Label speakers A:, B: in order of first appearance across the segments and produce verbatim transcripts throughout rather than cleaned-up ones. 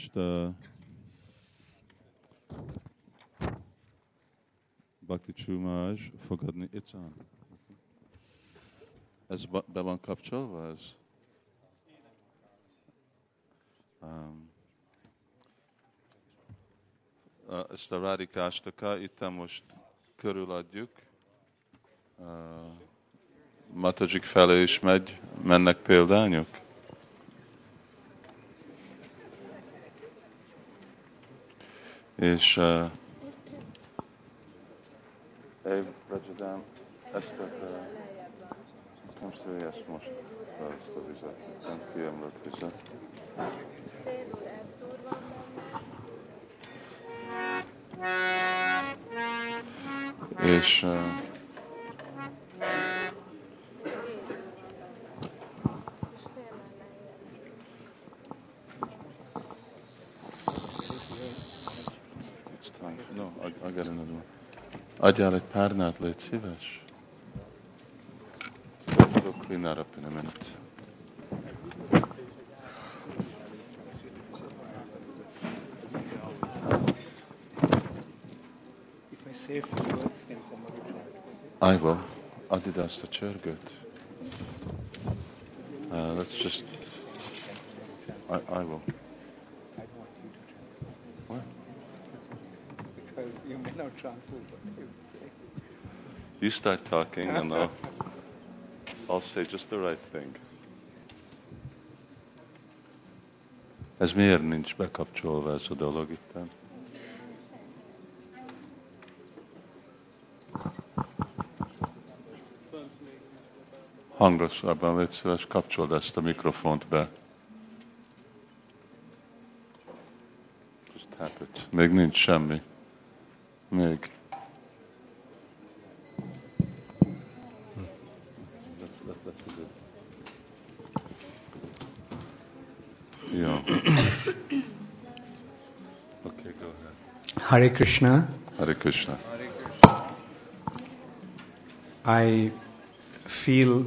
A: The Bhakti True Maharaj fogadni. It's on. Ez be van kapcsolva? Ez? Um, ezt a Radhikástaka itt most körüladjuk. Uh, Matajik felé is megy, mennek példányok? És uh, Év, Rajadám, ezt a most ő ezt most ezt a vizet, nem kiemlött vizet. És uh, no, I, I got another one. Adjál egy párnát, légy szíves. We'll clean that up in a minute.
B: If I say a few words, can somebody translate?
A: I will. Add ide azt a csörgőt. Uh, let's just... I, I will.
B: I want you to translate.
A: What?
B: Because you may not translate what I would say.
A: You start talking and I'll, I'll say just the right thing. Ez miért nincs bekapcsolva ez a dolog itt? Hangosabban légy szíves, kapcsold ezt a mikrofont be. Just tap it. Még nincs semmi. Még. Yeah. Okay, go ahead.
B: Hare Krishna.
A: Hare Krishna.
B: I feel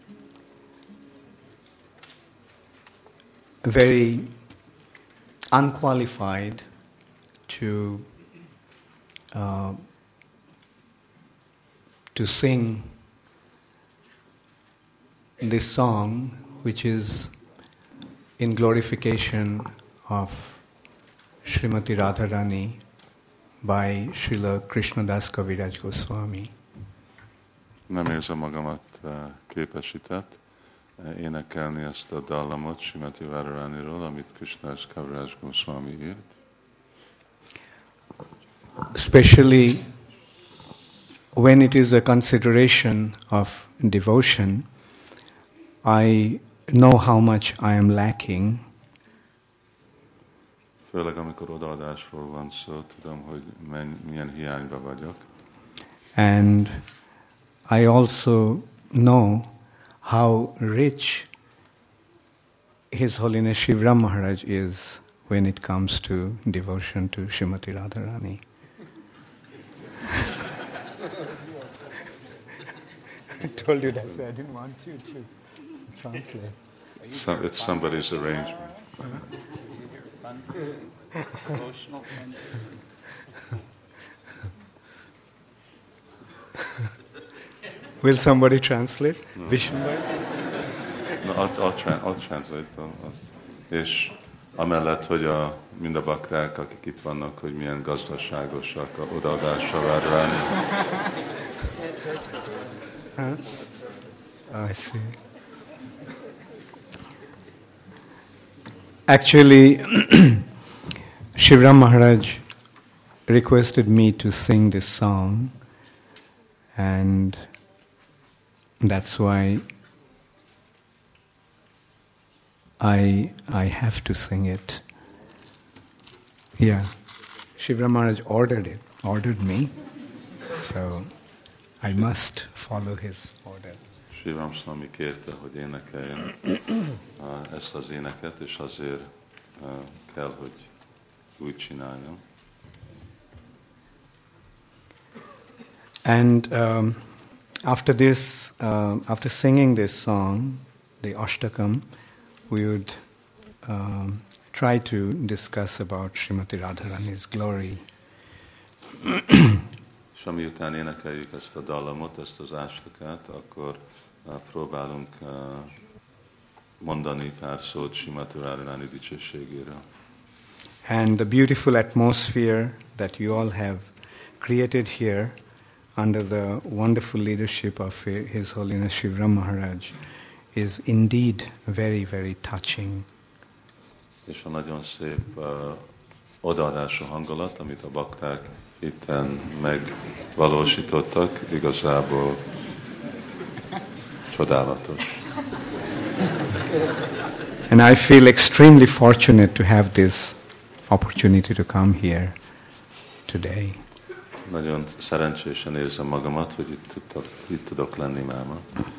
B: very unqualified to uh, to sing this song, which is in glorification of Srimati Radharani by Srila Krishnadas Kaviraj Goswami.
A: Nem érzem magamat uh, képesített uh, énekelni ezt a dallamot Srimati Radharaniról, amit Krishnadas Kaviraj Goswami írt.
B: Especially when it is a consideration of devotion, I know how much I am lacking.
A: Főleg amikor odaadásról van szó, tudom, hogy men, milyen hiányba vagyok.
B: And I also know how rich His Holiness Shivram Maharaj is when it comes to devotion to Srimati Radharani. I told you that, so I didn't want you to translate.
A: So, it's somebody's arrangement.
B: Will somebody translate?
A: No.
B: Vishnu?
A: No, I'll, I'll, tra- I'll translate. I'll, I'll, és amellett, hogy a, mind a bakták, akik itt vannak, hogy milyen gazdaságosak a odaadásra várni.
B: Huh? I see. Actually, Shivram Maharaj requested me to sing this song, and that's why I I have to sing it. Yeah, Shivram Maharaj ordered it, ordered me, so I must follow his order.
A: Shivram Swami kérte, hogy énekeljen uh, ezt az éneket, és azért uh, kell, hogy úgy csináljam.
B: And um, after this, uh, after singing this song, the Ashtakam, we would um, try to discuss about Srimati Radharani's glory.
A: És amiután énekeljük ezt a dallamot, ezt az ástakát, akkor uh, próbálunk uh, mondani pár szót Srimati Radharani dicsőségéről.
B: And the beautiful atmosphere that you all have created here under the wonderful leadership of His Holiness Shivram Maharaj is indeed very, very touching.
A: És a nagyon szép uh, odaadású hangulat, amit a bakták itten megvalósítottak, igazából csodálatos.
B: And I feel extremely fortunate to have this opportunity to come here today.
A: Nagyon szerencsésen érzem magamat, hogy itt tudok, itt tudok lenni máma.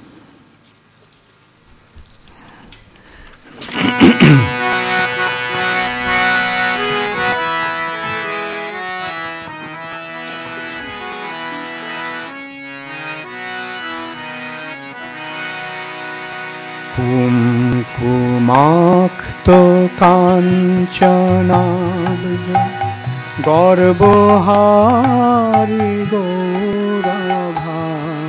B: Kumkumakto kanchanabja Garbhari Gaurabha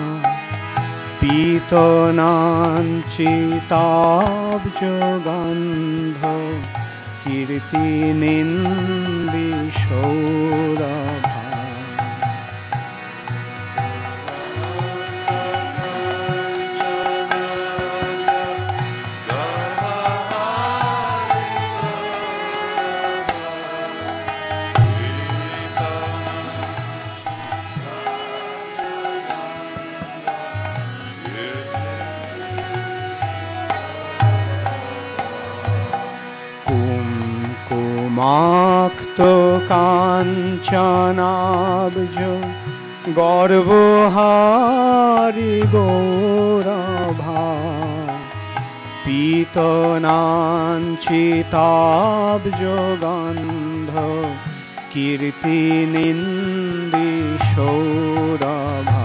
B: Pitananchitabja Gandha Kirti Nindi Saurabha. Makto kanchanabjo Garbhari Gaurabha Pitananchitabjo Gandha Kirti Nindi Saurabha.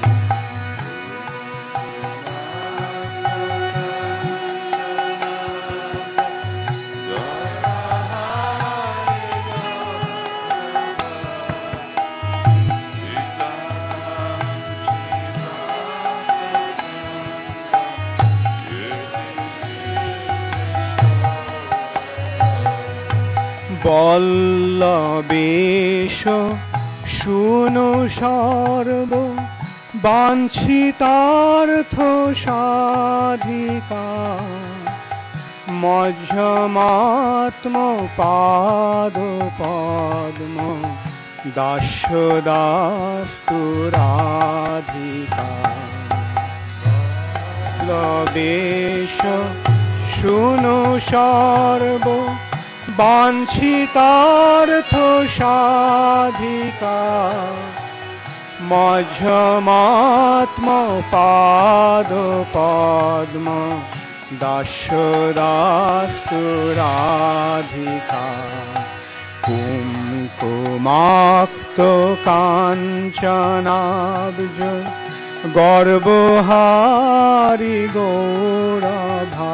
B: Ballabesha Shuno Sarva Banchitartho Sadhika Majjamatma Pado Padma Dashodastu Radhika. Ballabesha Shuno Sarva Banchitartho Sadhika Majjamatma Pado Padma Dashodastu Radhika. Kumkumakto kanchanabja Garbhari Gaurabha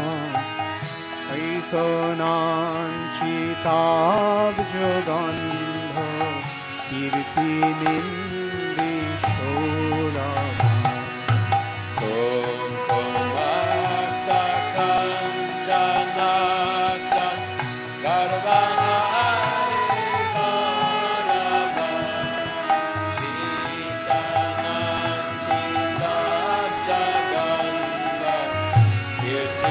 B: Pitananchitabjo Gandha Kirti Nindi Saurabha.
C: Kumkumakta kanchanabja Garbhari Gaurabha Pitananchitabjo Gandha Kirti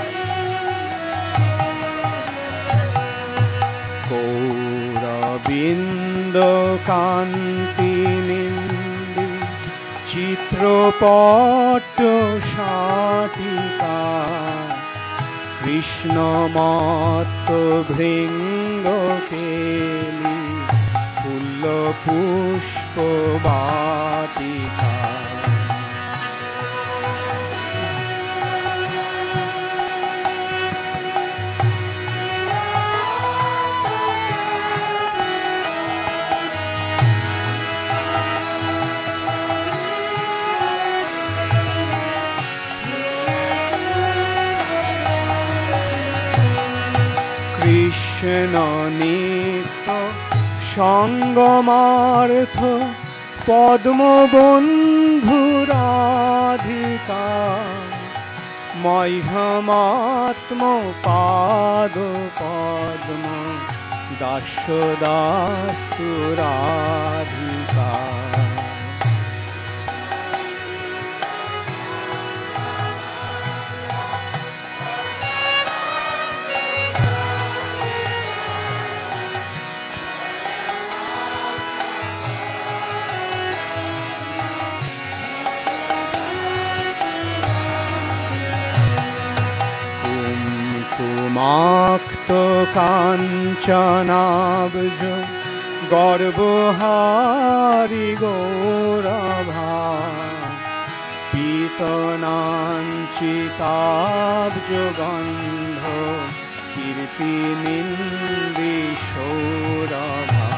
C: Bindo Kanti Nindi Chitrapato Shatika Krishna Mato Bhringo Keli Fulla Pushpa Batika. নিত্য সঙ্গমার্থ পদ্মবন্ধু রাধিকা মহ্যমাত্ম পাদ পদ্ম দাস্য দাস্তু রাধিকা। কুমাক্ত কাঞ্চনাব্জ গর্বহারি গৌরভা পীতনাঞ্চিতাব্জ গন্ধ কীর্তিনিন্দি সৌরভা।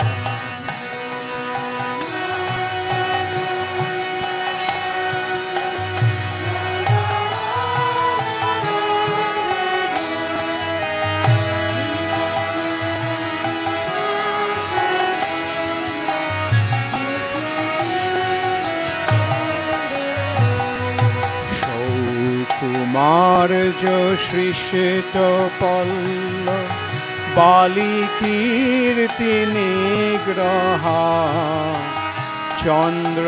C: কুমার্য সৃষ্ট পল্ল বালি কীর্তি নিগ্রহা চন্দ্র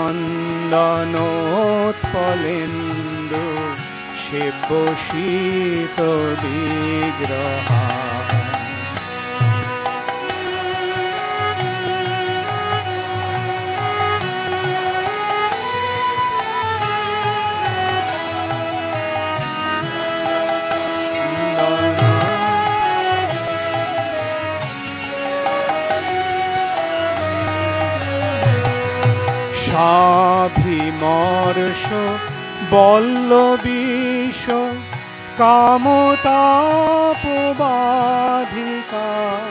C: চন্দনোৎপলেন্দু সেব্য শীত বিগ্রহা। সাভিমর্ষ বল্লবীশ কামতাপবাধিকা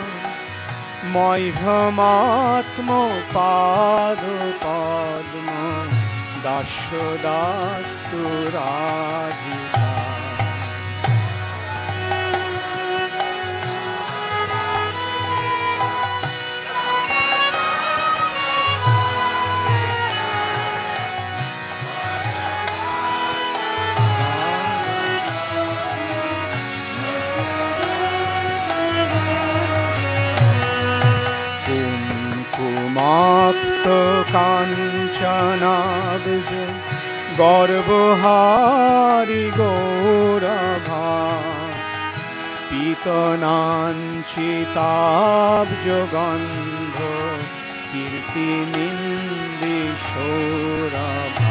C: মহ্যমাত্ম পাদ পদ্ম দাস্য দাস্তু রাধিকা। কুমাক্ত কাঞ্চনাব্জ গর্বহারি গৌরভা পীতনাঞ্চিতাব্জ গন্ধ কীর্তিনিন্দি সৌরভা।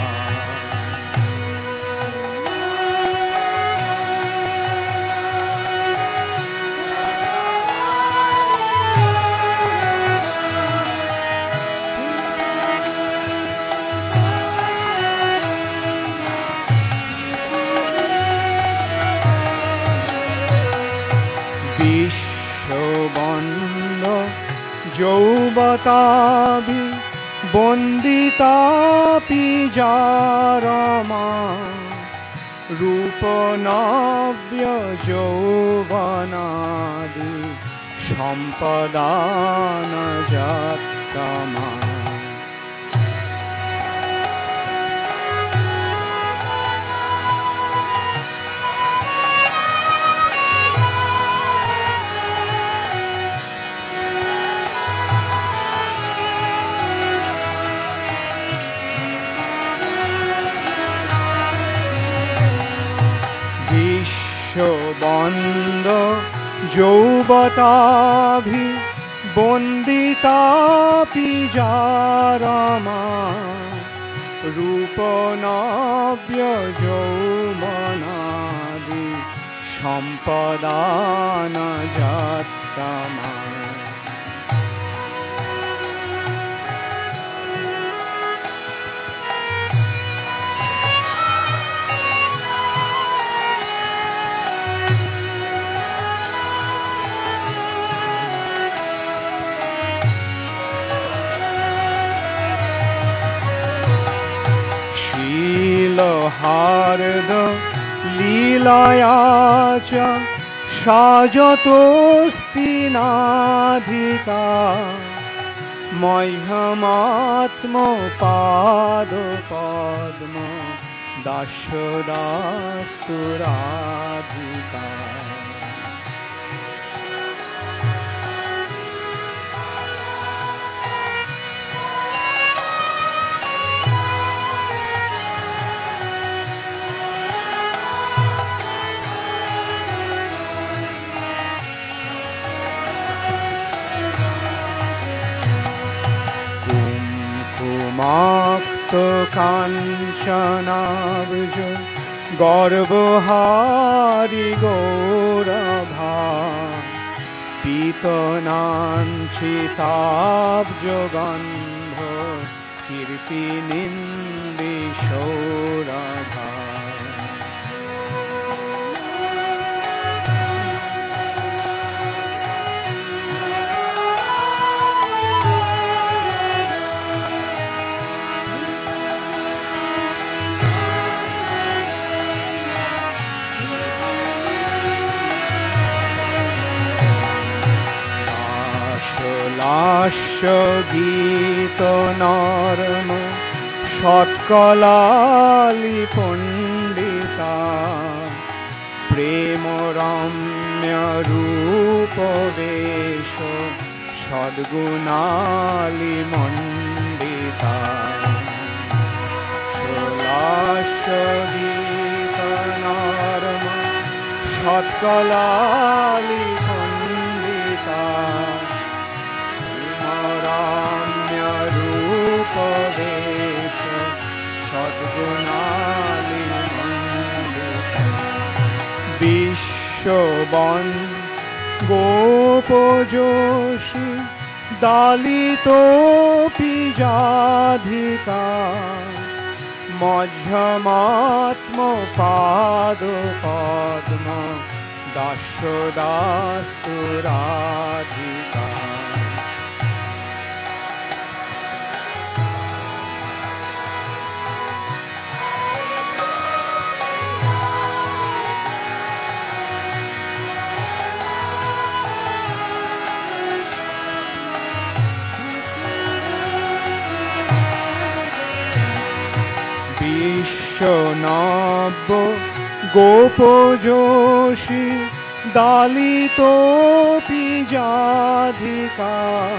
C: বিশ্ববন্দ যৌবতাভি বন্দিতাপি জারমা রূপনাব্য যৌবনাদি সম্পদান যাত্তমা। বিশ্ববন্দ যৌবতাভি বন্দিতাপি জারমা রূপনাব্য যৌবনাদি সম্পদান যাত্তমা। হার্দ লীলায়া চ সাজতোস্তি নাধিকা মহ্যমাত্ম পাদ পদ্ম দাস্য দাস্তু রাধিকা। কুঙ্কুমাক্ত কাঞ্চনাব্জ গর্বহারি গৌরভা পীতনাঞ্চিতাব্জ গন্ধ কীর্তি নিন্দি সৌরভা। লাস্য গীত নর্ম সৎকলালি পণ্ডিতা প্রেম রম্য রূপ বেশ সদ্গুণালি মণ্ডিতা। লাস্য গীত নর্ম সৎকলালি পণ্ডিতা রম্য রূপ বেশ সদ্গুণালি মণ্ডিতা। বিশ্ববন গোপযোষী দালিতোপি যাধিকা মধ্যমাত্ম পাদ পদ্ম দাস্য দাস্তু রাধিকা। বিশ্বনব্য গোপযোষী দালিতোপি যাধিকা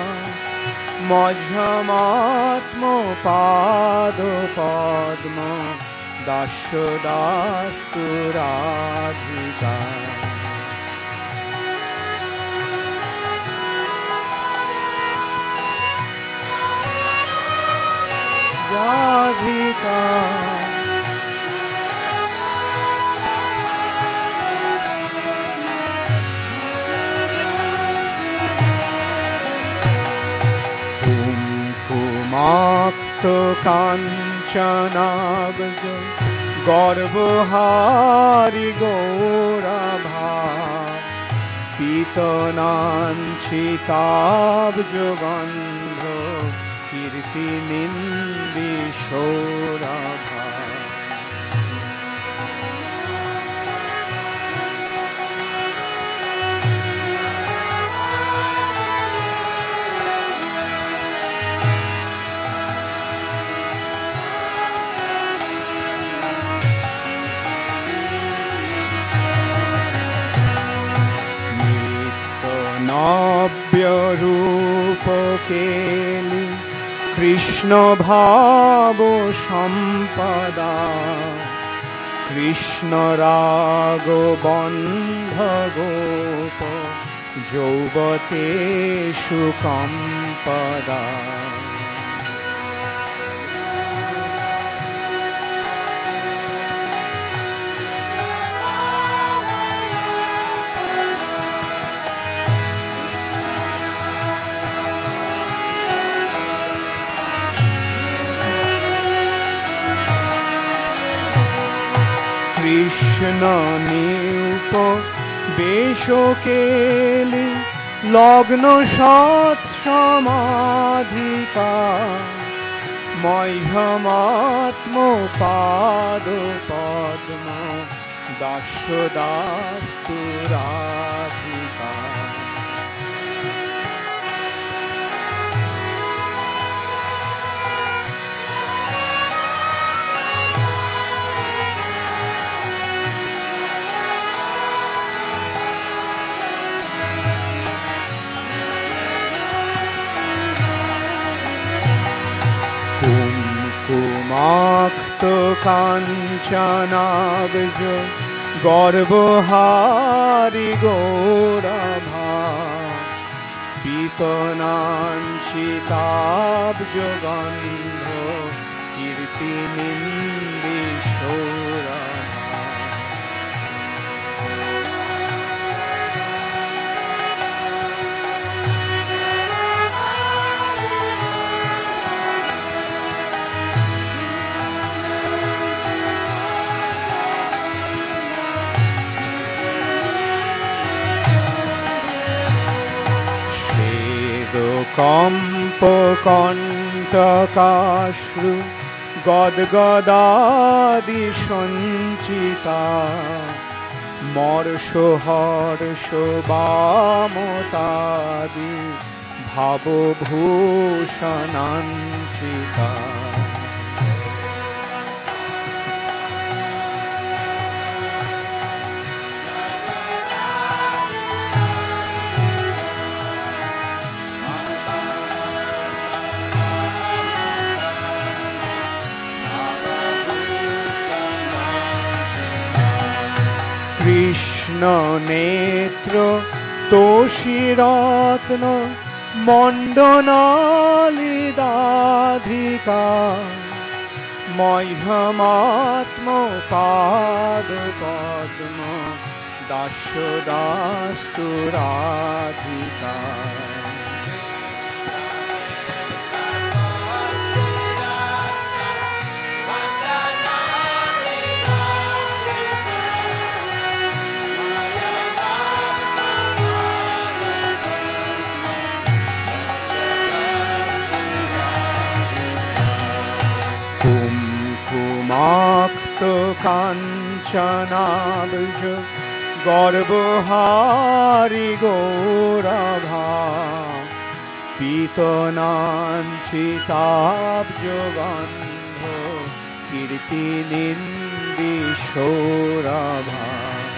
C: মধ্যমাত্ম পাদ পদ্ম দাস্য দাস্তু রাধিকা। রাধিকা কুঙ্কুমাক্ত কাঞ্চনাব্জ গর্বহারি গৌরভা পীতনাঞ্চিতাব্জ গন্ধ কীর্তি নিন্দি সৌরভা। নব্য রূপ কেলি কৃষ্ণ ভাব সম্পদা কৃষ্ণ রাগ বন্ধ গোপ যৌবতেষু কম্পদা। কৃষ্ণ নিউপ বেশ কেলি লগ্ন সৎ সমাধিকা মহ্যমাত্ম পাদ পদ্ম দাস্যদাস্তু রাধিকা। কুমকুমাক্ত কাঞ্চনাব্জ গর্বহারি গৌরভা পীতনাঞ্চিতাব্জ গন্ধ কীর্তিনিন্দি সৌরভা। কম্প কণ্টকাশ্রু গদগদাদি সঞ্চিতা মর্ষ হর্ষ বামতাদি ভাবভূষণাঞ্চিতা। কৃষ্ণ নেত্র তোষিরত্ন মণ্ডনালিদাধিকা মহ্যমাত্ম পাদ পদ্ম দাস্যদাস্তু রাধিকা। কুমকুমাক্ত কাঞ্চনাব্জ গর্বহারি গৌরভা পীতনাঞ্চিতাব্জ গন্ধ কীর্তিনিন্দি সৌরভা।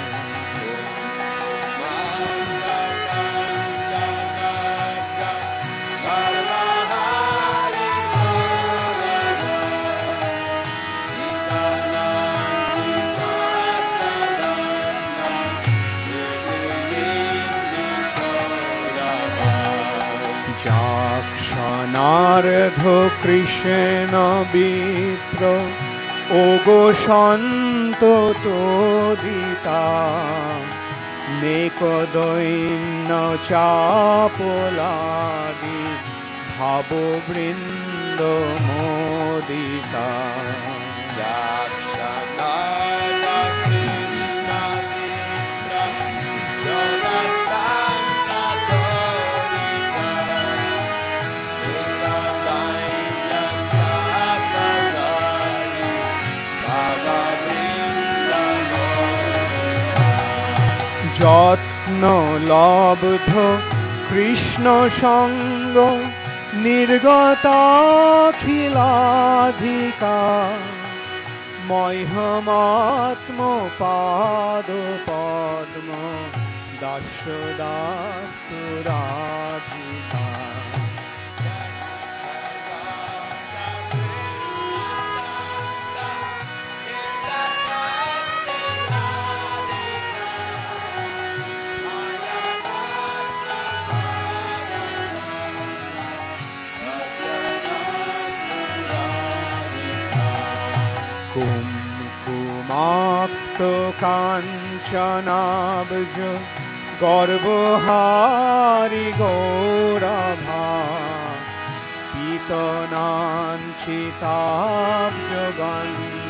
C: যাক্ষণার্ধ কৃষ্ণ বিপ্র ওগো সন্ত তোদিতা নেকদৈন্য চাপলাদি ভাববৃন্দ মোদিতা। যত্ন লব্ধ কৃষ্ণ সঙ্গ নির্গতাখিলাধিকা মহ্যমাত্ম পাদ পদ্ম দাস্যদাস্তু রাধিকা। কুমকুমাক্ত কাঞ্চনাব্জ গর্বহারি গৌরভা পীতনাঞ্চিতাব্জ গন্ধ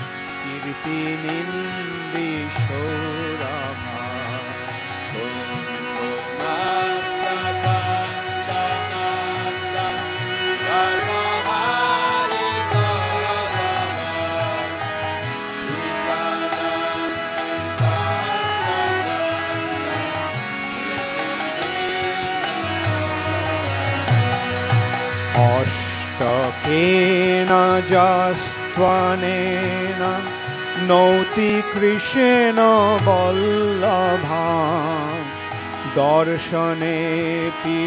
C: কীর্তিনিন্দি সৌরভা। अष्टकेन जस्त्वनेन नौति कृष्ण वल्लभां दर्शनेऽपि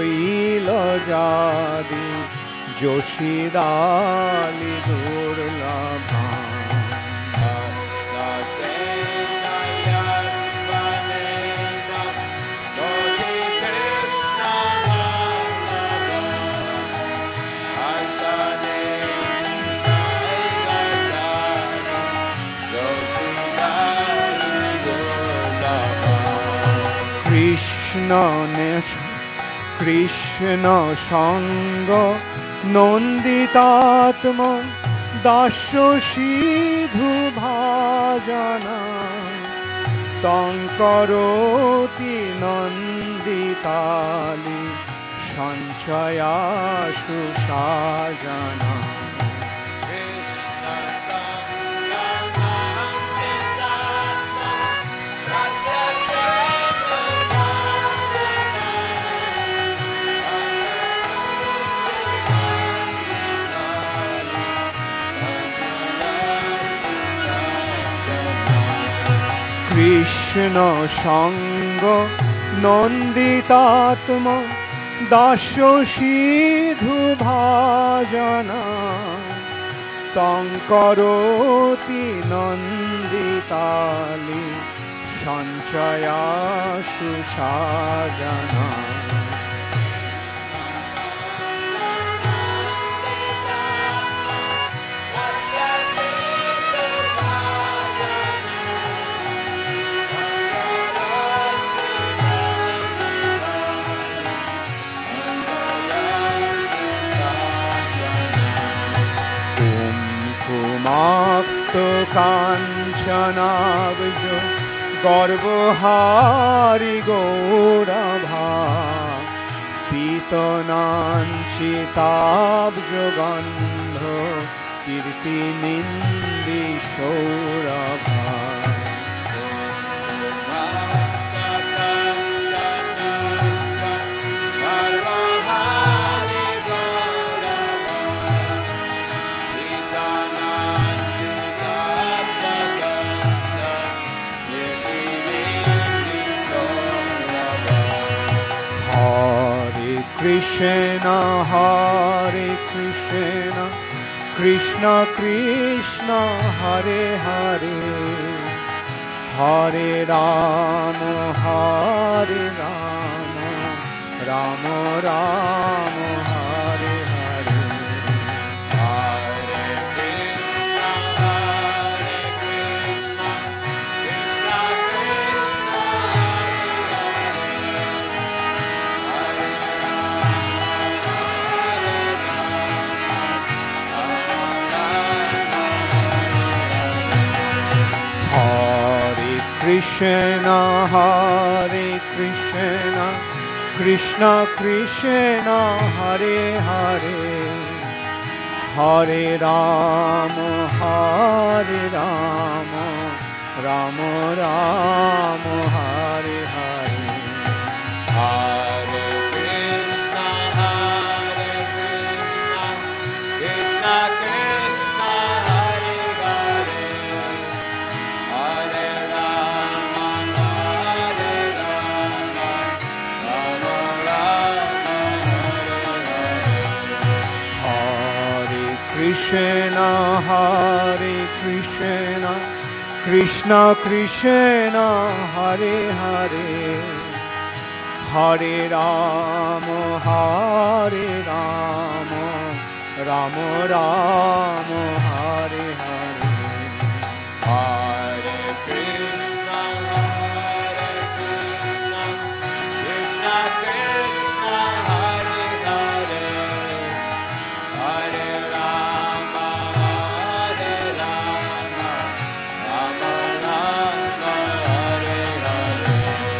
C: शैलजादि जोषिदालि दुर्लभां কৃষ্ণ সঙ্গ নন্দিতাত্ম দাস্য সিধু ভাজনা তং করোতি নন্দিতালি সঞ্চয়াসু সাজনা কৃষ্ণ সঙ্গ নন্দিতাত্ম দাস্য সিধু ভাজনা তং করোতি নন্দিতালি সঞ্চয়াসু সাজনা কুমাক্ত কাঞ্চনাব্জ গর্বহারি গৌরভা পীতনাঞ্চিতাব্জ গন্ধ কীর্তিনিন্দি সৌরভা কৃষ্ণ হরে কৃষ্ণ কৃষ্ণ কৃষ্ণ হরে হরে হরে রাম হরে রাম রাম রাম হরে হরে কৃষ্ণ হরে কৃষ্ণ কৃষ্ণ কৃষ্ণ হরে হরে হরে রাম হরে রাম রাম রাম হরে হরে হরে কৃষ্ণ হরে কৃষ্ণ কৃষ্ণ কৃষ্ণ হরে হরে হরে কৃষ্ণ হরে কৃষ্ণ কৃষ্ণ কৃষ্ণ হরে হরে হরে রাম হরে রাম রাম রাম হরে হরে হরে কৃষ্ণ হরে কৃষ্ণ কৃষ্ণ কৃষ্ণ হরে হরে হরে রাম হরে রাম রাম রাম হরে হরে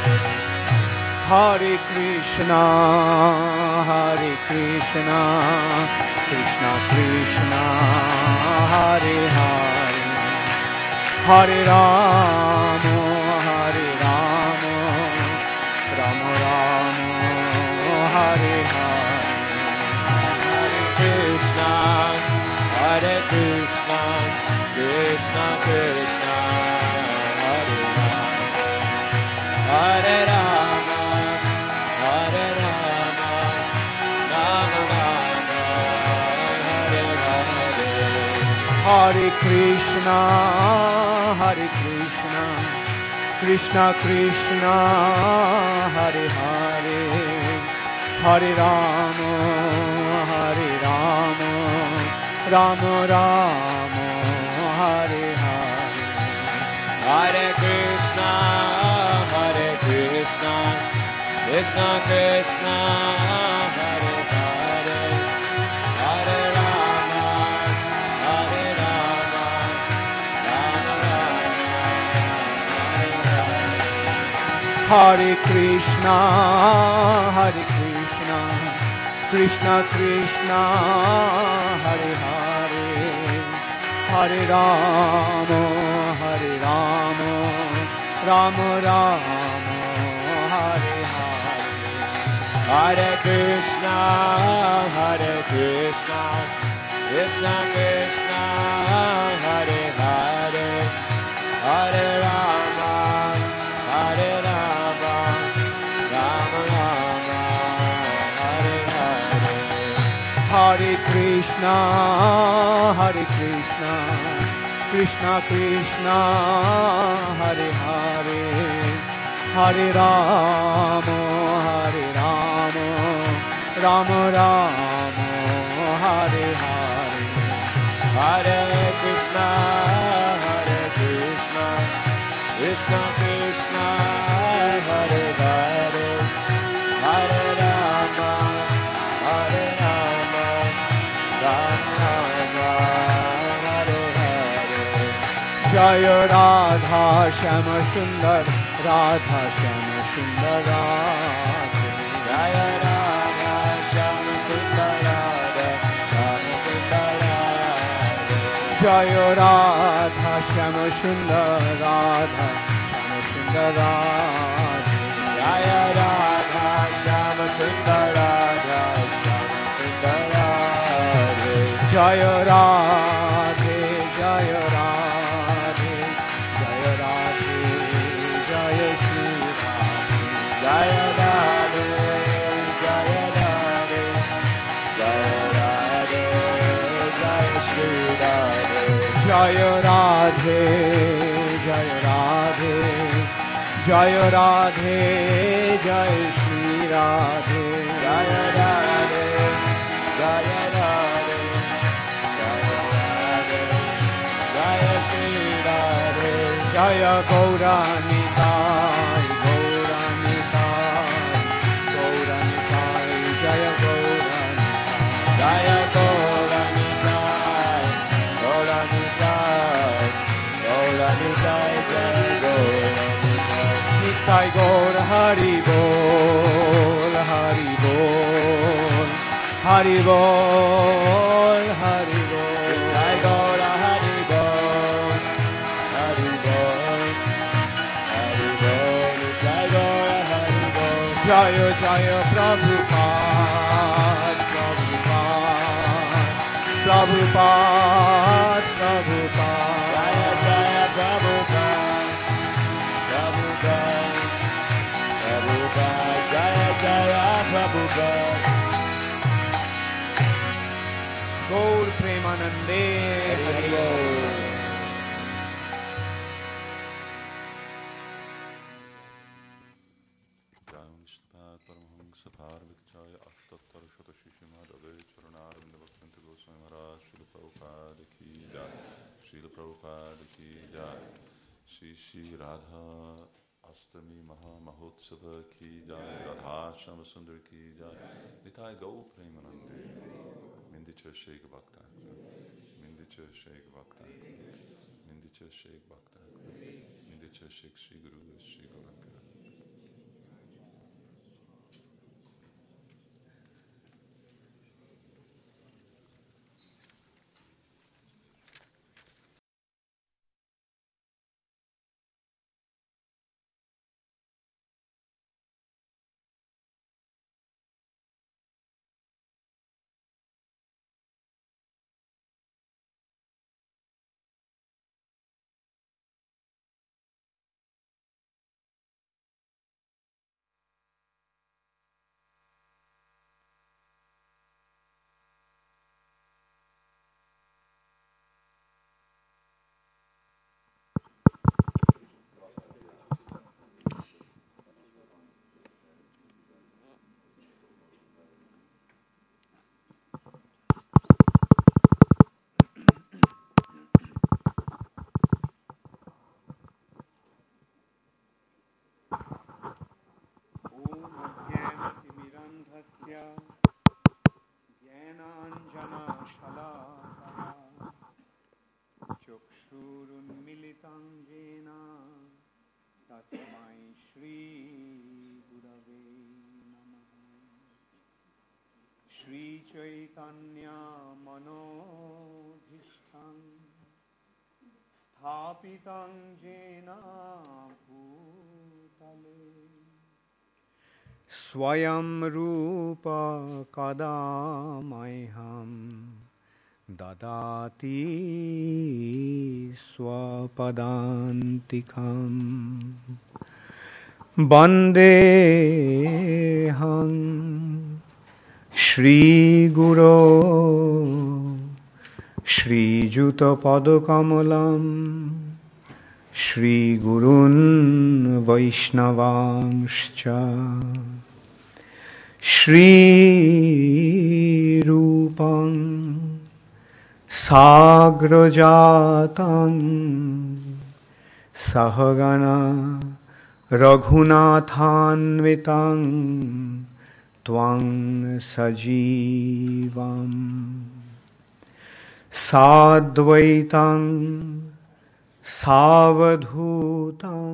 C: হরে কৃষ্ণ হরে কৃষ্ণ কৃষ্ণ কৃষ্ণ হরে হরে হরে রাম হরে রাম রাম রাম হরে Hare Krishna, Hare Rama, Hare Rama, Hare Rama, Rama Rama, Hare Hare. Hare Krishna, Hare Krishna, Krishna Krishna, Hare Hare, Hare Rama, Hare Rama, Rama Rama, Hare Hare. Hare Krishna, Hare Krishna, Krishna Krishna, Hare Hare, Hare Rama, Hare Rama, Rama Rama, Hare Hare. Hare Krishna, Hare Krishna, Krishna Krishna, Hare Hare, Hare Rama, Hare Rama, Rama Rama, Hare Hare. Hare Krishna, Hare Krishna, Krishna Krishna, Hare Hare, Hare Rama, Hare Rama, Rama Rama, Hare Hare. Hare Krishna, Hare Krishna, Krishna Krishna, Hare Hare, Hare Rama, Hare Rama, Rama Rama, Hare Hare. Hare Krishna, Hare Krishna, Krishna Krishna, Hare Hare, Hare Rama, Hare Rama, Rama Rama, Hare Hare. Jaya Radha Shyama Sundar, Radha Shyama Sundar Radhe. Jaya Radha Shyama Sundar, Radha Shyama Sundar Radhe. Jaya Radha Shyama Sundar, Radha Shyama Sundar Radhe. Jaya Radha Shyama Sundar, Radha Shyama Sundar Radhe. Jaya Radhe, Jaya Radhe, Jaya Radhe, Jaya Shri Radhe. Jaya Radhe, Jaya Radhe, Jaya Radhe, Jaya Shri Radhe. Jaya Radhe, Jaya Radhe, Jaya Radhe, Jaya Shri Radhe. Jaya Radhe, Jaya Radhe, Jaya Radhe, Jaya Shri Radhe. Jaya Gauranitai, Gauranitai, Gauranitai, Jaya Gauranitai. Jaya Gauranitai, Gauranitai, Gauranitai, Jaya Gauranitai. Nitai Gaur Hari Bol, Hari Bol, Hari Bol, Hari Bol. Nitai Gaur Hari Bol, Hari Bol, Hari Bol, Nitai Gaur Hari Bol. Jaya Jaya Prabhupada, Prabhupada, Prabhupada, Prabhupada. Jaya Jaya Prabhupada, Prabhupada, Prabhupada. Jaya Jaya Prabhupada. Gaur Premanande Hari Bol.
A: Vishnupada Paramahamsa Parvikchaya Ashtattar Shata Shishimad Advait Charanarvinda Bhaktivinoda Goswami Maharaj Srila Prabhupada Ki Jai Srila Prabhupada Ki Jai Shri Shri Radha Astami Maha Mahotsava Ki Jai Radha Shama Sundar Ki Jai Nitai Gaur Premanande Mindicha Sheikh Bhakta Mindicha Sheikh Bhakta Mindicha Sheikh Bhakta Mindicha Sheikh Shri Guru Shri Gauranga
B: ज्ञानाञ्जनशलाकया चक्षुरुन्मिलितं येन तस्मै श्रीगुरवे नमः। श्रीचैतन्यमनोभीष्टं स्थापितं येन भूतले स्वयं रूप कदा मह्यं ददाति स्वपदान्तिकं वन्देऽहं श्रीगुरो श्रीयुतपदकमलं श्रीगुरून् वैष्णवांश्च श्रीरूपं साग्रजातं सहगना रघुनाथान्वितं त्वं सजीवं साद्वैतं सावधूतं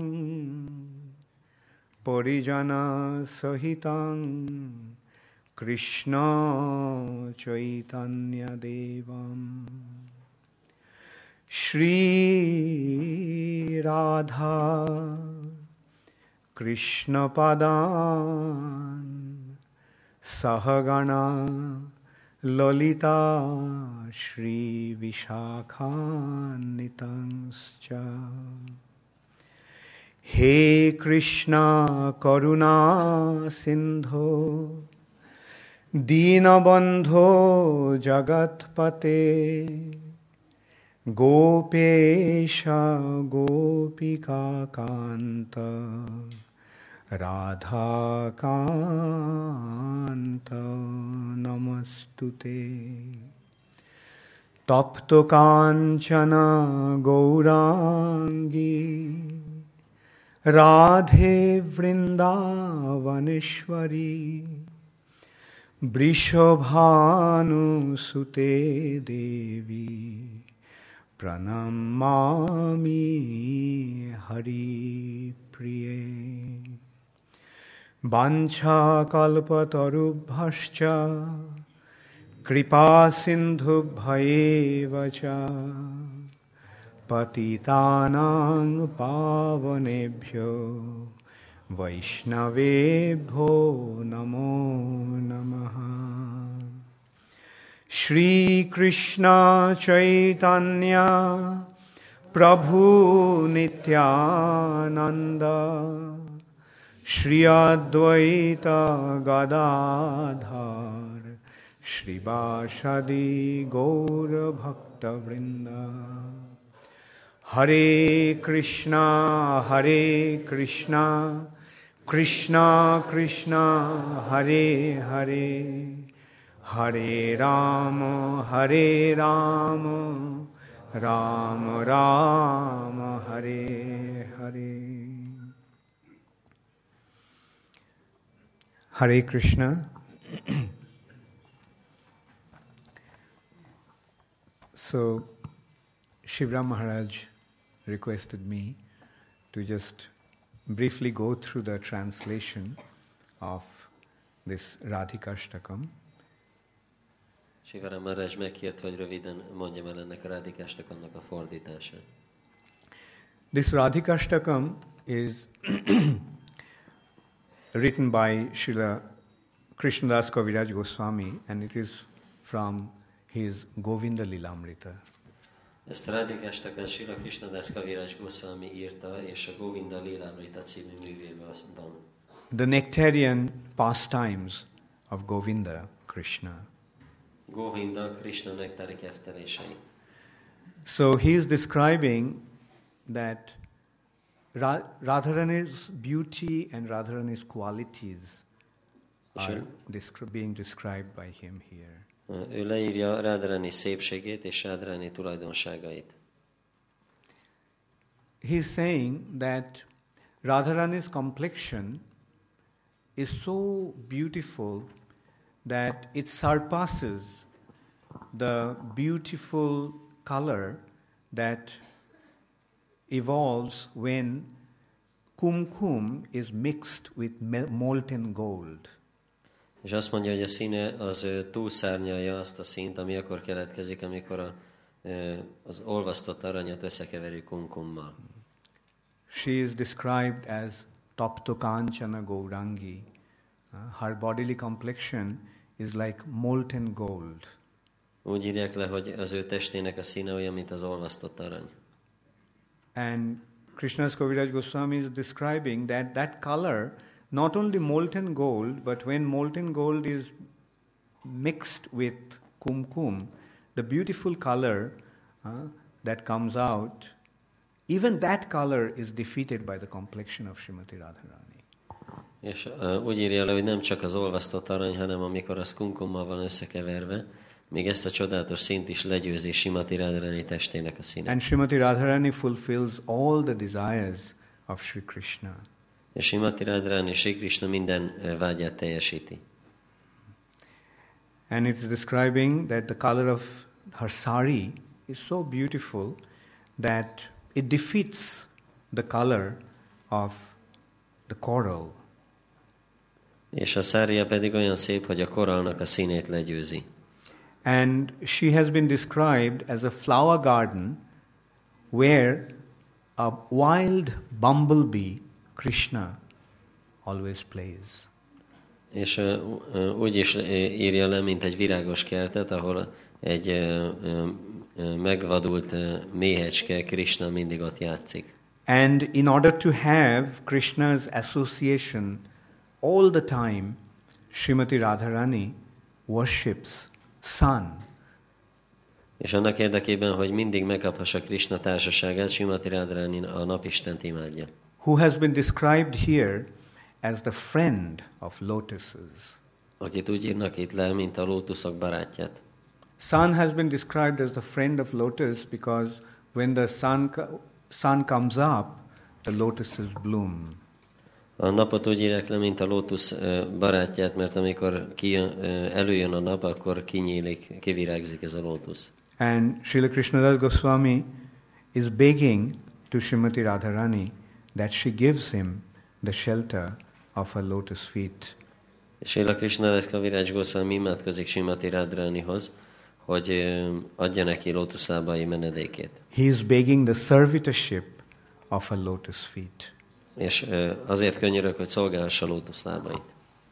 B: परिजनसहितं कृष्ण चैतन्यदेवं श्रीराधा कृष्णपदान् सहगणा ललिता श्रीविशाखान्वितांश्च हे कृष्णा करुणा सिन्धो दीनबन्धो जगत्पते गोपेश गोपिकान्त राधाकान्त नमस्तुते। तप्तकाञ्चन गौराङ्गी राधे वृन्दावनेश्वरी वृषभानुसुते देवी प्रणमामि हरिप्रिये। वाञ्छाकल्पतरुभ्यश्च कृपासिन्धुभ्येव च पतितानां पावनेभ्यो वैष्णवेभ्यो नमो नमः। श्रीकृष्ण चैतन्य प्रभु नित्यानंद श्री अद्वैत गदाधर श्रीवासदि गौर भक्तवृंद। हरे कृष्णा हरे कृष्णा कृष्णा कृष्णा हरे हरे हरे राम हरे राम राम राम हरे Hare. Hare Krishna. So Shivram Maharaj requested me to just briefly go through the translation of this Radhikashtakam.
D: Shivram Maharaj megkért, hogy röviden mondjam el ennek a Radhikashtakamnak a fordítását.
B: This Radhikashtakam is written by Srila Krishnadas Kaviraj Goswami, and it is from his Govinda Lilamrita.
D: Ezt a Radhikashtakam Srila Krishnadas Kaviraj Goswami írta, és a Govinda Lilamrita című művében van.
B: The nectarian pastimes of Govinda Krishna.
D: Govinda Krishna nektári keftelései.
B: So he is describing that Radharani's beauty and Radharani's qualities are descri- being described by him here.
D: Ő leírja Radharani szépségét és Radharani tulajdonságait.
B: He is saying that Radharani's complexion is so beautiful that it surpasses the beautiful color that evolves when kumkum is mixed with molten gold.
D: És azt mondja, hogy a színe az ö, túlszárnyalja azt a színt, ami akkor keletkezik, amikor a, ö, az olvasztott aranyat összekeverjük kumkummal.
B: She is described as Tapto Kanchana Gaurangi. Uh, her bodily complexion is like molten gold.
D: Úgy írják le, hogy az ő testének a színe olyan, mint az olvasztott arany.
B: And Krishnadas Kaviraj Goswami is describing that that color, not only molten gold, but when molten gold is mixed with kumkum, the beautiful color uh, that comes out, even that color is defeated by the complexion of Srimati Radharani.
D: És uh, úgy írja le, hogy nem csak az olvasztott arany, hanem amikor az kumkummal van összekeverve, még ezt a csodálatos színt is legyőzi Srimati Radharani testének a színe.
B: And Srimati Radharani fulfills all the desires of Sri Krishna.
D: És Srimati Radharani Sri Krishna minden uh, vágyát teljesíti.
B: And it's describing that the color of her sari is so beautiful that it defeats the color of the coral.
D: És a szárja pedig olyan szép, hogy a korallnak a színét legyőzi.
B: And she has been described as a flower garden where a wild bumblebee, Krishna, always plays.
D: És uh, uh, úgy is uh, írja le, mint egy virágos kertet, ahol egy uh, uh, megvadult uh, méhecske, Krishna mindig ott játszik.
B: And in order to have Krishna's association all the time, Srimati Radharani worships sun.
D: És annak érdekében, hogy mindig megkaphassa Krishna társaságát, Srimati Radharani a napistent imádja.
B: Who has been described here as the friend of lotuses.
D: Akit úgy írnak itt le, mint a lótuszok barátját.
B: Sun has been described as the friend of lotus because when the sun, sun comes up, the lotuses bloom.
D: A napot úgy írják le, mint a lótusz barátját, mert amikor kijön, előjön a nap, akkor kinyílik, kivirágzik ez a lótusz.
B: And Srila Krishnadas Goswami is begging to Srimati Radharani that she gives him the shelter of her lotus feet.
D: Srila Krishnadas Kaviraj Goswami imádkozik Srimati Radharanihoz, hogy adja neki lótuszlábai menedékét.
B: He is begging the servitorship of her lotus feet.
D: És azért könyörög, hogy szolgálhassa lótuszlábait.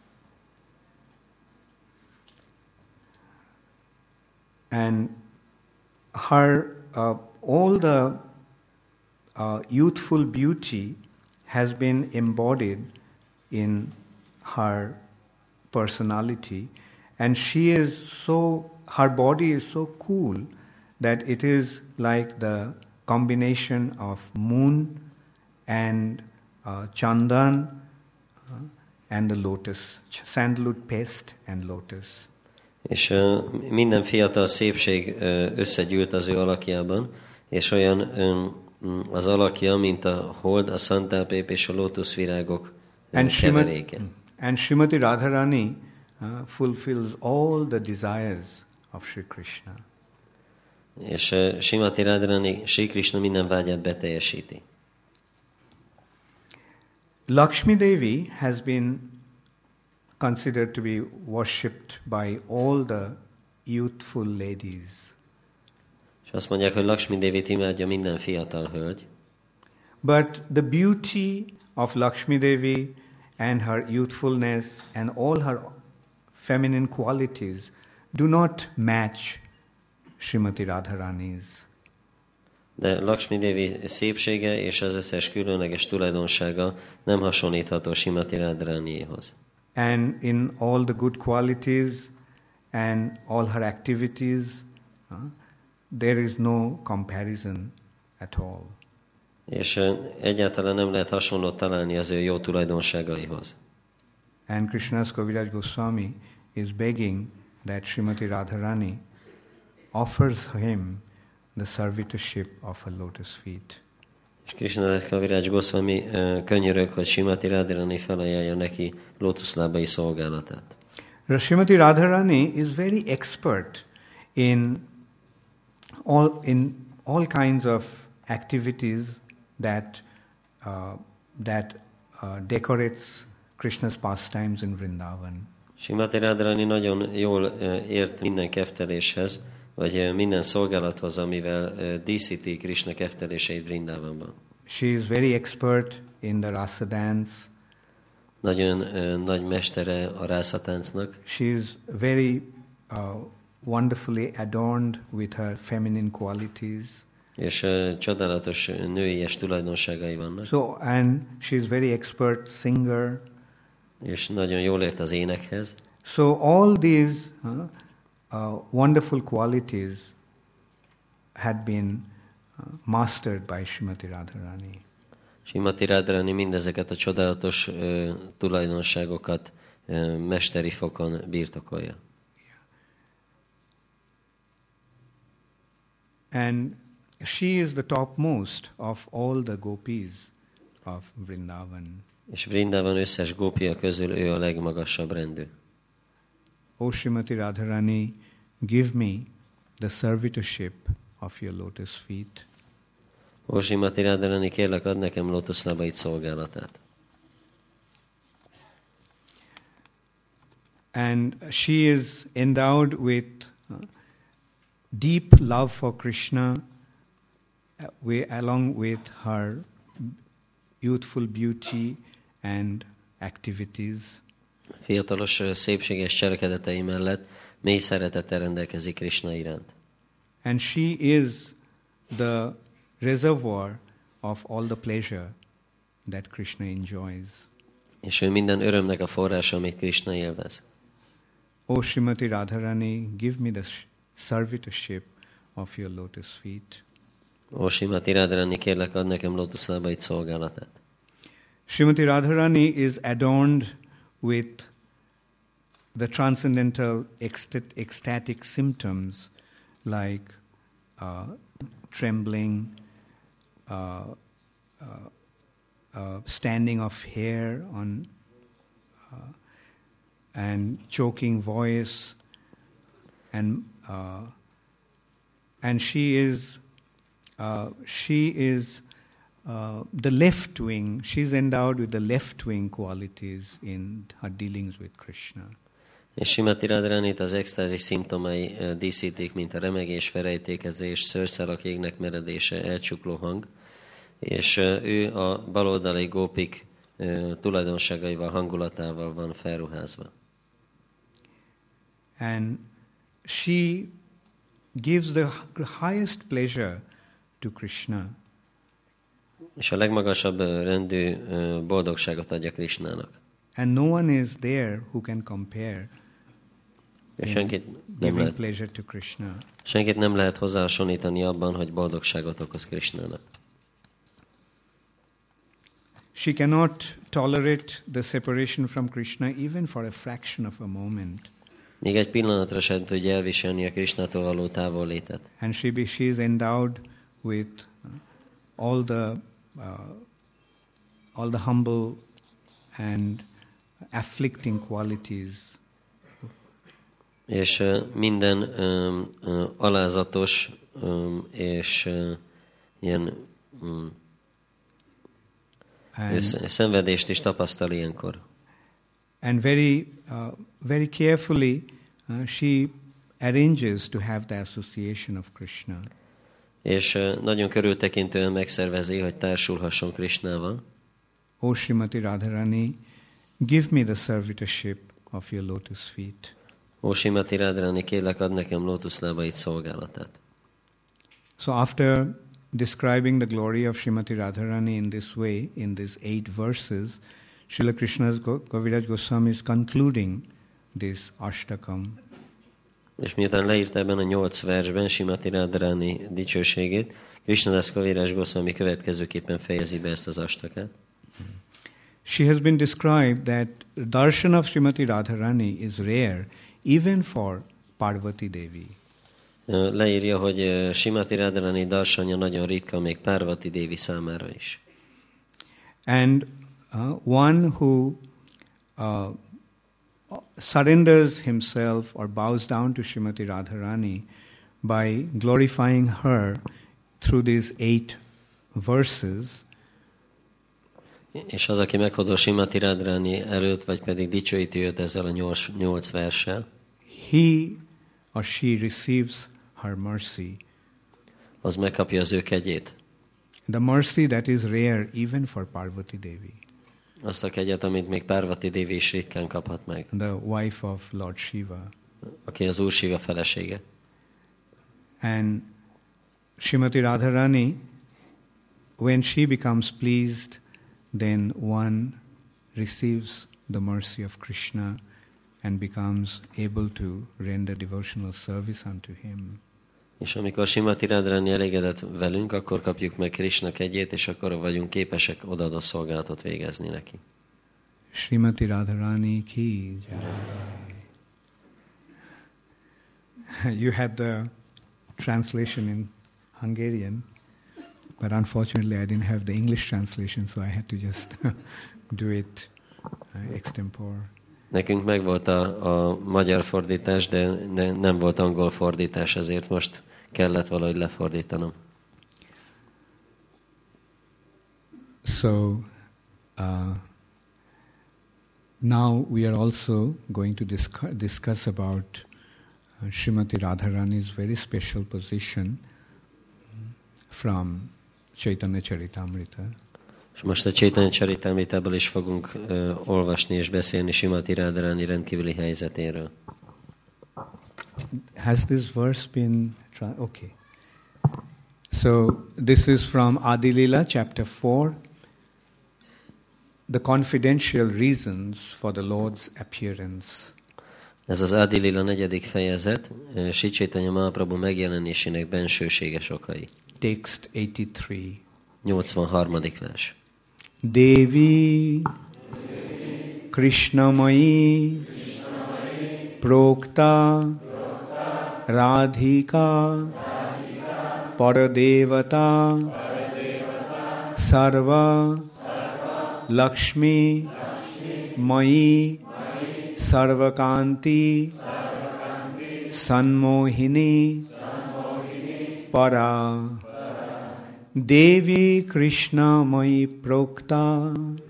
B: And her uh, all the uh, youthful beauty has been embodied in her personality, and she is so, her body is so cool that it is like the combination of moon and uh, chandan uh, and the lotus, sandalwood paste and lotus.
D: És uh, minden fiatal szépség uh, összegyűlt az ő alakjában, és olyan um, az alakja, mint a hold, a szantálpép és a lótuszvirágok uh, keveréke.
B: And Srimati Radharani uh, fulfills all the desires of Sri Krishna.
D: És uh, Srimati Radharani Sri Krishna minden vágyát beteljesíti.
B: Lakshmi Devi has been considered to be worshipped by all the youthful ladies.
D: És azt mondják, hogy Lakshmi Devit imádja minden fiatal hölgy.
B: But the beauty of Lakshmi Devi and her youthfulness and all her feminine qualities do not match Srimati Radharani's.
D: De Lakshmi Devi szépsége és az összes különleges tulajdonsága nem hasonlítható Srimati Radharaniéhoz.
B: And in all the good qualities and all her activities, uh, there is no comparison at all.
D: És uh, egyáltalán nem lehet hasonlót találni az ő jó tulajdonságaihoz.
B: And Krishnadas Kaviraj Goswami is begging that Srimati Radharani offers him the servitorship of her lotus feet.
D: És Krishnadas Kaviraj Goswami uh, könyörög, hogy Srimati Radharani felajánlja neki lótuszlábai szolgálatát.
B: Srimati Radharani is very expert in all in all kinds of activities that uh, that uh, decorates Krishna's pastimes in Vrindavan.
D: Srimati Radharani nagyon jól uh, ért minden kefteléshez, vagy uh, minden szolgálathoz, amivel uh, díszíti Krishna kefteléseit Vrindavanban.
B: She is very expert in the rasa dance.
D: Nagyon uh, nagy mestere a rászatáncnak.
B: She is very uh, wonderfully adorned with her feminine qualities.
D: És uh, csodálatos nőies tulajdonságai vannak.
B: So, and she is very expert singer.
D: És nagyon jól ért az énekhez.
B: So all these uh, uh, wonderful qualities had been uh, mastered by Srimati Radharani.
D: Srimati Radharani mindezeket a csodálatos uh, tulajdonságokat uh, mesteri fokon birtokolja.
B: And she is the topmost of all the gopis of Vrindavan.
D: És Vrindavan összes gópia közül ő a legmagasabb rendű.
B: O Srimati Radharani, give me the servitorship of your lotus feet.
D: Ó Srimati Radharani, kérlek, add nekem lótuszlábaid szolgálatát.
B: And she is endowed with uh, deep love for Krishna, uh, we, along with her youthful beauty and activities.
D: Fiatalos szépséges cselekedetei mellett mély szeretettel rendelkezik Krishna iránt.
B: And she is the reservoir of all the pleasure that Krishna enjoys.
D: És ő minden örömnek a forrása, amit Krishna élvez.
B: O Srimati Radharani, give me the servitorship of your lotus feet.
D: Ó Srimati Radharani, kérlek, add nekem lótuszlábaid szolgálatát.
B: Srimati Radharani is adorned with the transcendental ecst- ecstatic symptoms like uh, trembling, uh, uh, uh, standing of hair on, uh, and choking voice, and uh, and she is uh, she is uh, the left wing. She's endowed with the left wing qualities in her dealings with Krishna.
D: És Srimati Radharanit az extázis szimptomai díszítik, mint a remegés, felejtékezés, szőrszálak égnek meredése, elcsukló hang, és ő a baloldali gópik tulajdonságaival, hangulatával van felruházva.
B: And she gives the highest pleasure to Krishna.
D: És a legmagasabb rendű boldogságot adja Krishnának.
B: And no one is there who can compare
D: És
B: in
D: senkit nem,
B: giving
D: lehet,
B: pleasure to Krishna.
D: senkit nem lehet hozzáhasonlítani abban, hogy boldogságot okoz Krishnának.
B: She cannot tolerate the separation from Krishna even for a fraction of a moment.
D: Még egy pillanatra sem tudja elviselni a Krishnától való távollétet.
B: And she, be, she is endowed with all the uh, all the humble and afflicting qualities.
D: És uh, minden um, uh, alázatos um, és uh, ilyen um,
B: And,
D: szenvedést is tapasztal ilyenkor.
B: and very, uh, very carefully uh, she arranges to have the association of Krishna.
D: És uh, nagyon körültekintően megszervezi, hogy társulhasson Krishnával.
B: O Srimati Radharani, give me the servitorship of your lotus feet.
D: Ó Srimati Radharani, kérlek, add nekem lótuszlábaid szolgálatát.
B: So after describing the glory of Srimati Radharani in this way, in these eight verses, Srila Krishna's Kaviraj Goswami is concluding this Ashtakam.
D: És miután leírta ebben a nyolc versben Srimati Radharani dicsőségét, Krishnadas Kaviraj Goswami következőképpen fejezi be ezt az astakát.
B: She has been described that darshan of Srimati Radharani is rare even for Parvati Devi.
D: Leírja, hogy Srimati Radharani darsanya nagyon ritka még Parvati Devi számára is.
B: And uh, one who uh, surrenders himself or bows down to Srimati Radharani by glorifying her through these eight verses,
D: és az, aki meghódol Srimati Radharani előtt, vagy pedig dicsőíti őt ezzel a nyolc, nyolc verssel,
B: he or she receives her mercy.
D: az megkapja az ő kegyét.
B: The mercy that is rare even for Parvati Devi,
D: Azt a kegyet, amit még Parvati Devi is ritkán kaphat meg,
B: the wife of Lord Shiva.
D: aki az Úr Shiva felesége.
B: And Srimati Radharani, when she becomes pleased, then one receives the mercy of Krishna and becomes able to render devotional service unto him.
D: És amikor Srimati Radharani elégedett velünk, akkor kapjuk meg Krishna kegyét, és akkor vagyunk képesek odaadó szolgálatot végezni neki.
B: Srimati Radharani ki jai. You had the translation in Hungarian, but unfortunately I didn't have the English translation, so I had to just do it uh, extempore.
D: Nekünk megvolt a, a magyar fordítás, de ne, nem volt angol fordítás, ezért most kellett valahogy lefordítanom.
B: So, uh, now we are also going to discuss, discuss about uh, Srimati Radharani's very special position from Chaitanya Charitamrita.
D: És most a Chaitanya Charitamritából is fogunk uh, olvasni és beszélni Srimati Radharani rendkívüli helyzetéről.
B: Has this verse been... Tra- okay. So, this is from Adi Lila, chapter four. The confidential reasons for the Lord's appearance.
D: Ez az Adi Lila negyedik fejezet, uh, Sri Chaitanya Mahaprabhu megjelenésének bensőséges okai.
B: Text eighty-three.
D: nyolcvanharmadik vers.
B: Devi Krishnamai Prokta Radhika Paradevata Sarva Lakshmi Mai Sarvakanti Sanmohini Para Devi Krishna Mai Prokta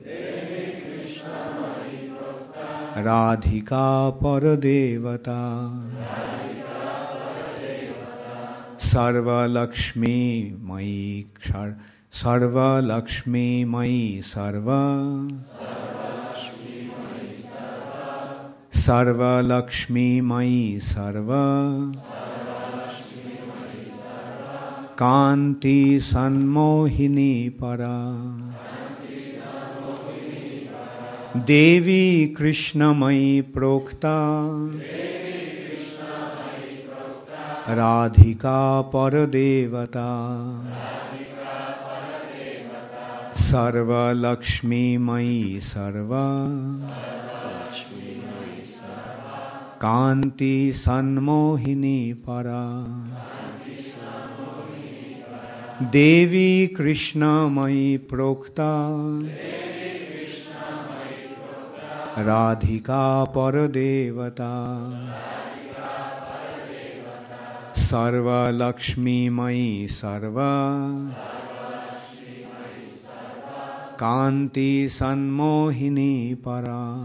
B: Radhika Paradevata Sarva Lakshmi Mai Sarva Lakshmi Mai Sarva Sarva Lakshmi Mai Sarva Kanti Sanmohini Para Devi Krishna Mai Prokta Radhika Paradevata Sarva Lakshmi Mai Sarva Kanti Sanmohini Para Devi Krishna Mai Prokta Radhika Paradevata Sarva Lakshmi Mai Sarva Kanti Sanmohini Para.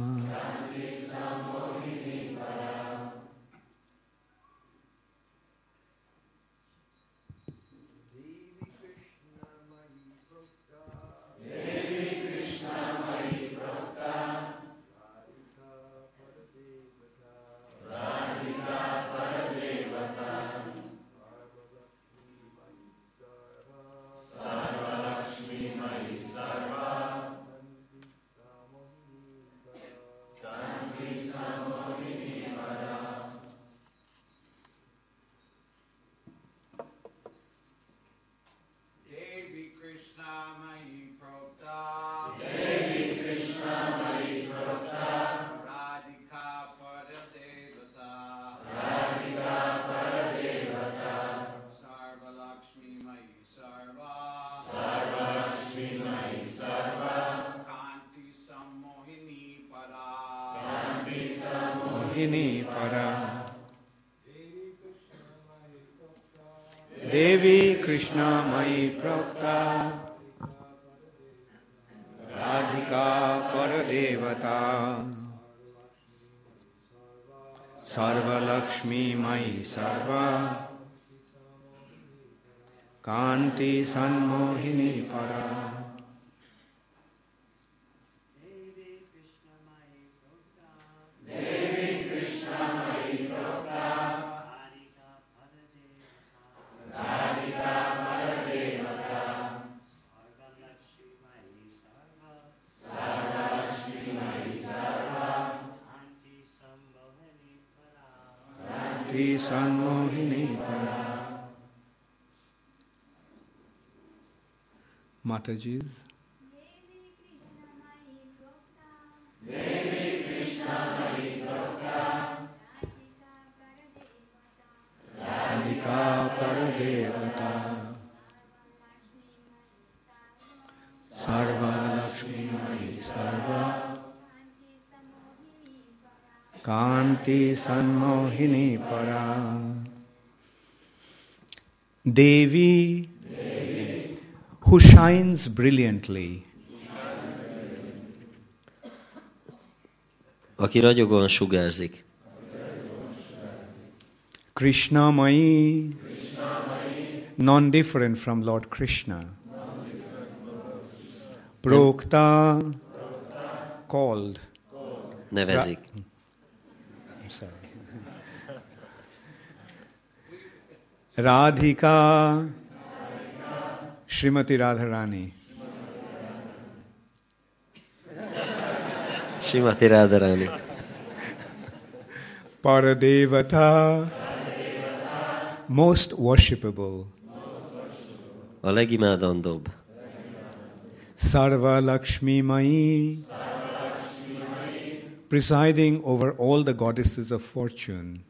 B: Devi Krishna Mai Prokta Radhika Paradevata Sarva Lakshmi Mai Sarva Kanti Sanmohini Para Sanmohini Para. Mataji's.
E: Devi Krishna Mai Prokta
B: Radhika Paradevata Sarva Lakshmi Mai Sarva Kanti Sanmohini Para. Devi, Devi, who shines brilliantly,
D: aki ragyogóan sugárzik.
B: Krishna Mai, non-different from Lord Krishna. Prokta, called.
D: Nevezik.
B: Sorry. Radhika, Srimati Radharani.
D: Srimati Radharani.
B: Paradevata, most worshipable.
D: A legimádandóbb.
B: Sarva Lakshmi Mai, presiding over all the goddesses of fortune.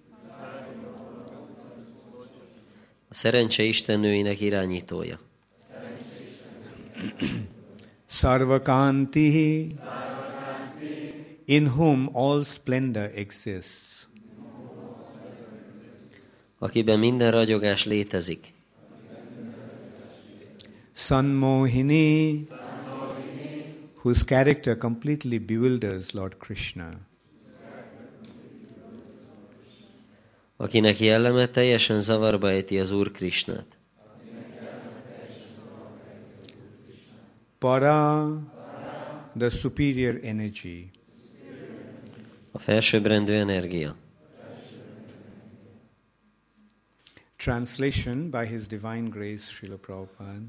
D: A szerencse istennőinek irányítója.
B: Sarvakanti, in whom all splendor exists.
D: Akiben minden ragyogás létezik.
B: Sanmohini, whose character completely bewilders Lord Krishna.
D: Akinek jelleme teljesen zavarba ejti az Úr Krisnát.
B: Para, the superior energy.
D: A felsőbbrendű energia.
B: Translation by His Divine Grace, Srila Prabhupada.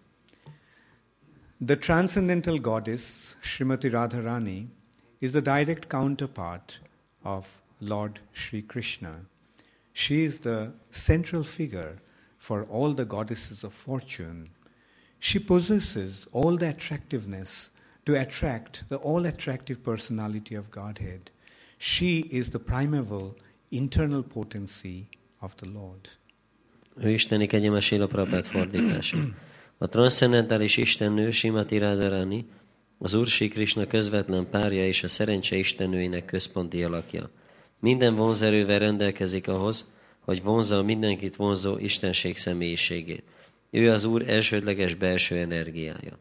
B: The transcendental goddess, Srimati Radharani, is the direct counterpart of Lord Sri Krishna. She is the central figure for all the goddesses of fortune. She possesses all the attractiveness to attract the all-attractive personality of Godhead. She is the primeval internal potency of the Lord.
D: Ő isteni kegyelme Srila Prabhupád fordítása. A transzcendentális istennő Srimati Radharani, az Úr Sri Krishna közvetlen párja és a szerencse istennőinek központi alakja. Minden vonzerővel rendelkezik ahhoz, hogy vonzza a mindenkit vonzó istenség személyiségét. Ő az Úr elsődleges belső energiája.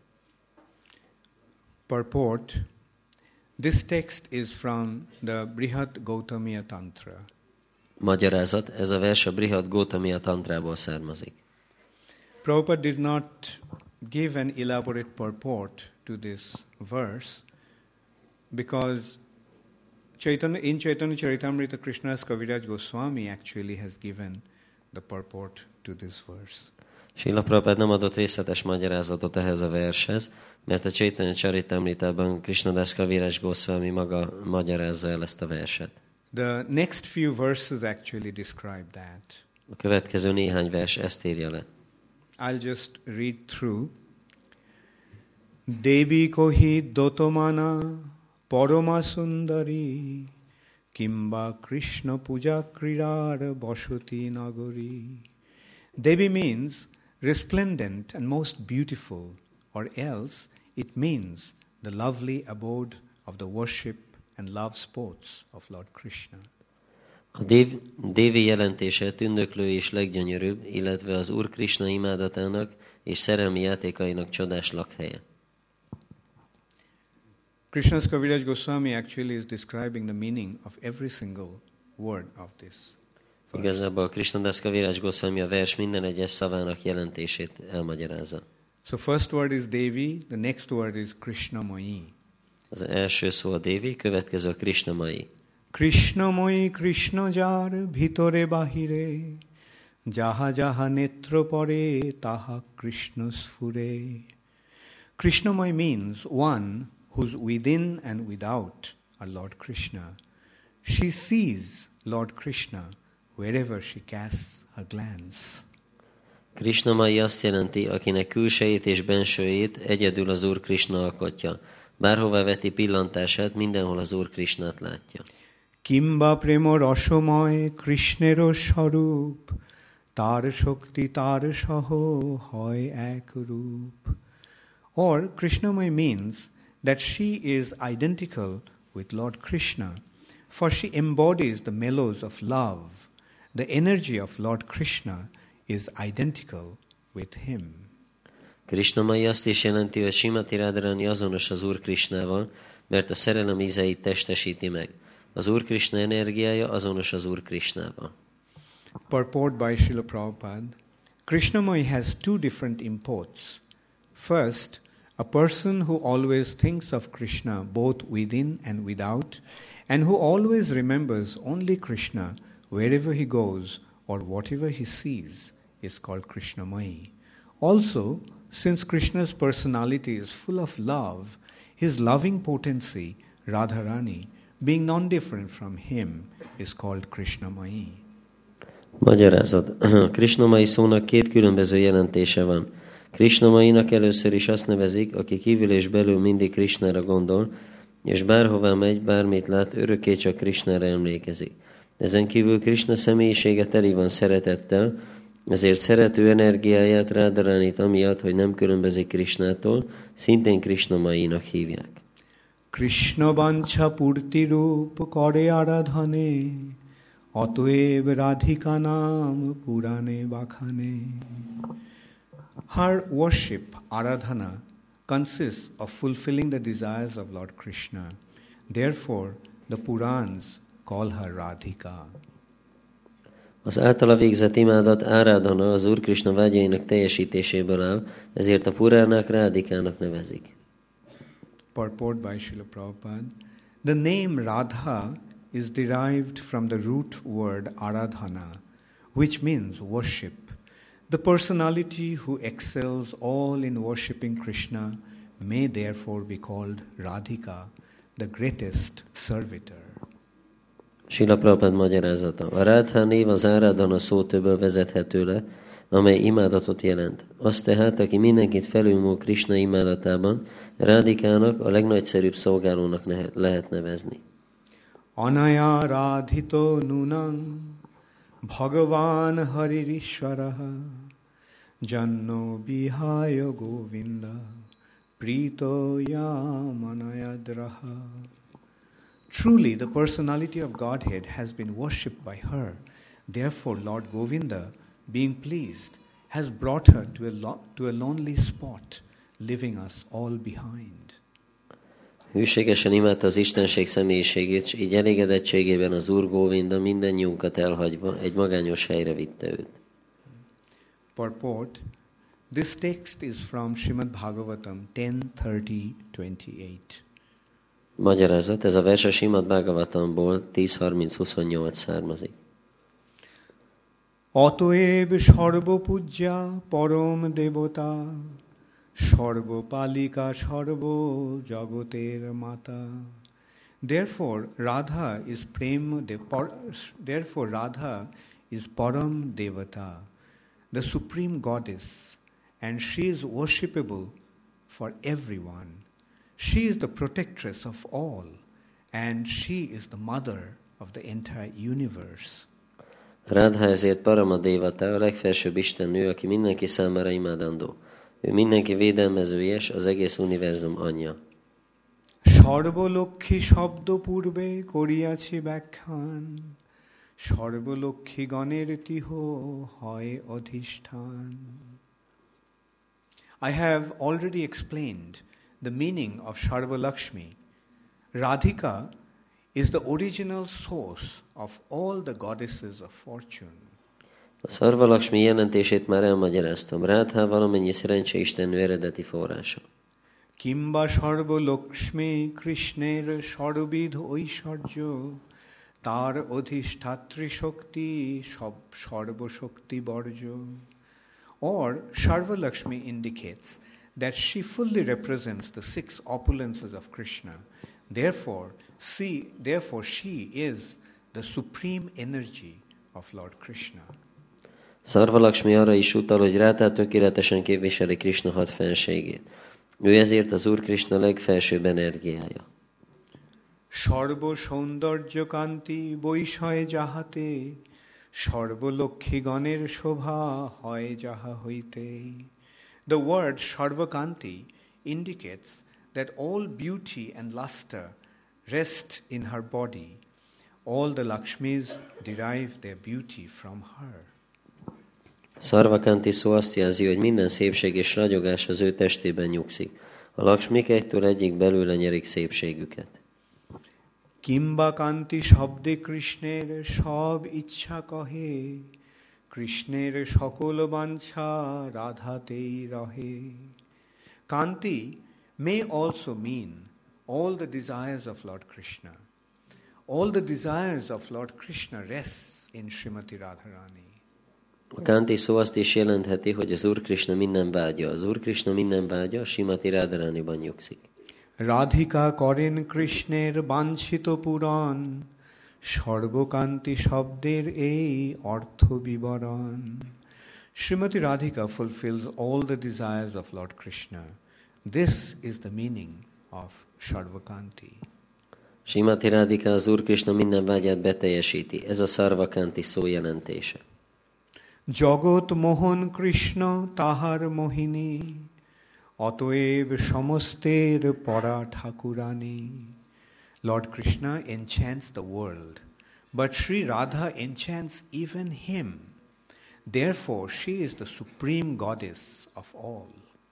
B: Purport. This text is from the Brihad Gautamiya Tantra.
D: Magyarázat, ez a vers a Brihad Gautamiya Tantrából származik.
B: Prabhupada did not give an elaborate purport to this verse because Chaitanya, in Chaitanya Charitamrita, Krishna's Kaviraj Goswami actually has given the purport to this verse.
D: Srila Prabhupád nem adott részletes magyarázatot ehhez a vershez, mert a Chaitanya Charitamritában Krishnadas Kaviraj Goswami maga magyarázza el ezt a verset.
B: The next few verses actually describe that.
D: A következő néhány vers ezt írja le.
B: I'll just read through. Devi kohi dotomana parama sundari kimba Krishna puja krirar basoti nagari. Devi means resplendent and most beautiful, or else it means the lovely abode of the worship and love sports of Lord Krishna.
D: A dév, dévi jelentése tündöklő és leggyönyörűbb, illetve az Úr Krisna imádatának és szerelmi játékainak csodás lakhelye.
B: Krishna's Kaviraj Goswami actually is describing the meaning of every single word of this.
D: Igazából a Krishnadas Kaviraj Goswami a vers minden egyes szavának jelentését elmagyarázza.
B: So first word is Devi, the next word is Krishnamai.
D: Az első szó a Devi, következő a Krishnamai.
B: Krishnamai Krishnajar bhitore bahire jaha jaha netra pare taha Krishna sfure. Krishnamai means one who's within and without are Lord Krishna. She sees Lord Krishna wherever she casts her glance.
D: Krishnamai azt jelenti, akinek külsejét és bensőjét egyedül az Úr Krishna alkotja. Bárhová veti pillantását, mindenhol az Úr Krishnát látja.
B: Kimba premo rasomoy Krishnero sarup tar shakti tar saho hoy ek roop. Or Krishnamay means that she is identical with Lord Krishna, for she embodies the mellows of love. The energy of Lord Krishna is identical with him.
D: Krishnamai azt is jelenti, hogy Srimati Radharani azonos az Úr Krishnával, mert a szerelem ízeit testesíti meg. Az Úr Krishna energiája azonos az Úr Krishnával.
B: Purport by Srila Prabhupada. Krishnamai has two different imports. First, a person who always thinks of Krishna both within and without, and who always remembers only Krishna wherever he goes or whatever he sees, is called Krishnamai. Also, since Krishna's personality is full of love, his loving potency, Radharani, being non-different from him, is called Krishnamai.
D: Magyarázat. Krishnamai szónak két különböző jelentése van. Krishnamainak először is azt nevezik, aki kívül és belül mindig Krishnára gondol, és bárhová megy, bármit lát, örökké csak Krishnára emlékezik. Ezen kívül Krishna személyisége teli van szeretettel, ezért szerető energiáját Radharánit amiatt, hogy nem különbözik Krishnától, szintén Krishnamainak hívják.
B: Krishna vancha purti rup kare aradhane atoev radhika nam purane bakhane. Her worship, aradhana, consists of fulfilling the desires of Lord Krishna. Therefore, the Purans call her Radhika.
D: Az általa végzett imádat áradhana az Úr Krishna vágyainak teljesítéséből áll, ezért a Puránák Rádikának nevezik.
B: Purport by Srila Prabhupada. The name Radha is derived from the root word aradhana, which means worship. The personality who excels all in worshipping Krishna may therefore be called Radhika, the greatest servitor.
D: Srila Prabhupada magyarázata. A Radha név az áradhana szótöbből vezethető le, amely imádatot jelent. Az tehát, aki mindenkit felülmúl Krishna imádatában, Rádikának, a legnagyszerűbb szolgálónak lehet nevezni.
B: Anaya radhito nunam bhagavan haririshvaraha janno bihaya govinda prito yam anayadraha. Truly, the personality of Godhead has been worshipped by her. Therefore, Lord Govinda, being pleased, has brought her to a, lo- to a lonely spot, leaving us all behind.
D: Hűségesen imádta az Istenség személyiségét, és így elégedettségében az Úr Góvinda mindennyiunkat elhagyva egy magányos helyre vitte őt.
B: Purport. This text is from Srimad Bhagavatam ten thirty twenty-eight.
D: Magyarázat, ez a vers a Srimad Bhagavatamból tíz harminc huszonnyolc származik.
B: Atoeb sarvapujja param devata sarvapalika sarvo jagoter mata. Therefore Radha is prem de, par, therefore Radha is param devata, the supreme goddess, and she is worshipable for everyone. She is the protectress of all, and she is the mother of the entire universe.
D: Radha ezért Parama Devata, a legfelsőbb istennő, aki mindenki számára imádandó. Ő mindenki védelmezője, és az egész univerzum anyja.
B: Sarvalokhi shabdo purve koriyachi bhakhan সর্বলক্ষ্মীগণের তিহ হয় অধিষ্ঠান. I have already explained the meaning of Sarva Lakshmi. Radhika is the original source of all the goddesses of fortune.
D: A Sarva Lakshmi jelentését már elmagyaráztam. Rádhá valamennyi szerencseistennő eredeti forrása.
B: Kimba Sarva Lakshmi Krishner Sarvid Oishwarjo Tar Odhishtatri Shakti Sarva Shakti Barjo. Or Sarva Lakshmi indicates that she fully represents the six opulences of Krishna. Therefore, see, therefore she is the supreme energy of Lord Krishna.
D: Sarva Lakshmi arra is utal, hogy Rádhá tökéletesen képviseli Krishna hat fenségét. Ő ezért az Úr Krishna legfelsőbb energiája.
B: Sarva Saundarya Kanti Boishaya Jahate Sarvalokhiganer Shobha Hoy Jaha Hoite. The word Sarvakanti indicates that all beauty and luster rest in her body. All the Lakshmis derive their beauty from her.
D: Sarvakanti szó azt jelzi, hogy minden szépség és ragyogás az ő testében nyugszik. A Lakshmik egytől egyik belőle nyerik szépségüket.
B: Kimba Kanti Shabde Krishner Shab Ichha Kahe Krishner Shakol Vancha Radhatei Rahe. Kanti may also mean all the desires of Lord Krishna. All the desires of Lord Krishna rests in Srimati Radharani.
D: A Kanti szó azt is jelentheti, hogy az Úr Krishna minden vágya. Az Úr Krishna minden vágya Srimati Radharaniban nyugszik.
B: Radhika Karen Krishner Banchito Puran Sarvakanti Shabder ei Artho Vivaran. Srimati Radhika fulfills all the desires of Lord Krishna. This is the meaning of Sarvakanti.
D: Srimati Radhika az Úr Krishna minden vágyát beteljesíti. Ez a Sarvakanti szó jelentése.
B: Jagat Mohan Krishna Tahar Mohini Atoev Samaster Para Thakurani. Lord Krishna enchants the world, but Sri Radha enchants even him. Therefore, she is the supreme goddess of all.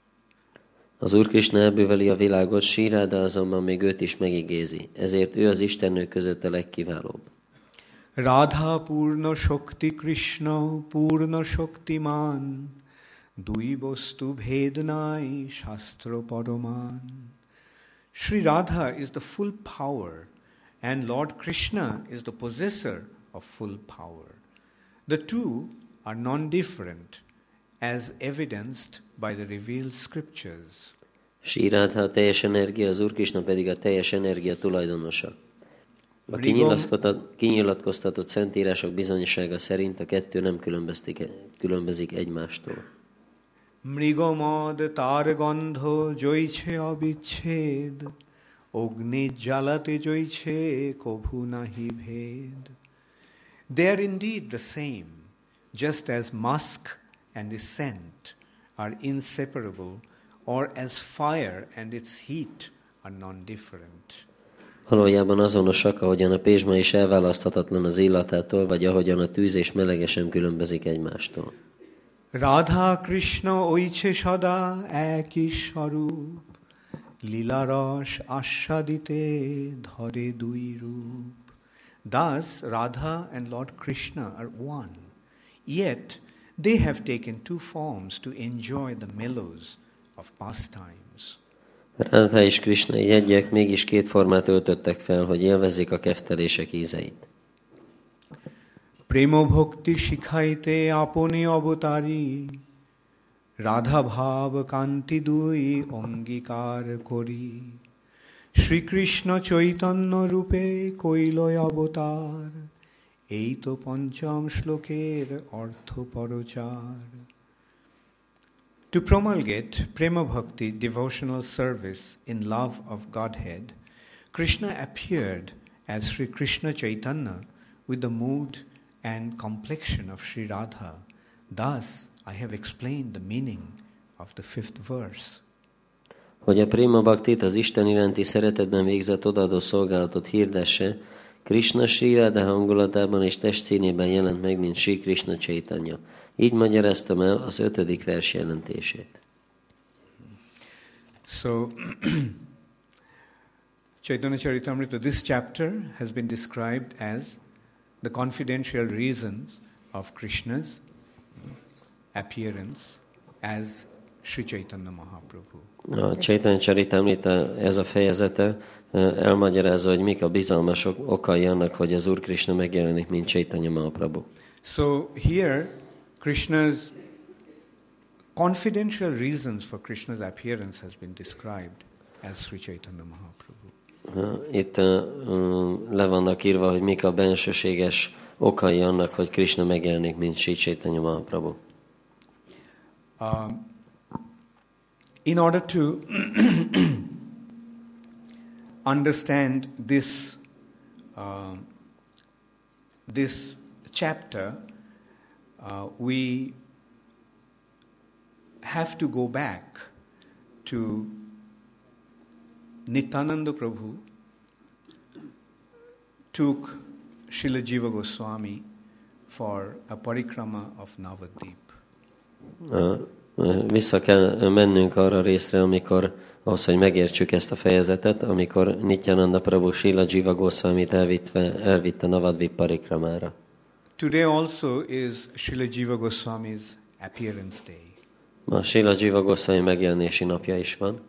D: Az Úr Krishna elbűveli a világot, Sri Radha azonban még őt is megigézi. Ezért ő az istennők között a legkiválóbb.
B: Radha Purna Shakti Krishna Purna Shaktiman Dui Bostu Bhednai Shastra Paraman. Sri Radha is the full power and Lord Krishna is the possessor of full power. The two are non-different as evidenced by the revealed scriptures.
D: Sri Radha a teljes energia, az Úr Krishna pedig a teljes energia tulajdonosa. A kinyilatkoztatott szentírások bizonyossága szerint a kettő nem különbözik egymástól.
B: Mrigamad targandho joiche abichhed Ogni jalate joiche kobhu nahi bhed. They are indeed the same, just as musk and its scent are inseparable, or as fire and its heat are non-different.
D: Valójában azonosak, ahogyan a pézsma is elválaszthatatlan az illatától, vagy ahogyan a tűz és melege sem különbözik egymástól.
B: Radha Krishna oiche sada eki sarup Lilaras ashadite dhare dui rup. Thus Radha and Lord Krishna are one, yet they have taken two forms to enjoy the mellows of pastimes.
D: Radha és Krishna egyek mégis két formát öltöttek fel, hogy élvezzék a keftelések ízeit.
B: Prema bhakti shikhaite aponi avatari Radha bhav kanti dui angikar kori. Shri Krishna chaitanya rupe koiloy avatar Eito pancham shloker artho parochar. To promulgate Prema Bhakti devotional service in love of Godhead, Krishna appeared as Sri Krishna Chaitanya with the mood and complexion of Sri Radha. Thus, I have explained the meaning of the fifth verse.
D: Hogy a Prema Bhaktit, az Isten iránti szeretetben végzett odaadó szolgálatot hirdesse, Krishna Sri Radha hangulatában és testszínében jelent meg, mint Sri Krishna Chaitanya. Így magyaráztam el az ötödik vers jelentését.
B: So, Chaitanya Charitamrita, this chapter has been described as the confidential reasons of Krishna's appearance as Sri Chaitanya Mahaprabhu.
D: A Chaitanya Charitamrita, ez a fejezete elmagyarázza, hogy mik a bizalmas okai annak, hogy az Úr Krishna megjelenik, mint Chaitanya Mahaprabhu.
B: So here, Krishna's confidential reasons for Krishna's appearance has been described as Sri Chaitanya Mahaprabhu.
D: Itt uh, le vannak írva, hogy mik a bensőséges okai annak, hogy Krishna megjelenik, mint Sri Chaitanya Mahaprabhu.
B: Um, in order to understand this uh, this chapter, uh, we have to go back to Nityananda Prabhu took Srila Jiva Goswami for a parikrama of Navadvip.
D: Vissza kell mennünk arra részre, amikor ahhoz, hogy megértsük ezt a fejezetet, amikor Nityananda Prabhu Srila Jiva Goswamit elvitte, elvitte Navadvip parikramára.
B: Today also is Srila Jiva Goswami's appearance day.
D: Ma Srila Jiva Goswami megjelenési napja is van.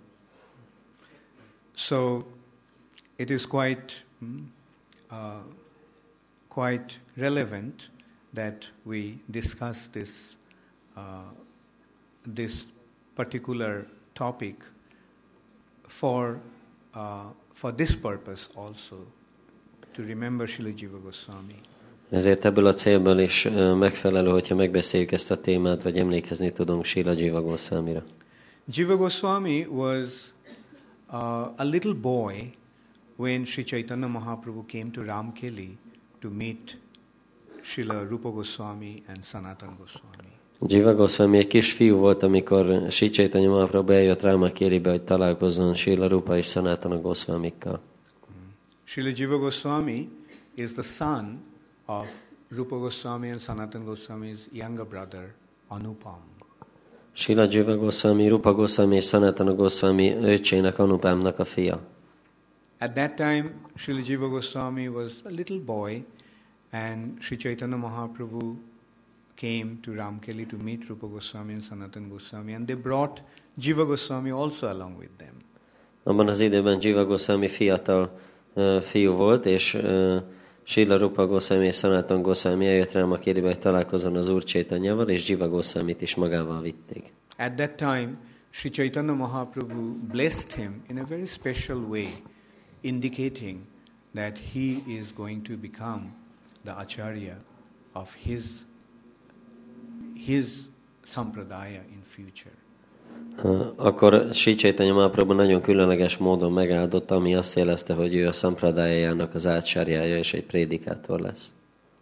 B: So it is quite uh, quite relevant that we discuss this uh, this particular topic for uh, for this purpose also, to remember Srila Jiva Goswami.
D: Ezért ebből a célból is megfelelő, hogyha megbeszéljük ezt a témát, vagy emlékezni tudunk Srila Jiva Goswamira.
B: Jiva Goswami was uh, a little boy when Sri Chaitanya Mahaprabhu came to Ramkeli to meet Srila Rupa Goswami and Sanatana Goswami.
D: Jiva Goswami egy kis fiú volt, amikor Sri Chaitanya Mahaprabhu eljött Rámakéribe, hogy találkozzon Srila Rupa és Sanatana Goswamikkal.
B: Srila Jiva Goswami is the son of Rupa Goswami and Sanatana Goswami's younger brother, Anupam.
D: Srila Jiva Goswami, Rupa Goswami és Sanatana Goswami öccsének, Anupamnak a fia.
B: At that time, Srila Jiva Goswami was a little boy, and Sri Chaitanya Mahaprabhu came to Ramkeli to meet Rupa Goswami and Sanatana Goswami, and they brought Jiva Goswami also along with them.
D: Abban az időben Jiva Goswami fiatal uh, fiú volt, és uh, Srila Rupa Goswami és Sanatana Goswami eljött Rámakéribe, hogy találkozzon az Úr Chaitanyával, és Jiva Goswamit is magával vitték.
B: At that time, Sri Chaitanya Mahaprabhu blessed him in a very special way, indicating that he is going to become the acharya of his his sampradaya in future.
D: Akkor Sri Chaitanya Mahaprabhu nagyon különleges módon megáldotta, ami azt jelezte, hogy ő a szampradájájának az átsárjája és egy prédikátor lesz.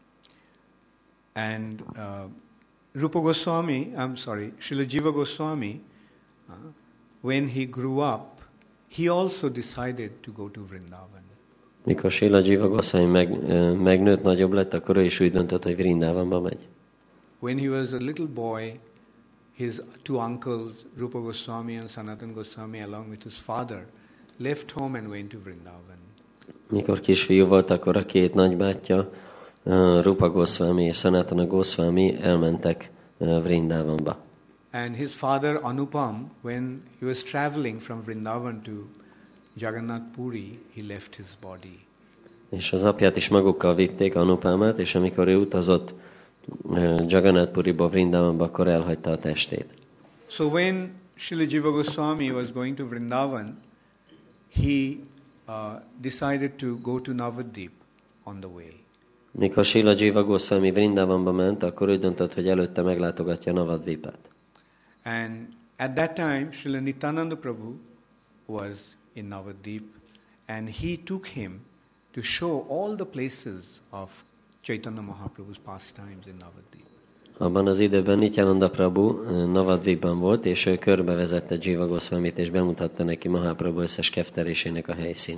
B: And uh, Rupa Goswami, I'm sorry, Srila Jiva Goswami, uh, when he grew up, he also decided to go to Vrindavan.
D: Mikor Srila Jiva Goswami meg, megnőtt, nagyobb lett, akkor ő is úgy döntött, hogy Vrindavanba megy.
B: When he was a little boy, his two uncles, Rupa Goswami and Sanatana Goswami, along with his father, left home and went to Vrindavan.
D: Mikor kisfiú volt, akkor a két nagybátyja, Rupa Goswami és Sanatana Goswami elmentek Vrindavanba.
B: And his father Anupam, when he was traveling from Vrindavan to Jagannath Puri, he left his body.
D: És az apját is magukkal vitték, Anupámát, és amikor ő utazott Jagannath Puriba, Vrindavanba, akkor elhagyta a testét.
B: So when Srila Jiva Goswami was going to Vrindavan, he uh, decided to go to Navadvip on the way.
D: Mikor Srila Jiva Goswami Vrindavanba ment, akkor ő döntött, hogy előtte meglátogatja Navadvipát.
B: And at that time, Srila Nityananda Prabhu was in Navadvip, and he took him to show all the places of Chaitanya Mahaprabhu's pastimes in Navadvip.
D: Abban az időben Nityananda Prabhu Navadvipban volt, és ő körbevezette Jiva Goswamit, és bemutatta neki Mahaprabhu összes kefterésének a helyszínét.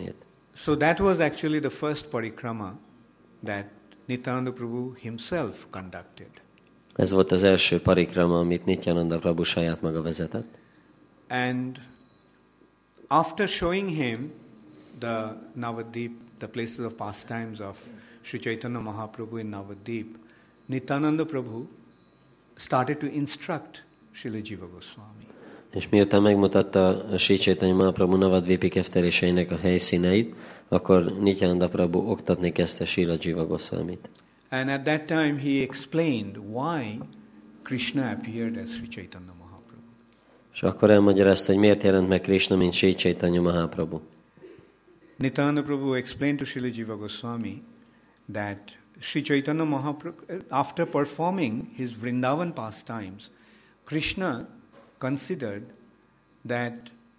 B: so that was actually the first parikrama that Nityananda Prabhu himself conducted.
D: Ez volt az első parikrama, amit Nityananda Prabhu saját maga vezetett.
B: And after showing him the Navadvip, the places of pastimes of Sri Chaitanya Mahaprabhu in Navadvip, Nityananda Prabhu started to instruct Srila Jiva Goswami.
D: És miután megmutatta a Sri Chaitanya Mahaprabhu Navadvipi kefteléseinek a helyszíneit, akkor Nityananda Prabhu oktatni kezdte Srila Jiva Goswamit.
B: And at that time he explained why Krishna appeared as Sri Chaitanya Mahaprabhu.
D: És akkor elmagyarázta, hogy miért jelent meg Krishna, mint Sri Chaitanya Mahaprabhu.
B: Nityananda Prabhu explained to Srila Jiva Goswami that Sri Chaitanya Mahaprabhu, after performing his Vrindavan pastimes, Krishna considered that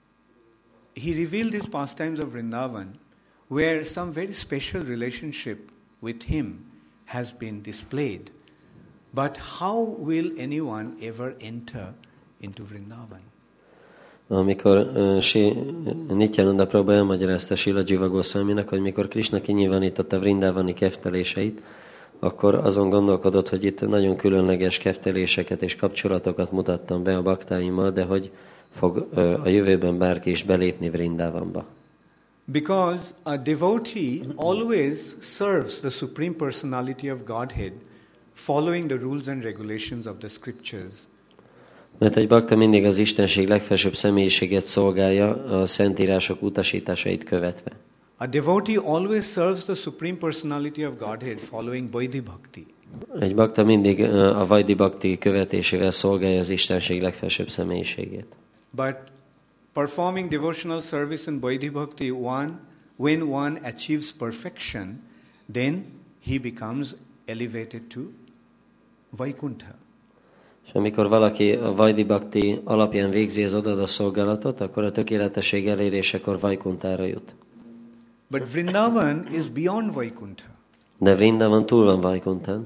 B: he revealed his pastimes of Vrindavan where some very special relationship with him has been displayed. But how will anyone ever enter into Vrindavan?
D: Amikor uh, si, Nityananda Prabhu elmagyarázta Srila Jiva Goswaminak, hogy mikor Krishna kinyilvánította Vrindavani kefteléseit, akkor azon gondolkodott, hogy itt nagyon különleges kefteléseket és kapcsolatokat mutattam be a baktáimmal, de hogy fog uh, a jövőben bárki is belépni Vrindavanba.
B: Because a devotee always serves the Supreme Personality of Godhead, following the rules and regulations of the scriptures.
D: Mert egy bakta mindig az Istenség legfelsőbb személyiséget szolgálja, a szentírások utasításait követve.
B: A devotee always serves the Supreme Personality of Godhead, following Vaidhi Bhakti.
D: Egy bakta mindig a Vaidhi Bhakti követésével szolgálja az Istenség legfelsőbb személyiségét.
B: But performing devotional service in Vaidhi Bhakti, one, when one achieves perfection, then he becomes elevated to Vaikuntha.
D: És amikor valaki a Vaidhi Bhakti alapján végzi az odaadó szolgálatot, akkor a tökéletesség elérésekor Vaikuntára jut.
B: But Vrindavan is beyond Vaikuntha.
D: De Vrindavan túl van Vaikuntán.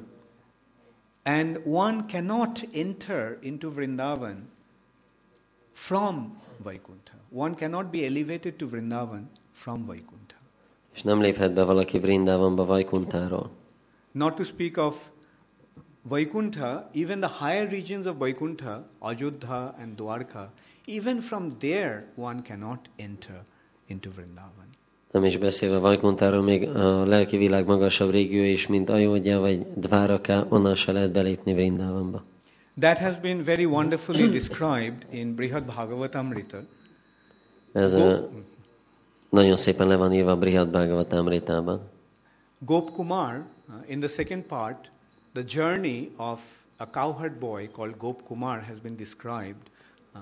B: And one cannot enter into Vrindavan from Vaikuntha. One cannot be elevated to Vrindavan from Vaikuntha.
D: És nem léphet be valaki Vrindavanba Vaikuntáról.
B: Not to speak of Vaikuntha, even the higher regions of Vaikuntha, Ajodha and Dwarka, even from there one cannot enter into Vrindavan.
D: Nem is beszélve Vaikuntáról, még a lelki világ magasabb régió is, mint Ajodhya vagy Dváraka, onnan se lehet belépni Vrindavanba.
B: That has been very wonderfully described in Brihad Bhagavatamrita.
D: Ez a, nagyon szépen le van írva a Brihad Bhagavatamritában.
B: Gop Kumar, uh, in the second part, the journey of a cowherd boy called Gop Kumar has been described. Uh,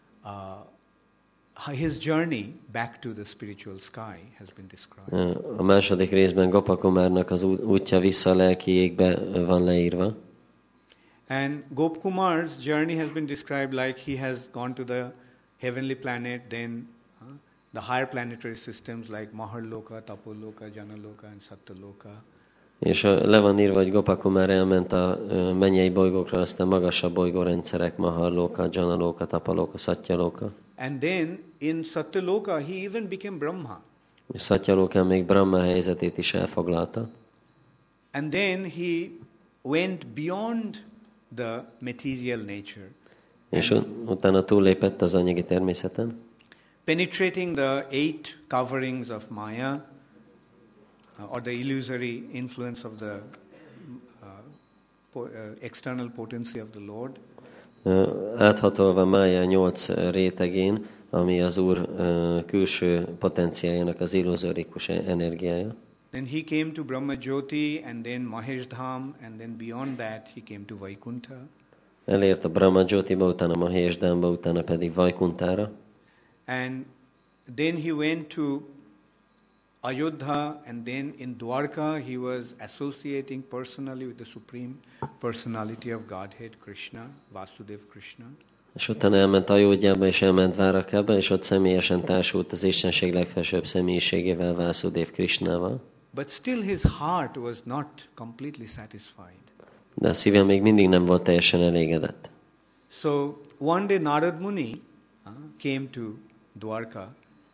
B: uh, his journey back to the spiritual sky has been described.
D: A második részben Gopakumárnak az útja vissza a lelki égbe van leírva.
B: And Gop Kumar's journey has been described like he has gone to the heavenly planet, then uh, the higher planetary systems like Maharloka, Tapoloka, Janaloka and Satyaloka.
D: És le van írva, hogy Gopakumár elment a mennyei bolygókra, aztán magasabb bolygórendszerek, Maharloka, Janaloka, Tapaloka, Satyaloka.
B: And then in Satyaloka he even became Brahma.
D: És Satyalokán még Brahma helyzetét is elfoglalta.
B: And then he went beyond the material nature.
D: És utána túllépett az anyagi természeten.
B: Penetrating the eight coverings of Maya, uh, or the illusory influence of the uh, po- uh, external potency of the Lord.
D: Uh, áthatolva Mája nyolc rétegén, ami az Úr uh, külső potenciájának az illuzórikus energiája.
B: Then he came to Brahma Jyoti, and then Mahesh Dham, and then beyond that he came to Vaikuntha.
D: Elért a Brahma Jyotiba, utána Mahesh Dhamba, utána pedig Vaikuntára.
B: And then he went to Ayodhya, and then in Dwarka he was associating personally with the Supreme Personality of Godhead, Krishna, Vasudev Krishna.
D: És utána elment Ajodhjába, és elment Dvárakába, és ott személyesen társult az Istenség legfelsőbb személyiségével, Vasudev Krishnával.
B: But still his heart was not completely satisfied.
D: De a szíve még mindig nem volt teljesen elégedett.
B: So one day Narad Muni uh, came to Dwarka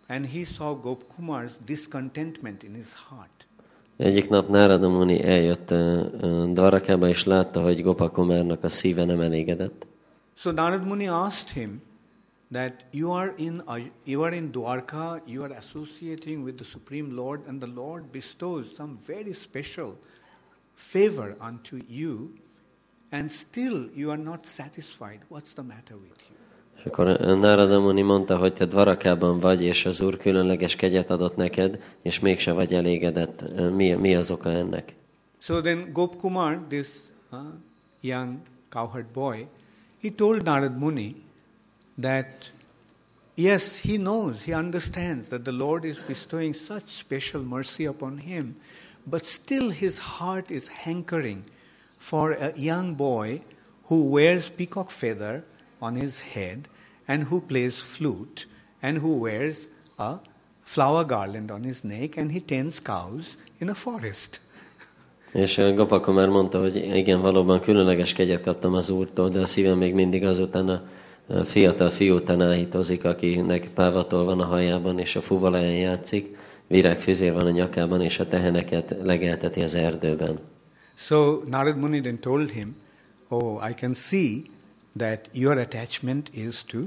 B: and he saw Gopkumar's discontentment in his heart.
D: Egyik nap Nárada Muni eljött uh, uh, Dvarakába, és látta, hogy Gopakumárnak a szíve nem elégedett.
B: So Narad Muni asked him that you are in uh, you are in Dwarka, you are associating with the Supreme Lord, and the Lord bestows some very special favor unto you, and still you are not satisfied. What's the matter with you?
D: És akkor Nárada Muni mondta, hogy te Dvarakában vagy, és az Úr különleges kegyet adott neked, és mégse vagy elégedett. Mi, mi az oka ennek?
B: So then Gopkumar, this uh, young cowherd boy, he told Narad Muni that yes, he knows, he understands that the Lord is bestowing such special mercy upon him, but still his heart is hankering for a young boy who wears peacock feather on his head and who plays flute and who wears a flower garland on his neck and he tends cows in a forest.
D: És Gopakumár mondta, hogy igen, valóban különleges kegyet kaptam az Úrtól, de a szívem még mindig azután a fiatal fiú után áhítozik, akinek pávatol van a hajában, és a fuvalaján játszik, virágfüzér van a nyakában, és a teheneket legelteti az erdőben.
B: So Narad Muni then told him, oh, I can see that your attachment is to uh,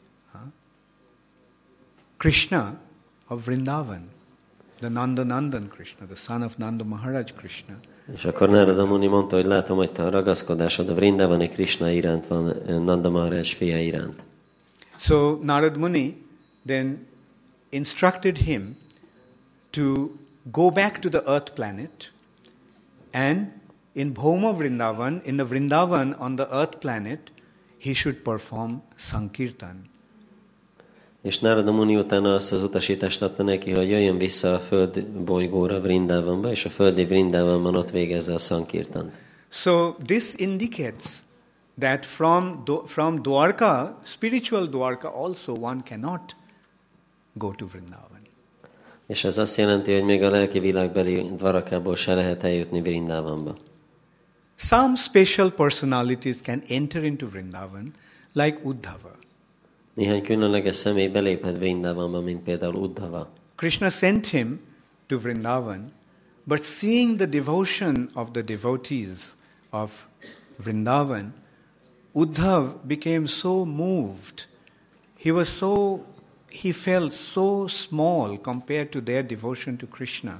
B: Krishna of Vrindavan, the Nanda Nandan Krishna, the son of Nanda Maharaj Krishna.
D: És akkor Nárada Muni mondta, hogy látom, hogy te a ragaszkodásod a Vrindavani Krishna iránt van, Nanda Maharaj fia iránt.
B: So Narad Muni then instructed him to go back to the earth planet, and in Bhoma Vrindavan, in the Vrindavan on the earth planet, he should perform Sankirtan.
D: És Nárada Muni utána azt az utasítást adta neki, hogy jöjjön vissza a föld bolygóra, Vrindavanba, és a földi Vrindavanban ott végezze a Sankirtan.
B: So this indicates that from, from Dwarka, spiritual Dwarka also, one cannot go to Vrindavan.
D: És ez azt jelenti, hogy még a lelki világbeli Dvarakából se lehet eljutni Vrindavanba.
B: Some special personalities can enter into Vrindavan, like Uddhava.
D: Néhány különleges személy beléphet Vrindavanba, mint például Uddhava.
B: Krishna sent him to Vrindavan, but seeing the devotion of the devotees of Vrindavan, Uddhav became so moved. He was so, he felt so small compared to their devotion to Krishna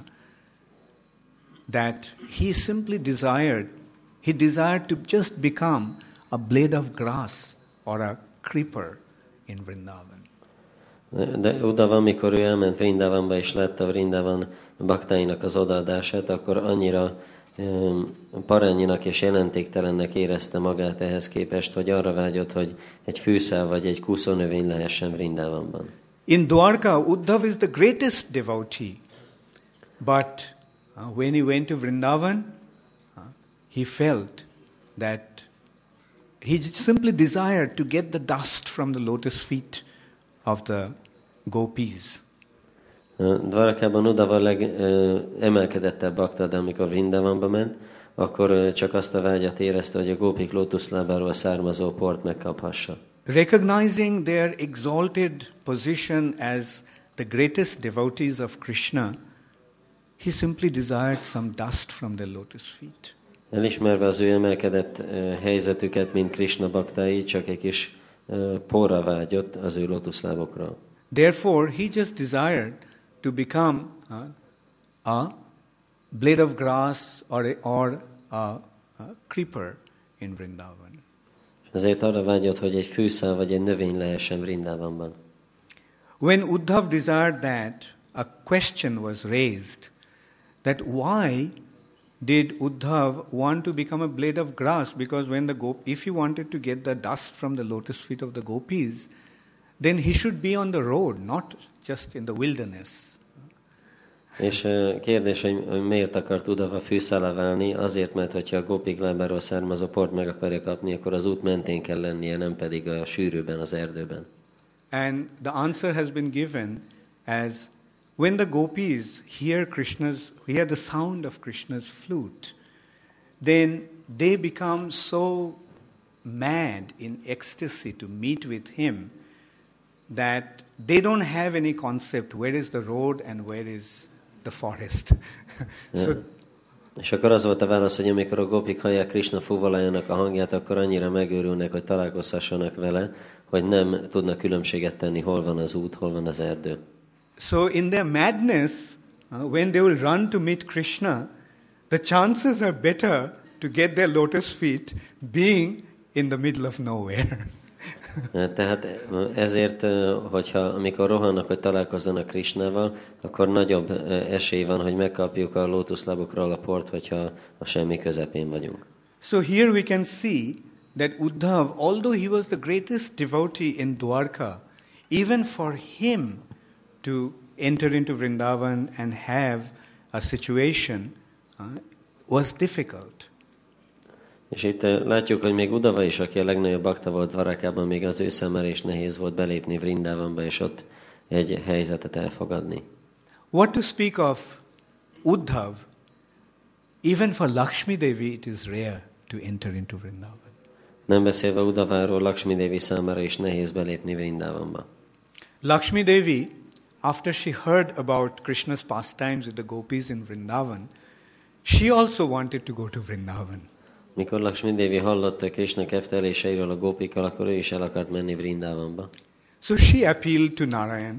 B: that he simply desired, he desired to just become a blade of grass or a creeper in Vrindavan.
D: De Uddhava, amikor ő elment Vrindavanba és látta Vrindavan baktáinak az odaadását, akkor annyira um, parányinak és jelentéktelennek érezte magát ehhez képest, hogy arra vágyott, hogy egy fűszál vagy egy kúszónövény lehessen Vrindavanban.
B: In Dwarka, Uddhav is the greatest devotee. But uh, when he went to Vrindavan, uh, he felt that he simply desired to get the dust from the lotus feet of the gopis.
D: Dvarakában Uddhava legemelkedettebb bakta, de amikor Vrindavanba ment, akkor csak azt a vágyat érezte, hogy a gópik lótuszlábáról származó port megkaphassa.
B: Recognizing their exalted position as the greatest devotees of Krishna, he simply desired some dust from their lotus feet.
D: Elismerve az ő emelkedett uh, helyzetüket, mint Krishna baktái, csak egy kis uh, porra vágyott az ő lótuszlábokra.
B: Therefore, he just desired to become uh, a blade of grass or a, or a, a creeper in Vrindavan.
D: Ezért arra vágyott, hogy egy fűszál vagy egy növény lehessen Vrindavanban.
B: When Uddhav desired that, a question was raised that why did Uddhav want to become a blade of grass? Because when the gop, if he wanted to get the dust from the lotus feet of the gopis, then he should be on the road, not just in the wilderness.
D: És kérdés, hogy miért akart Uddhava fűszálá válni? Azért, mert hogyha a gópik lábáról származó port meg akarja kapni, akkor az út mentén kell lennie, nem pedig a sűrűben, az erdőben.
B: And the answer has been given as when the gopis hear Krishna's, hear the sound of Krishna's flute, then they become so mad in ecstasy to meet with him that they don't have any concept where is the road and where is the forest. So,
D: És akkor az volt a válasz, hogy amikor a gopik hallják Krishna fuvalájának a hangját, akkor annyira megőrülnek, hogy találkozhassanak vele, hogy nem tudnak különbséget tenni, hol van az út, hol van az erdő.
B: So in their madness, uh, when they will run to meet Krishna, the chances are better to get their lotus feet being in the middle of nowhere.
D: Tehát ezért, hogyha amikor rohannak, hogy találkozzanak Krishnával, akkor nagyobb esély van, hogy megkapjuk a lótuszlábukról a port, hogyha a semmi közepén vagyunk.
B: So here we can see that Uddhav, although he was the greatest devotee in Dwarka, even for him to enter into Vrindavan and have a situation uh, was difficult.
D: És itt látjuk, hogy még Uddhava is, aki a legnagyobb bakta volt Dvarakában, még az ő számára is nehéz volt belépni Vrindavanba, és ott egy helyzetet elfogadni.
B: What to speak of Uddhav, even for Lakshmi Devi it is rare to enter into Vrindavan.
D: Nem beszélve Uddhaváról, Lakshmi Devi számára is nehéz belépni Vrindavanba.
B: Lakshmi Devi, after she heard about Krishna's pastimes with the gopis in Vrindavan, she also wanted to go to Vrindavan.
D: Mikor Lakshmi Devi hallotta Krishna kefteléseiről a gópikkal, akkor ő is el akart menni Vrindavanba.
B: So she appealed to Narayan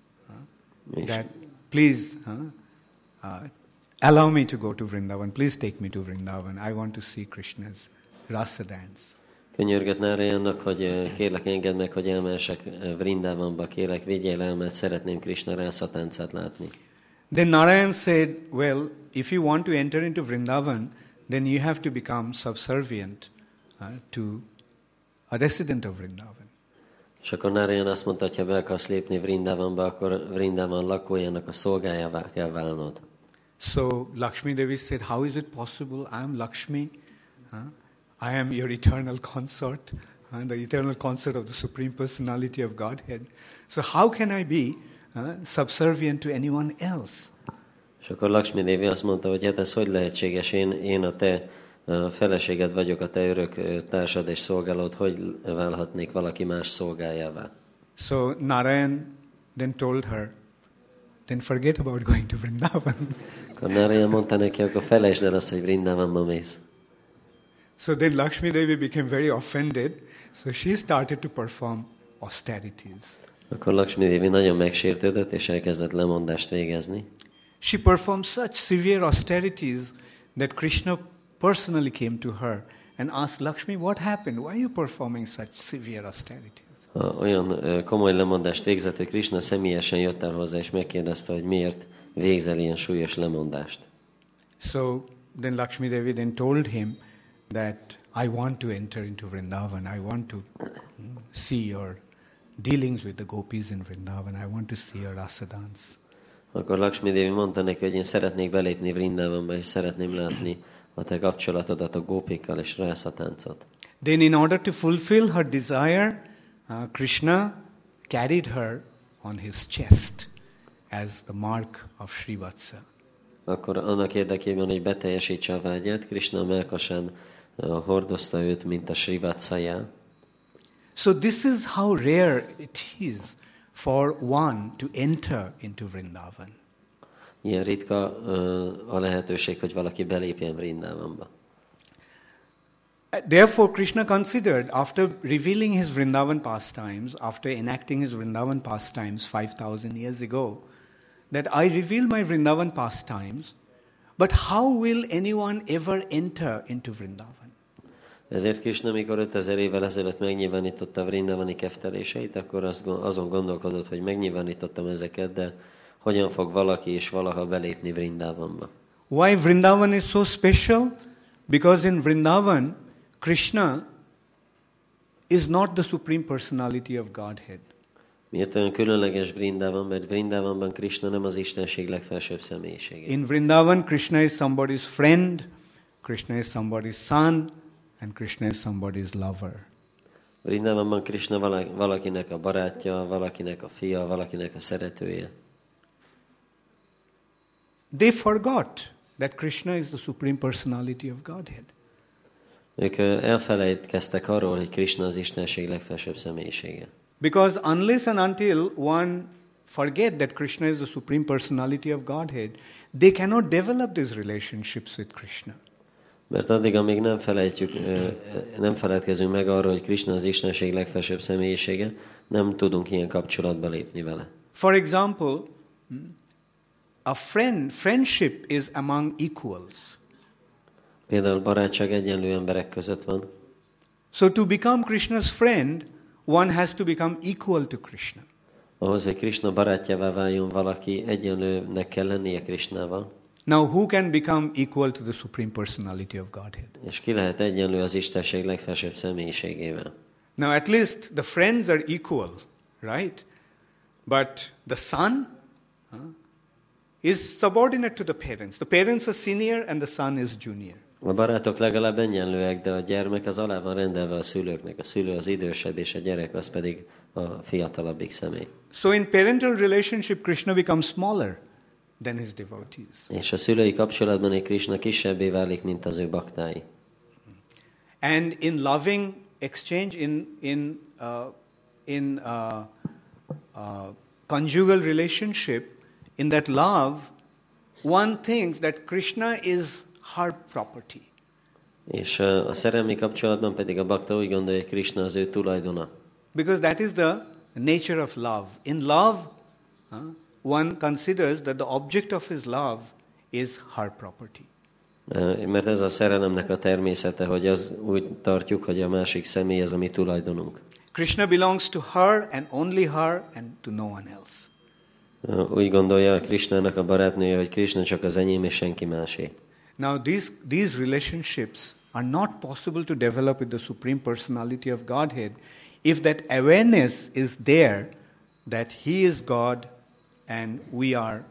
B: uh, that please uh, uh, allow me to go to Vrindavan. Please take me to Vrindavan. I want to see Krishna's rasa dance.
D: Könyörgött Narayannak, hogy kérlek engedd meg, hogy elmehessek Vrindavanba, kérlek vigyél el, mert szeretném Krishna rászatáncát látni.
B: Then Narayan said, well, if you want to enter into Vrindavan, then you have to become subservient uh, to a resident of Vrindavan.
D: És akkor Narayan azt mondta, hogy ha be akarsz lépni Vrindavanba, akkor Vrindavan lakójának a szolgájává kell válnod.
B: So Lakshmi Devi said, how is it possible? I am Lakshmi. Huh? I am your eternal consort, uh, the eternal consort of the Supreme Personality of Godhead. So how can I be uh, subservient to anyone else?
D: És akkor Lakshmi Devi azt mondta, hogy hát ez hogy lehetséges, én, én a te a feleséged vagyok, a te örök társad és szolgálód, hogy válhatnék valaki más szolgájává?
B: So Narayan then told her, then forget about going to Vrindavan.
D: Akkor Narayan mondta neki, akkor felejtsd el azt, hogy Vrindavanba mész.
B: So then Lakshmi Devi became very offended, so she started to perform austerities.
D: Akkor Lakshmi Devi nagyon megsértődött, és elkezdett lemondást végezni.
B: She performed such severe austerities that Krishna personally came to her and asked, Lakshmi, what happened? Why are you performing such severe austerities?
D: Olyan komoly lemondást végzett, hogy Krishna személyesen jött el hozzá, és megkérdezte, hogy miért végzel ilyen súlyos lemondást.
B: So then Lakshmi Devi then told him that I want to enter into Vrindavan. I want to see your dealings with the gopis in Vrindavan. I want to see your rasa dance.
D: Akkor Lakshmi Devi mondta neki, hogy én szeretnék belépni Vrindavanba, és szeretném látni a te kapcsolatodat a gópikkal és rászatáncot.
B: Then in order to fulfill her desire, uh, Krishna carried her on his chest as the mark of Srivatsa.
D: Akkor annak érdekében, hogy beteljesítse a vágyát, Krishna a mellkasán uh, hordozta őt, mint a Srivatsa jel.
B: So this is how rare it is for one to enter into Vrindavan.
D: Ilyen ritka uh, a lehetőség, hogy valaki belépjen Vrindavanba.
B: Therefore, Krishna considered, after revealing his Vrindavan pastimes, after enacting his Vrindavan pastimes five thousand years ago, that I reveal my Vrindavan pastimes, but how will anyone ever enter into Vrindavan?
D: Ezért Krishna, mikor ötezer évvel ezelőtt megnyilvánította a Vrindavani kefteléseit, akkor azon gondolkodott, hogy megnyilvánítottam ezeket, de hogyan fog valaki is valaha belépni Vrindavanba?
B: Why Vrindavan is so special? Because in Vrindavan, Krishna is not the Supreme Personality of Godhead.
D: Miért olyan különleges Vrindavan? Mert Vrindavanban Krishna nem az Istenség legfelsőbb személyisége.
B: In Vrindavan, Krishna is somebody's friend, Krishna is somebody's son, and Krishna is somebody's lover.
D: Vrindavanban Krishna valakinek a barátja, valakinek a fia, valakinek a szeretője.
B: They forgot that Krishna is the Supreme Personality of Godhead.
D: Ők elfelejtkeztek arról, hogy Krishna az Istenség legfelsőbb személyisége.
B: Because unless and until one forget that Krishna is the Supreme Personality of Godhead, they cannot develop these relationships with Krishna.
D: Mert addig, amíg nem felejtjük, nem feledkezünk meg arról, hogy Krishna az Istenség legfelsőbb személyisége, nem tudunk ilyen kapcsolatba lépni vele.
B: For example, a friend, friendship is among equals.
D: Például barátság egyenlő emberek között van.
B: So to become Krishna's friend, one has to become equal to Krishna.
D: Ahhoz, hogy Krishna barátjává váljon valaki, egyenlőnek kell lennie Krishnával.
B: Now who can become equal to the Supreme Personality of Godhead?
D: És ki lehet egyenlő az Istenség legfelsőbb személyiségével?
B: Now at least the friends are equal, right? But the son uh, is subordinate to the parents. The parents are senior and the son is junior.
D: A barátok legalább egyenlőek, de a gyermek az alá van rendelve a szülőknek. A szülő az idősebb, és a gyerek az pedig a fiatalabbik személy.
B: So in parental relationship, Krishna becomes smaller than his devotees.
D: És a szülői kapcsolatban egy Krishna kisebbé válik, mint az ő baktái.
B: And in loving exchange, in in uh, in uh, uh, conjugal relationship, in that love, one thinks that Krishna is her property.
D: És a szerelmi kapcsolatban pedig a bakta úgy gondolja, hogy Krishna az ő tulajdona.
B: Because that is the nature of love. In love, uh, one considers that the object of his love is her property.
D: Mert ez a szerelemnek a természete, hogy az úgy tartjuk, hogy a másik személy az a mi tulajdonunk.
B: Krishna belongs to her and only her and to no one else.
D: Úgy gondolja a Krishnának a barátnője, hogy Krishna csak az enyém és senki másé.
B: Now these, these relationships are not possible to develop with the Supreme Personality of Godhead if that awareness is there that He is God and we are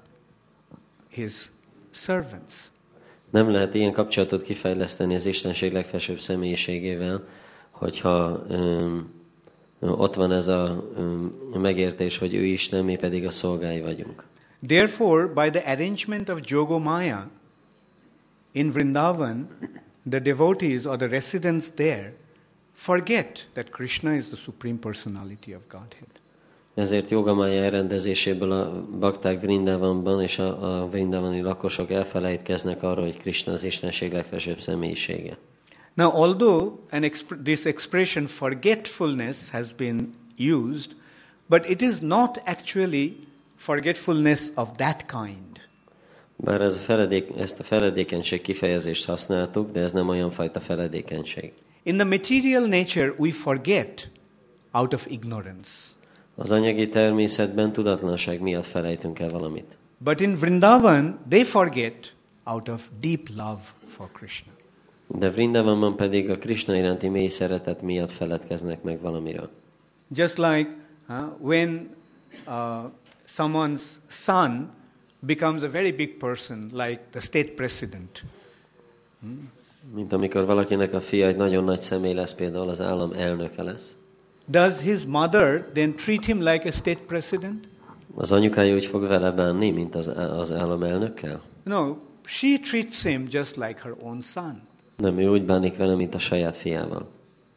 B: His servants.
D: Nem lehet ilyen kapcsolatot kifejleszteni az Istenség legfelsőbb személyiségével, hogyha um, ott van ez a um, megértés, hogy ő Isten, mi pedig a szolgái vagyunk.
B: Therefore, by the arrangement of Jogomaya in Vrindavan, the devotees or the residents there forget that Krishna is the Supreme Personality of Godhead.
D: Ezért Jogamája elrendezéséből a bakták Vrindavanban és a, a vrindavani lakosok elfelejtkeznek arról, hogy Krishna az Istenség legfelsőbb személyisége.
B: Now, although an exp- this expression forgetfulness has been used, but it is not actually forgetfulness of that kind.
D: Bár ez a feledék, ezt a feledékenység kifejezést használtuk, de ez nem olyan fajta feledékenység.
B: In the material nature, we forget out of ignorance.
D: Az anyagi természetben tudatlanság miatt felejtünk el valamit.
B: But in Vrindavan, they forget out of deep love for Krishna.
D: De Vrindavanban pedig a Krishna iránti mély szeretet miatt feledkeznek meg valamiről.
B: Just like uh, when uh, someone's son becomes a very big person, like the state president.
D: Hmm? Mint amikor valakinek a fia egy nagyon nagy személy lesz, például az állam elnöke lesz.
B: Does his mother then treat him like a state president?
D: Az anyukája úgy fog vele bánni, mint az, az állam elnökkel?
B: No, she treats him just like her own son.
D: Nem, ő úgy bánik vele, mint a saját fiával.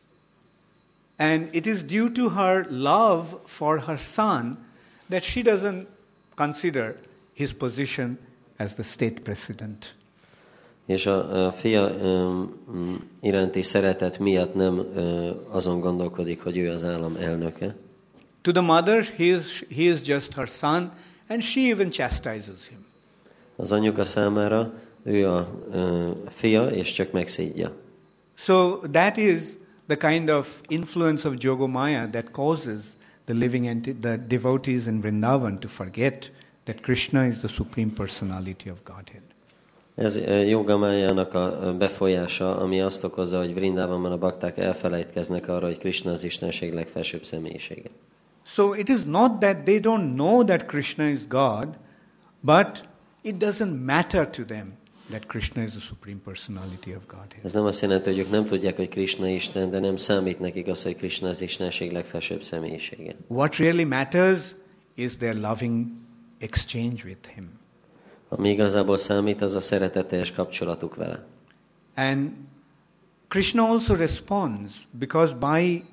B: And it is due to her love for her son that she doesn't consider his position as the state president.
D: És a, a fia um, iránti szeretet miatt nem uh, azon gondolkodik, hogy ő az állam elnöke.
B: To the mother, he is, he is just her son, and she even chastises him.
D: Az anyuka számára ő a uh, fia, és csak megszídja.
B: So that is the kind of influence of Jogomaya that causes the living enti- the devotees in Vrindavan to forget that Krishna is the Supreme Personality of Godhead.
D: Ez Jogamájának a befolyása, ami azt okozza, hogy Vrindavanban a bakták elfelejtkeznek arra, hogy Krishna az Istenség legfelsőbb személyisége.
B: So it is not that they don't know that Krishna is God, but it doesn't matter to them that Krishna is the Supreme Personality of Godhead.
D: Ez nem azt jelenti, hogy ők nem tudják, hogy Krishna Isten, de nem számít nekik az, hogy Krishna az Istenség legfelsőbb személyisége.
B: What really matters is their loving exchange with Him.
D: Ami igazából számít, az a szeretetteljes kapcsolatuk vele.
B: And Krishna also responds because by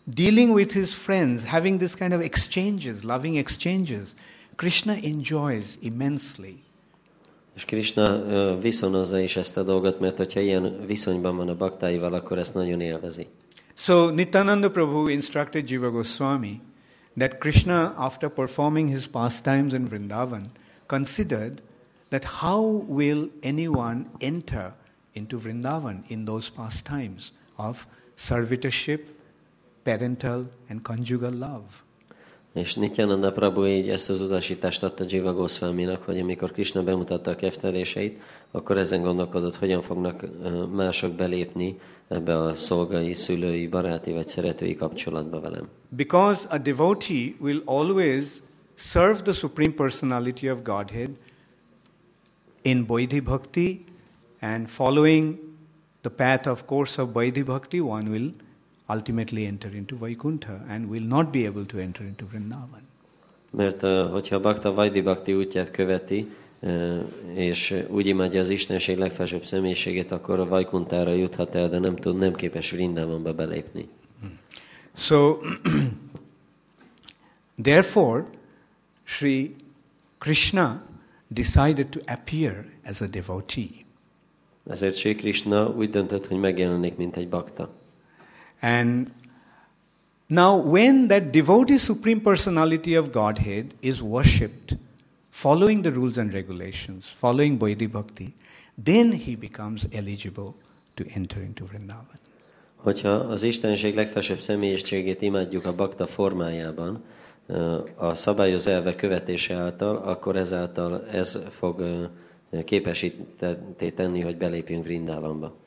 B: dealing with his friends, having this kind of exchanges, loving exchanges, Krishna enjoys immensely.
D: És Krishna ö, viszonozza is ezt a dolgot, mert hogyha ilyen viszonyban van a baktáival, akkor ezt nagyon élvezi.
B: So Nityananda Prabhu instructed Jiva Goswami that Krishna, after performing his pastimes in Vrindavan, considered that how will anyone enter into Vrindavan in those pastimes of servitorship, parental and conjugal love.
D: És Nityananda Prabhu így ezt az utasítást adta Jiva Goswaminak, hogy amikor Krishna bemutatta a kefteléseit, akkor ezen gondolkodott, hogyan fognak mások belépni ebbe a szolgai, szülői, baráti vagy szeretői kapcsolatba velem.
B: Because a devotee will always serve the Supreme Personality of Godhead in Vaidhi Bhakti, and following the path of course of Vaidhi Bhakti, one will ultimately enter into Vaikuntha and will not be able to enter into Vrindavan.
D: Mert uh, hogyha a bakta Vaidhi Bhakti útját követi, uh, és úgy imádja az Istenség legfelsőbb személyiségét, akkor a Vaikuntára juthat el, de nem tud, nem képes Vrindavanba belépni.
B: So, therefore, Sri Krishna decided to appear as a devotee.
D: Ezért Sri Krishna úgy döntött, hogy megjelenik, mint egy bakta.
B: And now when that devotee Supreme Personality of Godhead is worshipped, following the rules and regulations, following Vaidhi Bhakti, then he becomes eligible to enter into Vrindavan.
D: Hogyha az Istenség legfelsőbb személyiségét imádjuk a bakta formájában, a szabályozó elvek követése által, akkor ezáltal ez fog képesíteni tenni, hogy belépjünk Vrindavanba.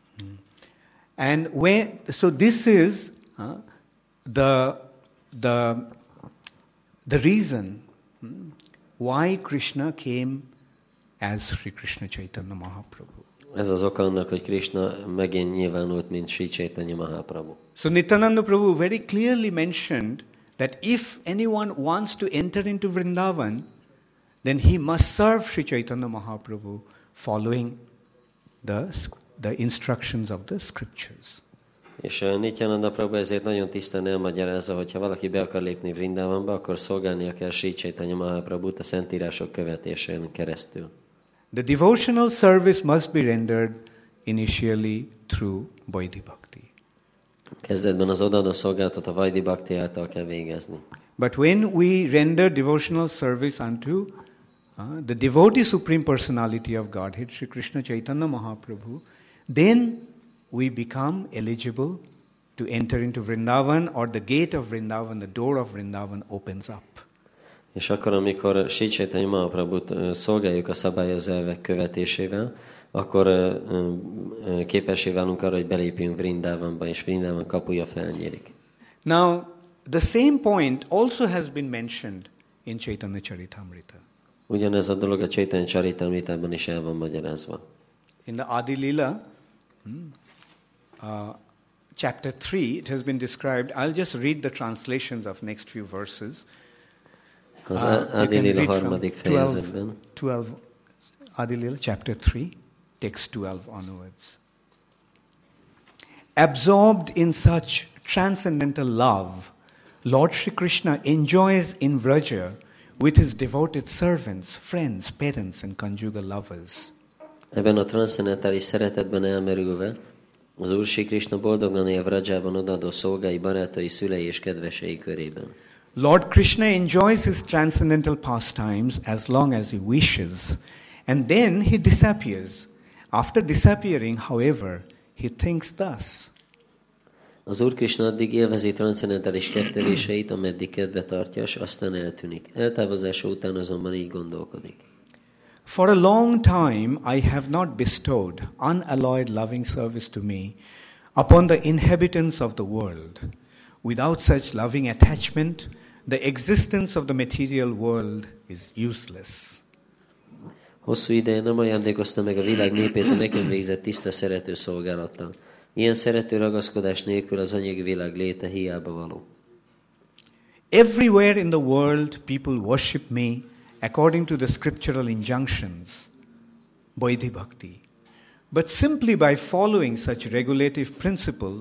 B: And when, so this is uh, the, the, the reason hmm, why Krishna came as Sri Krishna Chaitanya Mahaprabhu.
D: Ez az oka annak, hogy Krishna megint nyilvánult, mint Sri Chaitanya Mahaprabhu.
B: So Nityananda Prabhu very clearly mentioned that if anyone wants to enter into Vrindavan, then he must serve Sri Chaitanya Mahaprabhu following the the instructions of the scriptures.
D: És uh, Nityananda Prabhu ezért nagyon tisztán elmagyarázza, hogy ha valaki be akar lépni Vrindavanba, akkor szolgálnia kell Sri Chaitanya Mahaprabhut a szentírások követésén keresztül.
B: The devotional service must be rendered initially through Vaidhi Bhakti.
D: Kezdetben az odaadó szolgálatot a Vaidhi Bhakti által kell végezni.
B: But when we render devotional service unto uh, the devotee Supreme Personality of Godhead, Sri Krishna Chaitanya Mahaprabhu, then we become eligible to enter into Vrindavan, or the gate of Vrindavan, the door of Vrindavan opens up.
D: És akkor, amikor Sri Chaitanya Mahaprabhut szolgáljuk a szabályozó elvek követésével, akkor képessé válunk arra, hogy belépjünk Vrindavanba, és Vrindavan kapuja felnyílik.
B: Now, the same point also has been mentioned in Chaitanya Charitamrita.
D: Ugyanez a dolog a Chaitanya Charitamritában is el van magyarázva.
B: In the Adi Lila, uh, chapter three, it has been described. I'll just read the translations of next few verses.
D: Az
B: Uh,
D: Adi
B: you can
D: Lila
B: read from
D: harmadik
B: twelve,
D: fejezetben.
B: twelve, Adi Lila, chapter three, text twelve onwards. Absorbed in such transcendental love, Lord Shri Krishna enjoys in Vraja with his devoted servants, friends, parents and conjugal lovers.
D: Ebben a transzcendentális szeretetben elmerülve, az Úr Sri Krishna boldogan él Vrajában odaadó szolgái, barátai, szülei és kedvesei körében.
B: Lord Krishna enjoys his transcendental pastimes as long as he wishes, and then he disappears. After disappearing, however, he thinks thus.
D: Az Úr Krishna addig élvezi transzcendentális kefteléseit, ameddig kedve tartja, és aztán eltűnik. Eltávozása után azonban így gondolkodik.
B: For a long time I have not bestowed unalloyed loving service to me upon the inhabitants of the world. Without such loving attachment, the existence of the material world is useless.
D: Hosszú ideje nem ajándékozta meg a világ népét a nekem végzett tiszta szerető szolgálattal. Ilyen szerető ragaszkodás nélkül az anyagi világ léte hiába való.
B: Everywhere in the world people worship me according to the scriptural injunctions, Vaidhi Bhakti. But simply by following such regulative principles,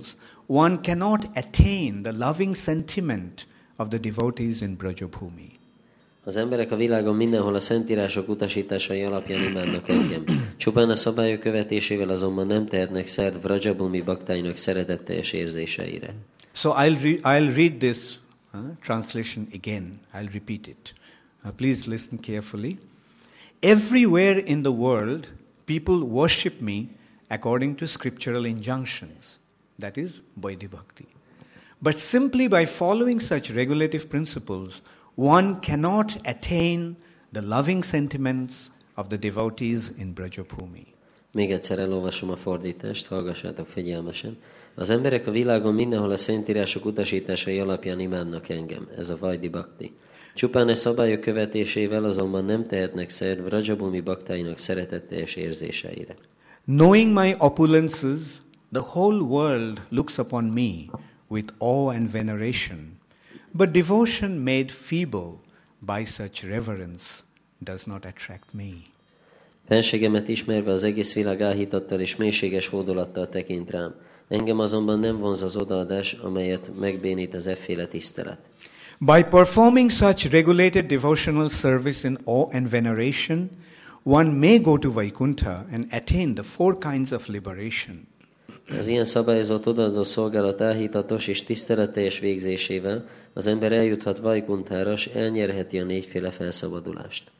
B: one cannot attain the loving sentiment of the devotees in Brajabhumi.
D: Az emberek a világon mindenhol a szentírások utasításai alapján imádnak engem. Csupán a szabályok követésével azonban nem tehetnek szert Vrajabhumi baktáinak szeretetteljes érzéseire.
B: So I'll, re- I'll read this uh, translation again. I'll repeat it. Uh, please listen carefully. Everywhere in the world, people worship me according to scriptural injunctions. That is Vaidhi Bhakti. But simply by following such regulative principles, one cannot attain the loving sentiments of the devotees in Brajabhumi.
D: Még egyszer elolvasom a fordítást, hallgassátok figyelmesen. Az emberek a világon mindenhol a szentírások utasításai alapján imádnak engem. Ez a Vaidhi Bhakti. Csupán a szabályok követésével azonban nem tehetnek szert Vrajabhumi baktáinak szeretetteljes érzéseire.
B: Knowing my opulences, the whole world looks upon me with awe and veneration. But devotion made feeble by such reverence does not attract me.
D: Fenségemet ismerve az egész világ áhítattal és mélységes hódolattal tekint rám. Engem azonban nem vonz az odaadás, amelyet megbénít az efféle tisztelet.
B: By performing such regulated devotional service in awe and veneration, one may go to Vaikuntha and attain the four kinds of liberation.
D: Az ilyen szabályozott odaadó szolgálat áhítatos és tiszteletteljes végzésével az ember eljuthat Vaikunthára, és elnyerheti a négyféle felszabadulást.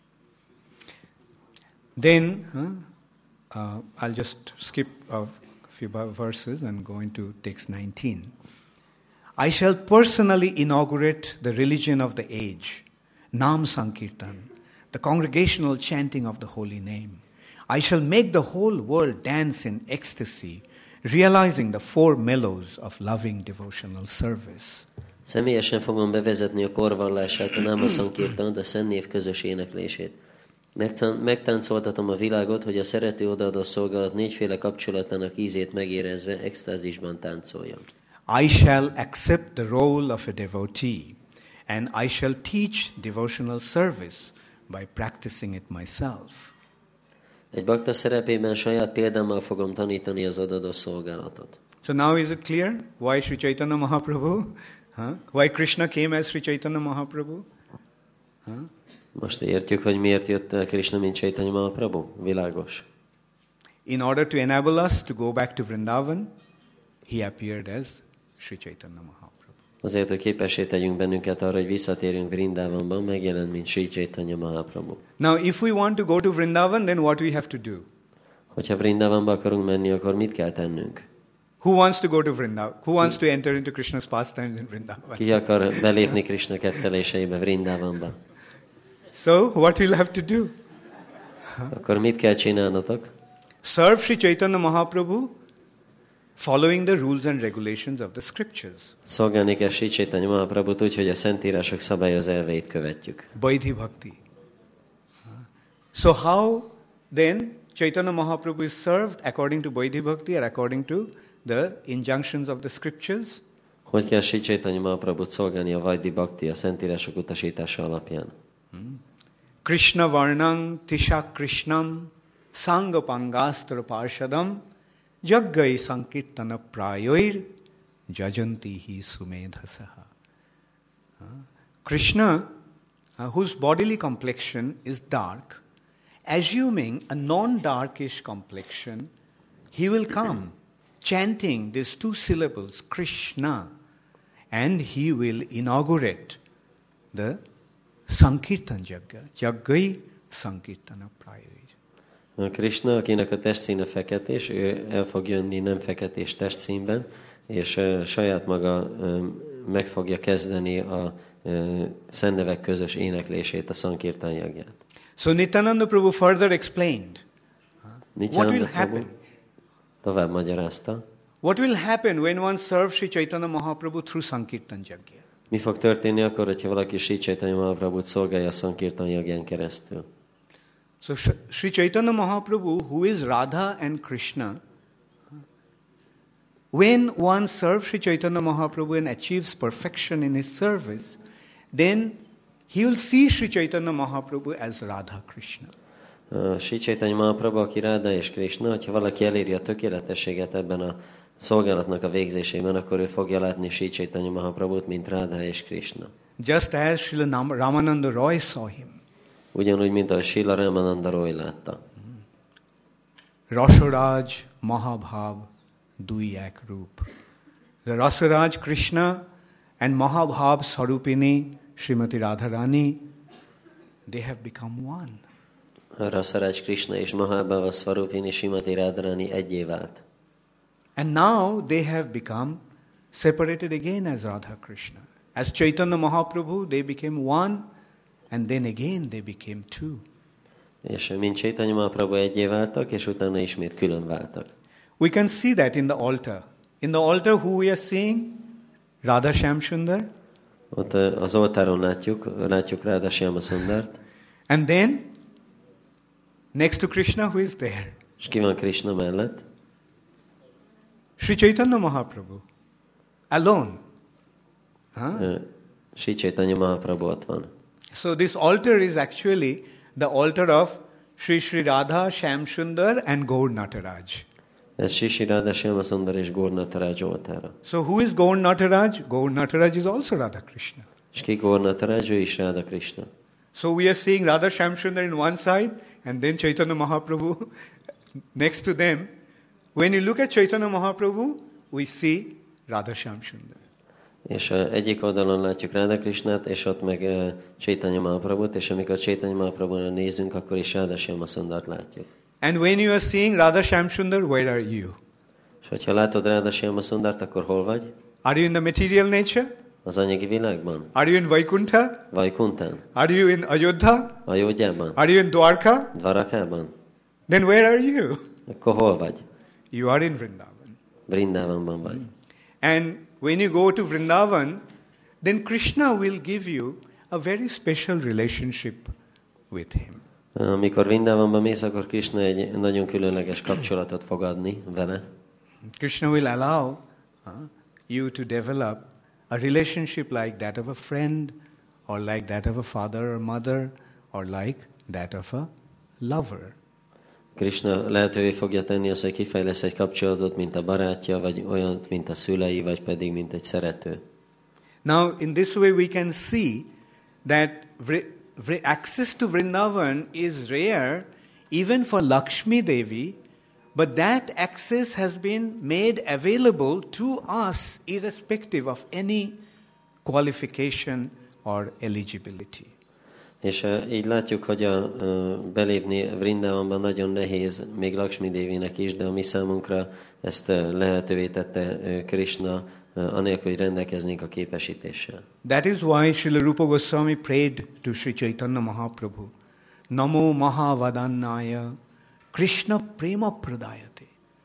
B: Then, huh, uh, I'll just skip a few verses and go into text nineteen. I shall personally inaugurate the religion of the age, Nam Sankirtan, the congregational chanting of the holy name. I shall make the whole world dance in ecstasy, realizing the four mellows of loving devotional service.
D: Személyesen fogom bevezetni a korvallását, a Náma Sankirtant, a Szentnév közös éneklését. Megtáncoltatom a világot, hogy a szerető odaadó szolgálat négyféle kapcsolatának ízét megérezve extázisban táncoljon.
B: I shall accept the role of a devotee, and I shall teach devotional service by practicing it myself.
D: Egy bakta szerepében saját példámmal fogom tanítani az odaadó szolgálatot.
B: So now is it clear why Sri Chaitanya Mahaprabhu, huh? why Krishna came as Sri Chaitanya Mahaprabhu? Huh?
D: Most értjük, hogy miért jött el Krishna, mint Chaitanya Mahaprabhu? Világos.
B: In order to enable us to go back to Vrindavan, he appeared as Sri Chaitanya Mahaprabhu.
D: Azért, hogy képessé tegyünk bennünket arra, hogy visszatérjünk Vrindavanban, megjelent, mint Sri Chaitanya Mahaprabhu.
B: Now, if we want to go to Vrindavan, then what we have to do?
D: Hogyha Vrindavanba akarunk menni, akkor mit kell tennünk?
B: Who wants to go to Vrindavan? Who wants to enter into Krishna's pastimes in Vrindavan?
D: Ki akar belépni Krishna ketteléseibe Vrindavanba?
B: So, what we'll have to do?
D: Akkor mit kell csinálnotok?
B: Serve Sri Chaitanya Mahaprabhu, following the rules and regulations of the scriptures.
D: Szolgálni kell Sri Chaitanya Mahaprabhut úgy, hogy a Szentírások szabályos elveit követjük.
B: Vaidhi Bhakti. So how then Chaitanya Mahaprabhu is served according to Vaidhi Bhakti or according to the injunctions of the scriptures?
D: Hogy kell Sri Chaitanya Mahaprabhut szolgálni a Vaidhi Bhakti a Szentírások utasítása alapján?
B: Hmm. Krishna Varnang Tisha Krishnam Sanga Pangastra Parshadam Jaggai Sankirtana Prayoir Jajanti Hi Sumedhasaha. Krishna, uh, whose bodily complexion is dark, assuming a non-darkish complexion, he will come chanting these two syllables, Krishna, and he will inaugurate the Sankirtan Jagga, Jaggai Sankirtana Prayoir.
D: A Krishna, akinek a testszíne feketés, ő el fog jönni nem feketés testszínben, és uh, saját maga um, meg fogja kezdeni a uh, szentnevek közös éneklését, a Sankirtan Jagját.
B: So Nityananda Prabhu further explained
D: Nityananda
B: what will
D: Prabhu
B: happen.
D: Tovább magyarázta.
B: What will happen when one serves Sri Chaitanya Mahaprabhu through Sankirtan Jagya?
D: Mi fog történni akkor, hogyha valaki Sri Chaitanya Mahaprabhut szolgálja a Sankirtan Jagján keresztül?
B: So Sri Chaitanya Mahaprabhu, who is Radha and Krishna, when one serves Sri Chaitanya Mahaprabhu and achieves perfection in his service, then he will see Sri Chaitanya Mahaprabhu as Radha Krishna.
D: Uh, Sri Chaitanya Mahaprabhu, aki Radha és Krishna, hogyha valaki eléri a tökéletességet ebben a szolgálatnak a végzésében, akkor ő fogja látni Sri Chaitanya Mahaprabhut, mint Radha és Krishna.
B: Just as Srila Nam- Ramananda Roy saw him.
D: Ugyanúgy, mint ahogy Srila Ramananda Roy látta.
B: Rasaraj Mahabhav Duyak Roop. The Rasaraj Krishna and Mahabhav Sarupini Srimati Radharani, they have become one.
D: Rasaraj Krishna és Mahabhava Svarupini Srimati Radharani egyé vált.
B: And now they have become separated again as Radha Krishna. As Chaitanya Mahaprabhu, they became one, and then again they became two.
D: És mint Chaitanya Mahaprabhu egyé váltak, és utána ismét külön váltak.
B: We can see that in the altar. In the altar, who we are seeing? Radha Shamsundar.
D: Ott az oltáron látjuk, látjuk Radha Shyama Sundart.
B: And then, next to Krishna, who is there?
D: És ki van Krishna mellett?
B: Sri Chaitanya Mahaprabhu. Alone. Huh?
D: Sri Chaitanya Mahaprabhu ott van.
B: So this altar is actually the altar of Sri Sri Radha Shamsundar and Gaur Nataraj.
D: Ez Sri Sri Radha Shyama Sundar és Gaur Nataraj oltára.
B: So who is Gaur Nataraj? Gaur Nataraj is also Radha Krishna.
D: És ki Gaur Nataraj, ő is Radha Krishna.
B: So we are seeing Radha Shamsundar in one side and then Chaitanya Mahaprabhu next to them. When you look at Chaitanya Mahaprabhu, we see Radha Shamsundar.
D: És uh, egyik oldalon látjuk Radha Krishnát, és ott meg uh, Chaitanya Mahaprabhut, és amikor Chaitanya Mahaprabhura nézünk, akkor is Radha Shyama Sundart látjuk.
B: And when you are seeing Radha Shamsundar, where are you?
D: És hogyha látod Radha Shyama Sundart, akkor hol vagy?
B: Are you in the material nature?
D: Az anyagi világban?
B: Are you in Vaikuntha?
D: Vajkuntán?
B: Are you in Ayodhya?
D: Ajodhyában?
B: Are you in Dwarka?
D: Dvarakában?
B: Then where are you?
D: Akkor hol vagy?
B: You are in Vrindavan.
D: Vrindavanban vagy.
B: And when you go to Vrindavan, then Krishna will give you a very special relationship with him.
D: Amikor Vrindavanban mész, akkor Krishna egy nagyon különleges kapcsolatot fog adni vele.
B: Krishna will allow uh, you to develop a relationship like that of a friend, or like that of a father or mother, or like that of a lover.
D: Krishna lehetővé fogja tenni azt, hogy kifejlesz egy kapcsolatot, mint a barátja, vagy olyan, mint a szülei, vagy pedig, mint egy szerető.
B: Now, in this way we can see that access to Vrindavan is rare even for Lakshmi Devi, but that access has been made available to us irrespective of any qualification or eligibility.
D: És uh, így látjuk, hogy a, uh, belépni Vrindavanban nagyon nehéz, még Lakshmi Dévinek is, de a mi számunkra ezt uh, lehetővé tette uh, Krishna, uh, anélkül, hogy rendelkeznénk a képesítéssel.
B: That is why Srila Rupa Goswami prayed to Sri Chaitanya Mahaprabhu, Namo Mahavadannaya Krishna Prema Pradayate.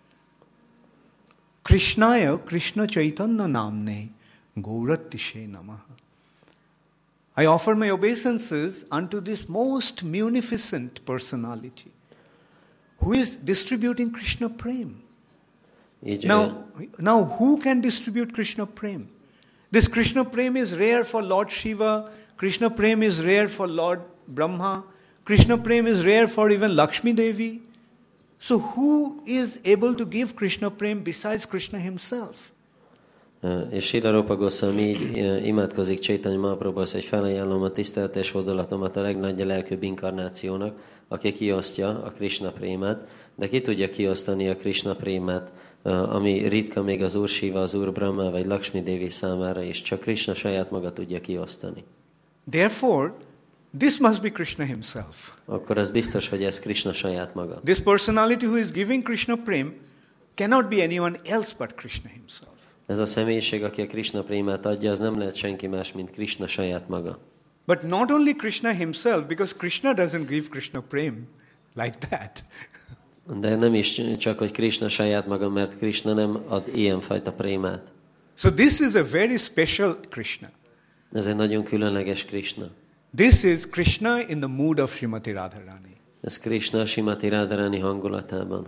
B: Krishnaya Krishna Chaitanya Namne Gauratishe Namaha. I offer my obeisances unto this most munificent personality who is distributing Krishna Prem.
D: Így,
B: Now, now, who can distribute Krishna Prem? This Krishna Prem is rare for Lord Shiva, Krishna Prem is rare for Lord Brahma, Krishna Prem is rare for even Lakshmi Devi. So who is able to give Krishna Prem besides Krishna himself?
D: És Srila Rupa Goswami így imádkozik Chaitanya Mahaprabhuhoz, hogy felajánlom a tiszteletes oldalatomat a legnagyobb lelkűbb inkarnációnak, aki kiosztja a Krishna prémát, de ki tudja kiosztani a Krishna prémát, ami ritka még az Úr Shiva, az Úr Brahma vagy Lakshmi Devi számára is, csak Krishna saját maga tudja kiosztani.
B: Therefore, this must be Krishna himself.
D: Akkor az biztos, hogy ez Krishna saját maga.
B: This personality who is giving Krishna Prem cannot be anyone else but Krishna himself.
D: Ez a személyiség, aki a Krishna prémát adja, az nem lehet senki más, mint Krishna saját maga.
B: But not only Krishna himself, because Krishna doesn't give Krishna Prem like that.
D: De nem is csak, hogy Krishna saját maga, mert Krishna nem ad ilyenfajta prémát.
B: So this is a very special Krishna.
D: Ez egy nagyon különleges Krishna.
B: This is Krishna in the mood of Srimati Radharani.
D: Ez Krishna Srimati Radharani hangulatában.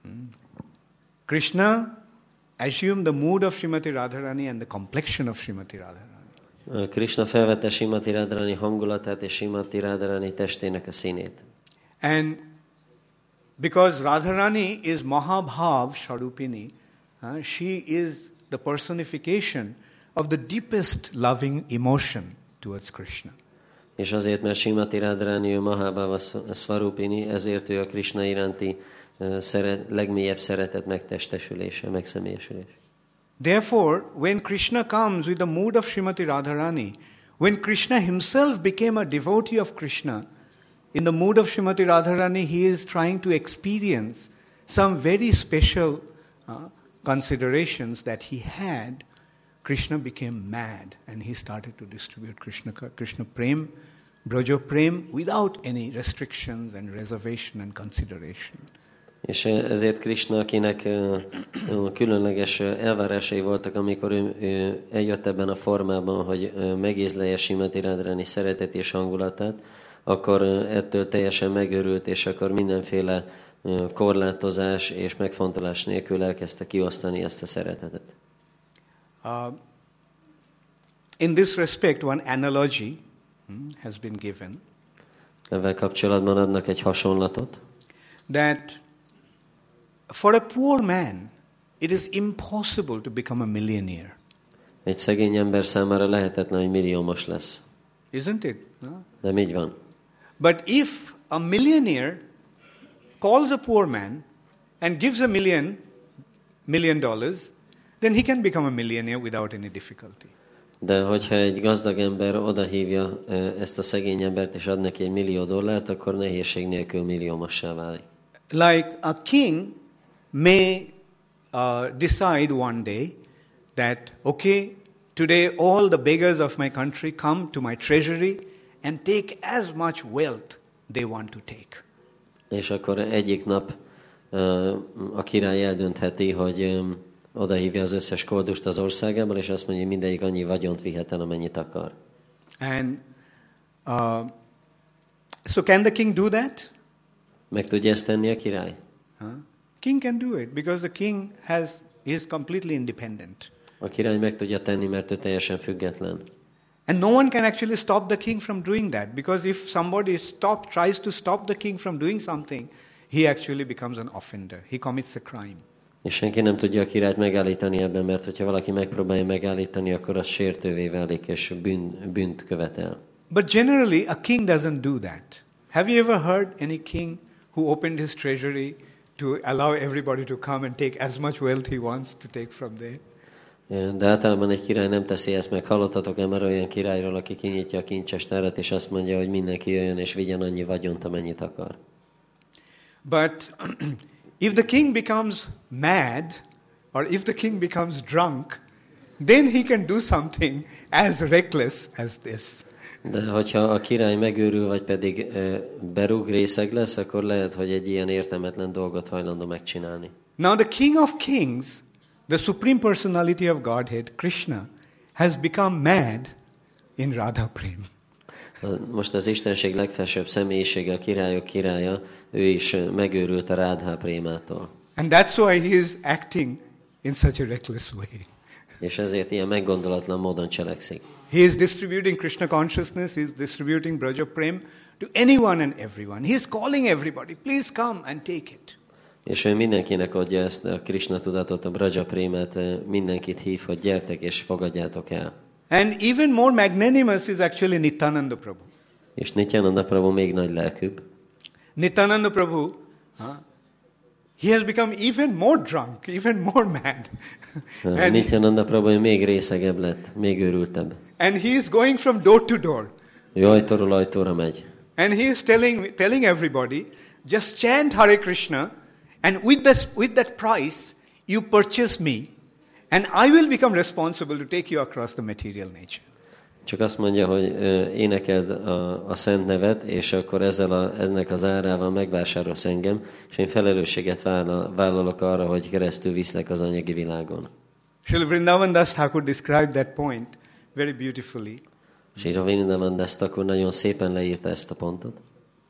B: Krishna assumed the mood of Srimati Radharani and the complexion of Srimati Radharani.
D: Krishna felvette Srimati Radharani hangulatát és Srimati Radharani testének a színét.
B: And because Radharani is Mahabhav Sharupini, uh, uh, she is the personification of the deepest loving emotion towards Krishna.
D: És azért, mert Srimati Radharani ő Mahabhava Svarupini, ezért ő a Krishna iránti uh, szeret, legmélyebb szeretet megtestesülése, megszemélyesülése.
B: Therefore, when Krishna comes with the mood of Srimati Radharani, when Krishna himself became a devotee of Krishna, in the mood of Srimati Radharani, he is trying to experience some very special uh, considerations that he had. Krishna became mad and he started to distribute Krishna, Krishna Prem, Braja Prem without any restrictions and reservation and consideration.
D: És ezért Krishna, akinek különleges elvárásai voltak, amikor ő, ő eljött ebben a formában, hogy megízlelje Srimati Radharani szeretet és hangulatát, akkor ettől teljesen megörült, és akkor mindenféle korlátozás és megfontolás nélkül elkezdte kiosztani ezt a szeretetet.
B: Uh, in this respect, one analogy hmm, has been given.
D: Ezzel kapcsolatban adnak egy hasonlatot.
B: That for a poor man, it is impossible to become a millionaire.
D: Egy szegény ember számára lehetetlen, hogy milliómos lesz.
B: Isn't it? No?
D: Nem így van.
B: But if a millionaire calls a poor man and gives a million, million dollars, then he can become a millionaire without any difficulty.
D: De hogyha egy gazdag ember odahívja ezt a szegény embert és ad neki egy millió dollárt, akkor nehézség nélkül milliómossá válik.
B: Like a king may uh, decide one day that, okay, today all the beggars of my country come to my treasury and take as much wealth they want to take.
D: És akkor egyik nap uh, a király eldöntheti, hogy um, odahívja az összes koldust az országából, és azt mondja, hogy mindegyik annyi vagyont vihet el, amennyit akar.
B: And uh, so can the king do that?
D: Meg tudja ezt tenni a király?
B: Huh? King can do it because the king has is completely independent.
D: A király meg tudja tenni, mert ő teljesen független.
B: And no one can actually stop the king from doing that, because if somebody stop tries to stop the king from doing something, he actually becomes an offender. He commits a crime.
D: És senki nem tudja a királyt megállítani ebben, mert hogyha valaki megpróbálja megállítani, akkor az sértővé válik, és bűn, bűnt követel.
B: But generally, a king doesn't do that. Have you ever heard any king who opened his treasury to allow everybody to come and take as much wealth he wants to take from there?
D: De általában egy király nem teszi ezt meg. Hallottatok-e már olyan királyról, aki kinyitja a kincsestárat, és azt mondja, hogy mindenki jöjjön és vigyen annyi vagyont, amennyit akar?
B: But if the king becomes mad, or if the king becomes drunk, then he can do something as reckless as this.
D: De hogyha a király megőrül, vagy pedig e, berúg, részeg lesz, akkor lehet, hogy egy ilyen értelmetlen dolgot hajlandó megcsinálni.
B: Now the King of Kings, the Supreme Personality of Godhead, Krishna, has become mad in Radha Prem.
D: Most az Istenség legfelsőbb személyisége, a királyok királya, ő is megőrült a Rádhá prémától.
B: And that's why he is acting in such a reckless way.
D: És ezért ilyen meggondolatlan módon cselekszik.
B: He is distributing Krishna consciousness, he is distributing Braja Prem to anyone and everyone. He is calling everybody, please come and take it.
D: És ő mindenkinek adja ezt a Krishna tudatot, a Braja Prémát, mindenkit hív, hogy gyertek és fogadjátok el.
B: And even more magnanimous is actually Nityananda Prabhu.
D: És Nityananda Prabhu még nagy lelkűbb.
B: Nityananda Prabhu, huh? He has become even more drunk, even more mad.
D: and Nityananda Prabhu még részegebb lett, még őrültebb.
B: And he is going from door to door.
D: Ő ajtóról ajtóra megy.
B: And he is telling telling everybody, just chant Hare Krishna, and with that with that price you purchase me, and I will become responsible to take you across the material nature.
D: Csak azt mondja, hogy énekeld a, a szent nevet, és akkor ezzel a, ennek az árával megvásárolsz engem, és én felelősséget vállal, vállalok arra, hogy keresztül viszlek az anyagi világon.
B: Srila Vrindavan Das Thakur described that point very beautifully.
D: Srila Vrindavan Das Thakur nagyon szépen leírta ezt a pontot.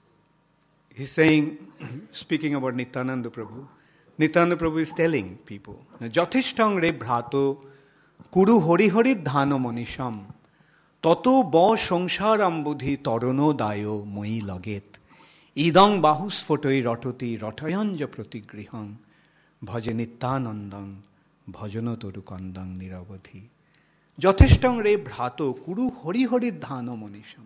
B: He's saying, speaking about Nityananda Prabhu, Nityananda Prabhu is telling people, Jathishtang re bhrato kuru hori hori dhano manisham tato ba sangsharam buddhi tarono dayo moi laget idang bahus photoi ratoti ratayanja pratigriham bhaje Nityanandam bhajano toru kandang niravadhi. Jateshtang re bhrato kuru hari hari dhana manisham.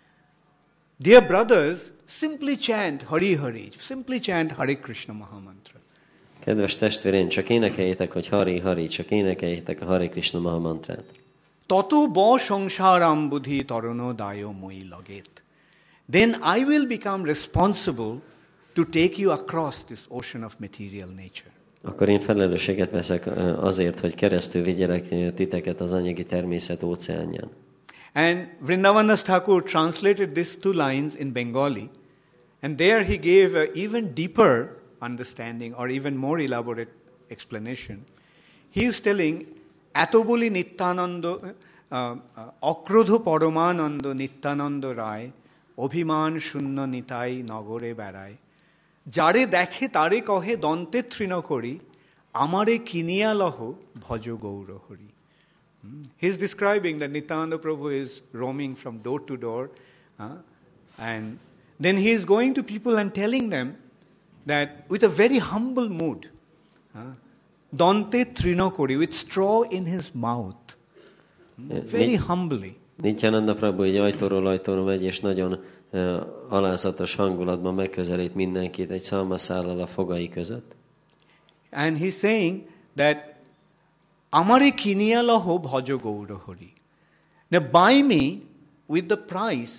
B: Dear brothers, simply chant Hari Hari, simply chant Hare Krishna Mahamantra.
D: Kedves testvérén, csak énekeljétek, hogy Hari Hari, csak énekeljétek a Hare Krishna Mahamantrát.
B: Tato ba sangsharam buddhi tarano dayo moi laget. Then I will become responsible to take you across this ocean of material nature.
D: Akkor én felelősséget veszek azért, hogy keresztül vigyelek titeket az anyagi természet óceánján.
B: And Vrindavandas Thakur translated these two lines in Bengali, and there he gave an even deeper understanding or even more elaborate explanation. He is telling, Atoboli Nityananda, Akrodho Paramananda Nityananda Rai, Obhiman Shunna Nitai Nagore Barai, Jare Dekhe Tare Kohe Dante Trina Kori, Amare Kiniya Laho Bhajo Gaura Hari. He is describing that Nityananda Prabhu is roaming from door to door, uh, and then he is going to people and telling them that with a very humble mood, uh, Dante Trinakori, with straw in his mouth, very humbly.
D: Nityananda Prabhu egy ajtóról ajtóra megy, és nagyon uh, alázatos hangulatban megközelít mindenkit egy szalmaszállal a fogai között.
B: And he's saying that Amare kiniya laho bhajo gaura hari. Now buy me with the price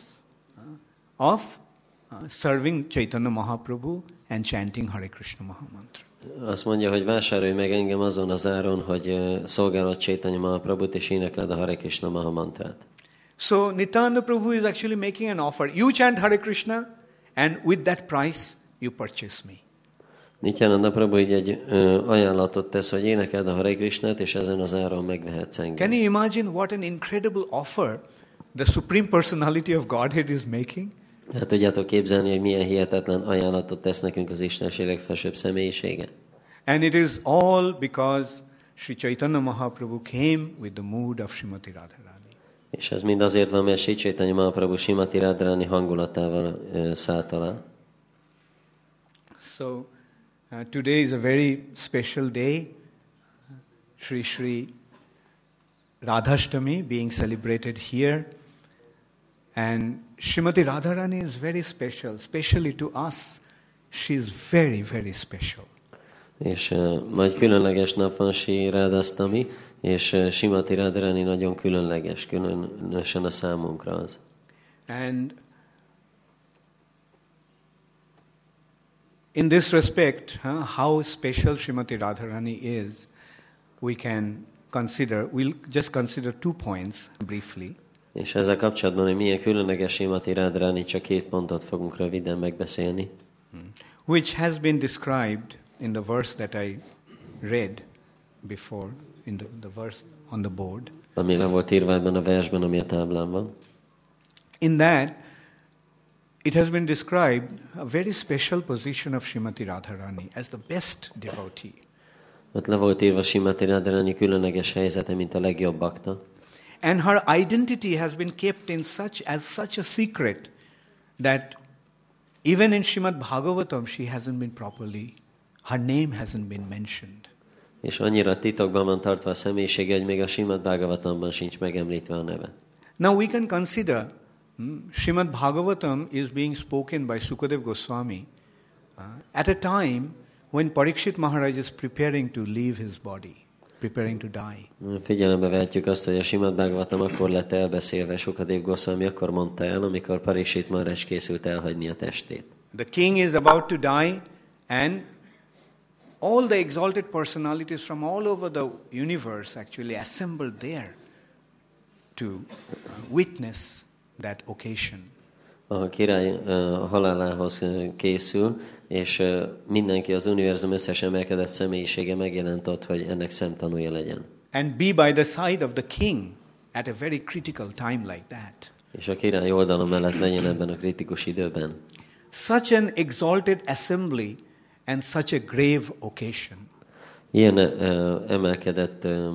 B: uh, of uh, serving Chaitanya Mahaprabhu and chanting Hare Krishna Mahamantra.
D: Azt mondja, hogy vásárolj meg engem azon az áron, hogy uh, szolgálod Chaitanya Mahaprabhut és énekled a Hare Krishna Mahamantrát.
B: So Nityananda Prabhu is actually making an offer. You chant Hare Krishna and with that price you purchase me.
D: Nityananda Prabhu így egy ö, ajánlatot tesz, hogy énekeld a Hare Krishnát, és ezen az áron megvehetsz engem.
B: Can you imagine what an incredible offer the Supreme Personality of Godhead is making?
D: Hát tudjátok képzelni, hogy milyen hihetetlen ajánlatot tesz nekünk az Istenség legfelsőbb személyisége?
B: And it is all because Sri Chaitanya Mahaprabhu came with the mood of Srimati Radharani.
D: És ez mind azért van, mert Sri Chaitanya Mahaprabhu Srimati Radharani hangulatával ö, szállt alá.
B: So, Uh, today is a very special day, Sri Sri Radhashtami being celebrated here, and Srimati Radharani is very special, especially to us. She is very, very special.
D: És uh, majd különleges nap van Sri Radhashtami, és uh, Srimati Radharani nagyon különleges, különösen a számunkra az.
B: And in this respect, huh, how special Srimati Radharani is, we can consider, we'll just consider two points briefly.
D: És ezzel kapcsolatban, hogy milyen különleges Srimati Radharani, csak két pontot fogunk röviden megbeszélni.
B: Which has been described in the verse that I read before, in the, the verse on the board.
D: Ami le volt írva ebben a versben, ami a táblán van.
B: In that, it has been described a very special position of Srimati Radharani as the best devotee.
D: Ott le volt írva Srimati Radharani különleges helyzete, mint a legjobb bakta.
B: And her identity has been kept in such as such a secret that even in Srimad Bhagavatam she hasn't been properly, her name hasn't been mentioned.
D: És annyira titokban van tartva a személyisége, hogy még a Srimad Bhagavatamban sincs megemlítve a neve.
B: Now we can consider Hmm? Srimad Bhagavatam is being spoken by Sukadev Goswami uh, at a time when Parikshit Maharaj is preparing to leave his body, preparing to die.
D: Figyelembe vehetjük azt, hogy a Srimad Bhagavatam akkor lett elbeszélve, Sukadev Goswami akkor mondta el, amikor Parikshit Maharaj készült elhagyni a testét.
B: The king is about to die, and all the exalted personalities from all over the universe actually assembled there to witness that occasion.
D: A király uh, halálához készül, és uh, mindenki, az univerzum összes emelkedett személyisége megjelent ott, hogy ennek szemtanúja legyen.
B: And be by the side of the king at a very critical time like that.
D: És a király oldalon mellett legyen ebben a kritikus időben.
B: Such an exalted assembly and such a grave occasion.
D: Ilyen uh, emelkedett uh,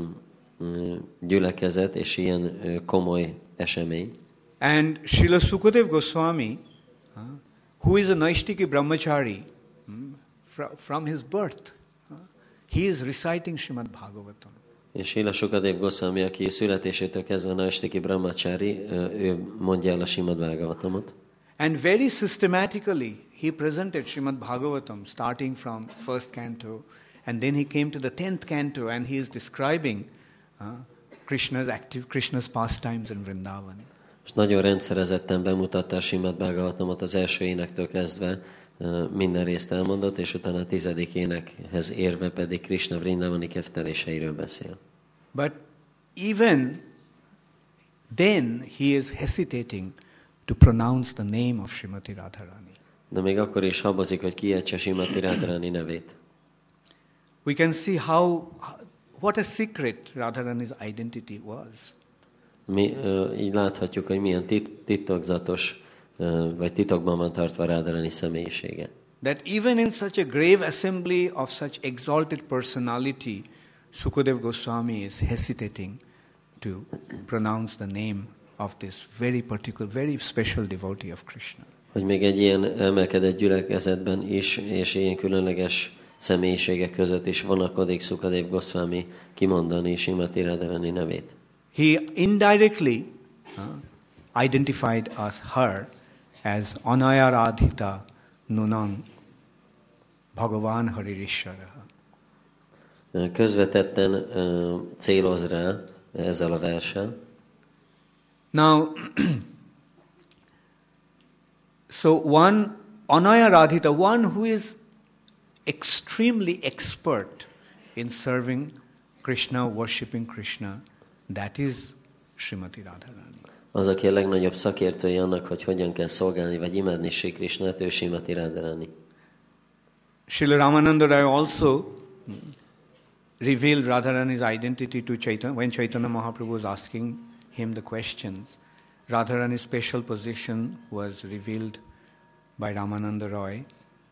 D: gyülekezet és ilyen uh, komoly esemény.
B: And Srila Sukadev Goswami, uh, who is a Naishtiki brahmachari hmm, fr- from his birth, uh, he is reciting Srimad Bhagavatam.
D: És Srila Sukadev Goswami, aki születésétől kezdve Naistiki Brahmachari, ő mondja el a Srimad Bhagavatamot.
B: And very systematically he presented Srimad Bhagavatam starting from first canto, and then he came to the tenth canto and he is describing uh, Krishna's active Krishna's pastimes in Vrindavan.
D: És nagyon rendszerezetten bemutatta a Srimad Bhagavatamot az első énektől kezdve, minden részt elmondott, és utána a tizedik énekhez érve pedig Krishna Vrindavani kefteléseiről beszél.
B: But even then he is hesitating to pronounce the name of Srimati Radharani.
D: De még akkor is habozik, hogy kiejtse Srimati Radharani nevét.
B: We can see how, what a secret Radharani's identity was.
D: Mi uh, így láthatjuk, hogy milyen tit- titokzatos, uh, vagy titokban van tartva Radharani személyisége.
B: That even in such a grave assembly of such exalted personality, Sukadev Goswami is hesitating to pronounce the name of this very particular, very special devotee of Krishna.
D: Hogy még egy ilyen emelkedett gyülekezetben is, és ilyen különleges személyiségek között is vonakodik Sukadev Goswami kimondani Srimati Radharani nevét.
B: He indirectly uh, identified as her as Anaya Radhita Nunang Bhagavan Haririshvara.
D: Közvetetten uh, céloz rá ezzel a verssel.
B: Now, so one Anaya Radhita, one who is extremely expert in serving Krishna, worshipping Krishna, that is Srimati Radharani.
D: Az, aki a legnagyobb szakértője annak, hogy hogyan kell szolgálni vagy imádni Sri Krishnát, ő Srimati Radharani.
B: Srila Ramananda Rai also revealed Radharani's identity to Chaitanya when Chaitanya Mahaprabhu was asking him the questions. Radharani's special position was revealed by Ramananda Roy.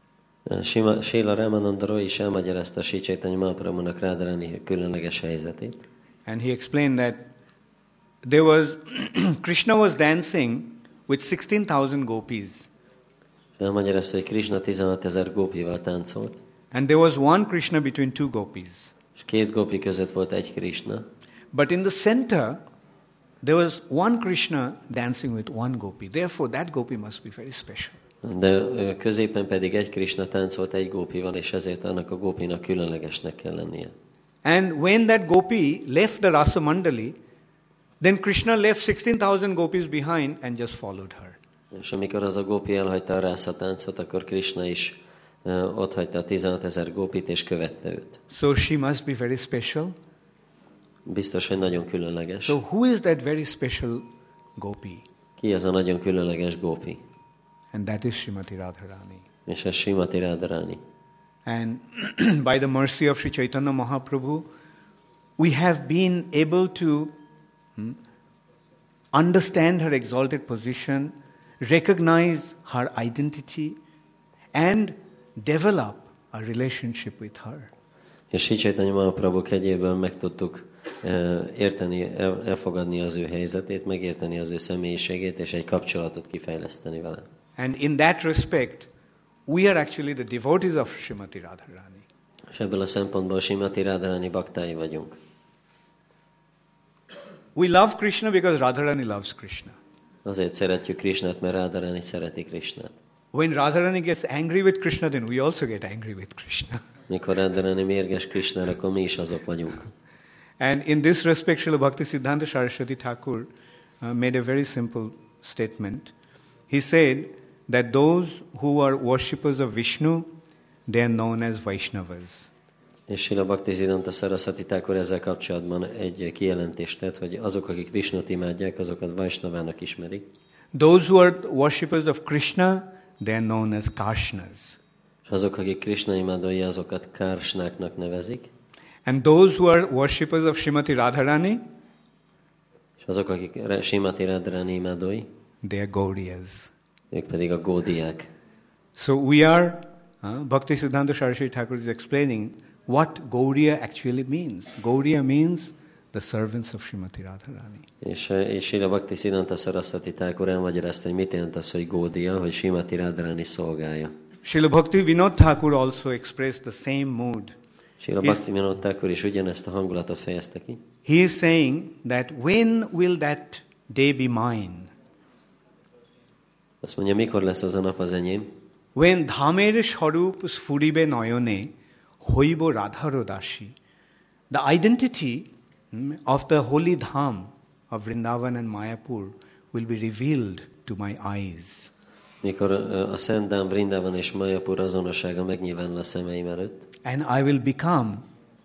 D: Srila Ramananda Roy is elmagyarázta Sri Chaitanya Mahaprabhunak Radharani különleges helyzetét.
B: And he explained that there was Krishna was dancing with sixteen thousand gopis.
D: Elmagyarázta, hogy Krishna tizenhatezer gópival táncolt.
B: And there was one Krishna between two gopis.
D: És két gópi között volt egy Krishna.
B: But in the center, there was one Krishna dancing with one gopi. Therefore, that gopi must be very special.
D: De középen pedig egy Krishna táncolt egy gópival, és ezért annak a gópinak különlegesnek kell lennie.
B: And when that gopi left the Rasa Mandali, then Krishna left sixteen thousand gopis behind and just followed her.
D: És amikor az a gópi elhagyta a Rasa táncot, akkor Krishna is uh, ott hagyta a tizenhatezer gópit, és követte őt.
B: So she must be very special.
D: Biztos, hogy nagyon különleges.
B: So who is that very special gopi?
D: Ki ez a nagyon különleges gópi?
B: And that is Srimati Radharani.
D: És ez Srimati Radharani.
B: And by the mercy of Sri Chaitanya Mahaprabhu, we have been able to hmm, understand her exalted position, recognize her identity, and develop a relationship with her.
D: És Sri Chaitanya Mahaprabhu kegyéből meg tudtuk uh, érteni, el, elfogadni az ő helyzetét, megérteni az ő személyiségét, és egy kapcsolatot kifejleszteni vele.
B: And in that respect, we are actually the devotees of Srimati Radharani.
D: És ebből a szempontból Srimati Radharani baktái vagyunk.
B: We love Krishna because Radharani loves Krishna.
D: Azért szeretjük Krishnát, mert Radharani szereti Krishnát.
B: When Radharani gets angry with Krishna, then we also get angry with Krishna.
D: Mikor Radharani mérges Krishnára, akkor mi is azok vagyunk.
B: And in this respect, Srila Bhaktisiddhanta Saraswati Thakur uh, made a very simple statement. He said that those who are worshippers of Vishnu, they are known as Vaishnavas.
D: És Srila Bhaktisiddhanta Saraswati Thakur ezzel kapcsolatban egy kijelentést tett, hogy azok, akik Vishnut imádják, azokat Vaishnavának ismerik.
B: Those who are worshippers of Krishna, they are known as Karshnas.
D: És azok, akik Krishna imádói, azokat Karsnáknak nevezik.
B: And those who are worshippers of Srimati Radharani,
D: és azok, akik Srimati Radharani imádói,
B: they are Gauriyas.
D: ők pedig a gódiák.
B: So we are, uh, Bhaktisiddhanta Saraswati Thakur is explaining what Gauriya actually means. Gauriya means the servants of Srimati Radharani.
D: És, és Srila Bhaktisiddhanta Saraswati Thakur elmagyarázta, hogy mit jelent az, hogy gódia, hogy Srimati Radharani szolgálja.
B: Srila Bhakti Vinod Thakur also expressed the same mood.
D: Srila Bhaktivinoda Thakur is ugyanezt a hangulatot fejezte ki.
B: He is saying that when will that day be mine?
D: Azt mondja, mikor lesz az a nap az enyém?
B: When dhamer sharup sfuribe noyone hoibo radharo dashi. The identity mm, of the holy dham of Vrindavan and Mayapur will be revealed to my eyes.
D: Mikor a Szent Dhám, Vrindavan és Mayapur azonossága megnyilvánul a szemeim előtt.
B: And I will become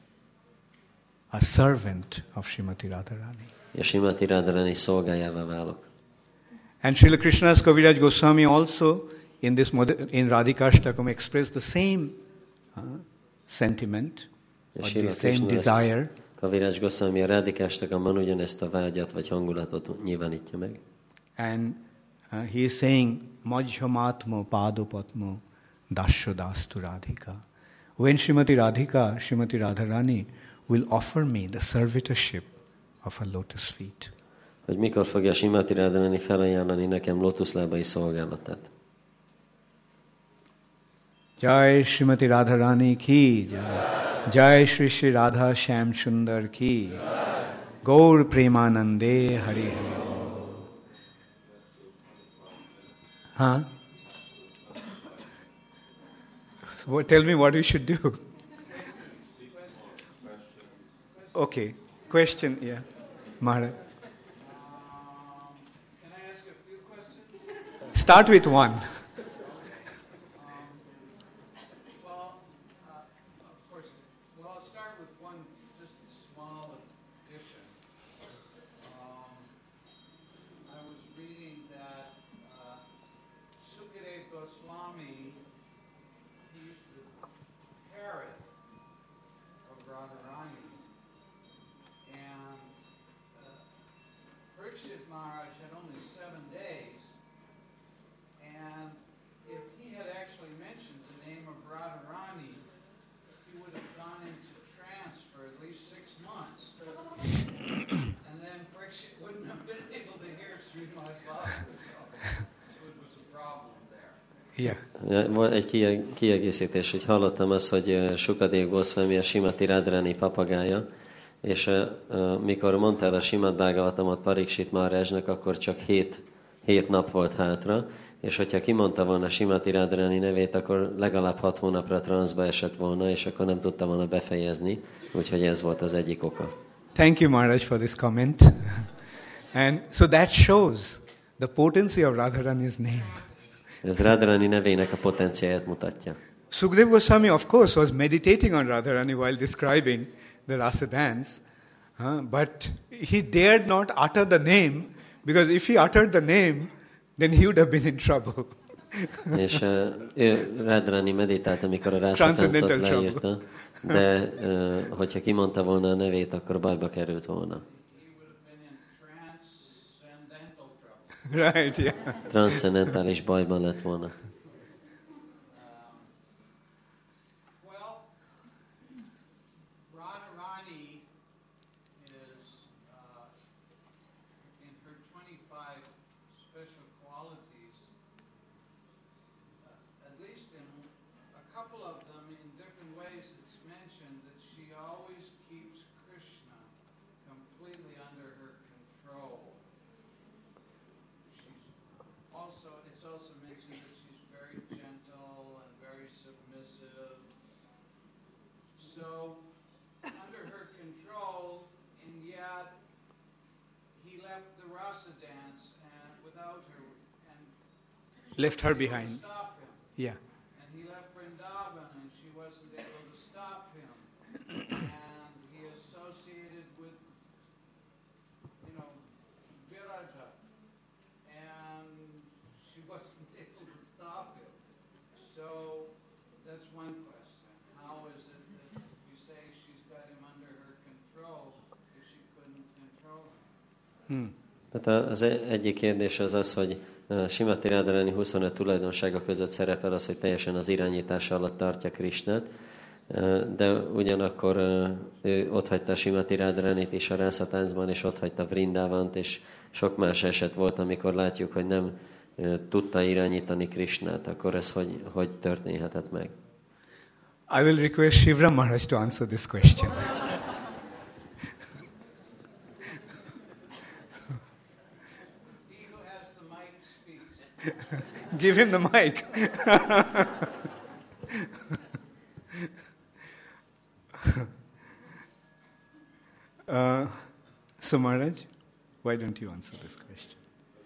B: a servant of Srimati Radharani.
D: És Srimati Radharani szolgájává válok.
B: And Srila Krishnadas Kaviraj Goswami also in this in Radhikashtakam expressed the same uh, sentiment, or the same desire.
D: Kaviraj Goswami a Radhikashtakamban ugyanezt a vágyat vagy hangulatot nyilvánítja meg.
B: And uh, he is saying, Majjhamatmo padopatmo dashodastu Radhika. When Srimati Radhika, Srimati Radharani will offer me the servitorship of a lotus feet.
D: Hogy mikor fogja Srimati Radharani felajánlani nekem lótuszlábai szolgálatát.
B: Jai Srimati Radharani ki, Jai, Jai Shri Shri Radha Shyam Sundar ki, Gaur Premanande Hari Hari. Huh? So what, tell me what we should do. Okay, question, yeah, Maharaj.
F: Can I ask a few questions?
B: Start with one.
F: Um, well, uh, of course, well, I'll start with one just small addition. Um, I was reading that uh, Sukadeva Goswami, he used to parrot of Radharani, and uh, Parikshit Maharaj had only seven days. And if he had actually mentioned the name of Radharani, he would have gone into trance for at least six months. And then Parikshit wouldn't have been able to hear Srimad Bhagavatam. So it was a problem there.
B: Yeah.
D: Volt egy kiegészítés, hogy hallottam azt, hogy Sukadeva Goswami a Srimati Radharani papagája, és uh, mikor mondta el a Srimad Bhagavatamot Parikshit Maharajnak, akkor csak hét, hét nap volt hátra, és hogyha kimondta volna Srimati Radharani nevét, akkor legalább hat hónapra transzba esett volna, és akkor nem tudta volna befejezni, úgyhogy ez volt az egyik oka.
B: Thank you, Maharaj, for this comment. And so that shows the potency of Radharani's name.
D: Ez Radharani nevének a potenciáját mutatja.
B: Sukadeva Goswami, of course, was meditating on Radharani while describing the rasa dance, uh, but he dared not utter the name, because if he uttered the name, then he would have been in trouble.
D: És uh, ő Radharani meditált, amikor a rászatáncot leírta, de uh, hogyha kimondta volna a nevét, akkor bajba került volna.
B: Right, yeah.
D: Transzcendentális bajban lett volna.
F: So, under her control, and yet he left the rasa dance and without her, and
B: Left her behind.
F: stop him.
B: Yeah.
F: And he left Vrindavan, and she wasn't able to stop him. And he associated with, you know, Viraja, and she wasn't able to stop him. So that's one question. How is it that you say she's got him under her control if she couldn't control him?
B: Hmm.
D: Tehát az egyik kérdés az az, hogy Srimati Radharani huszonöt tulajdonsága között szerepel az, hogy teljesen az irányítása alatt tartja Krishnát, de ugyanakkor ő otthagyta Srimati Radharanit is a rászatáncban, és otthagyta Vrindavant, és sok más eset volt, amikor látjuk, hogy nem tudta irányítani Krishnát, akkor ez hogy, hogy történhetett meg?
B: I will request Shivram Maharaj to answer this question.
F: He who has the mic speaks.
B: Give him the mic. uh, so Maharaj, why don't you answer this question?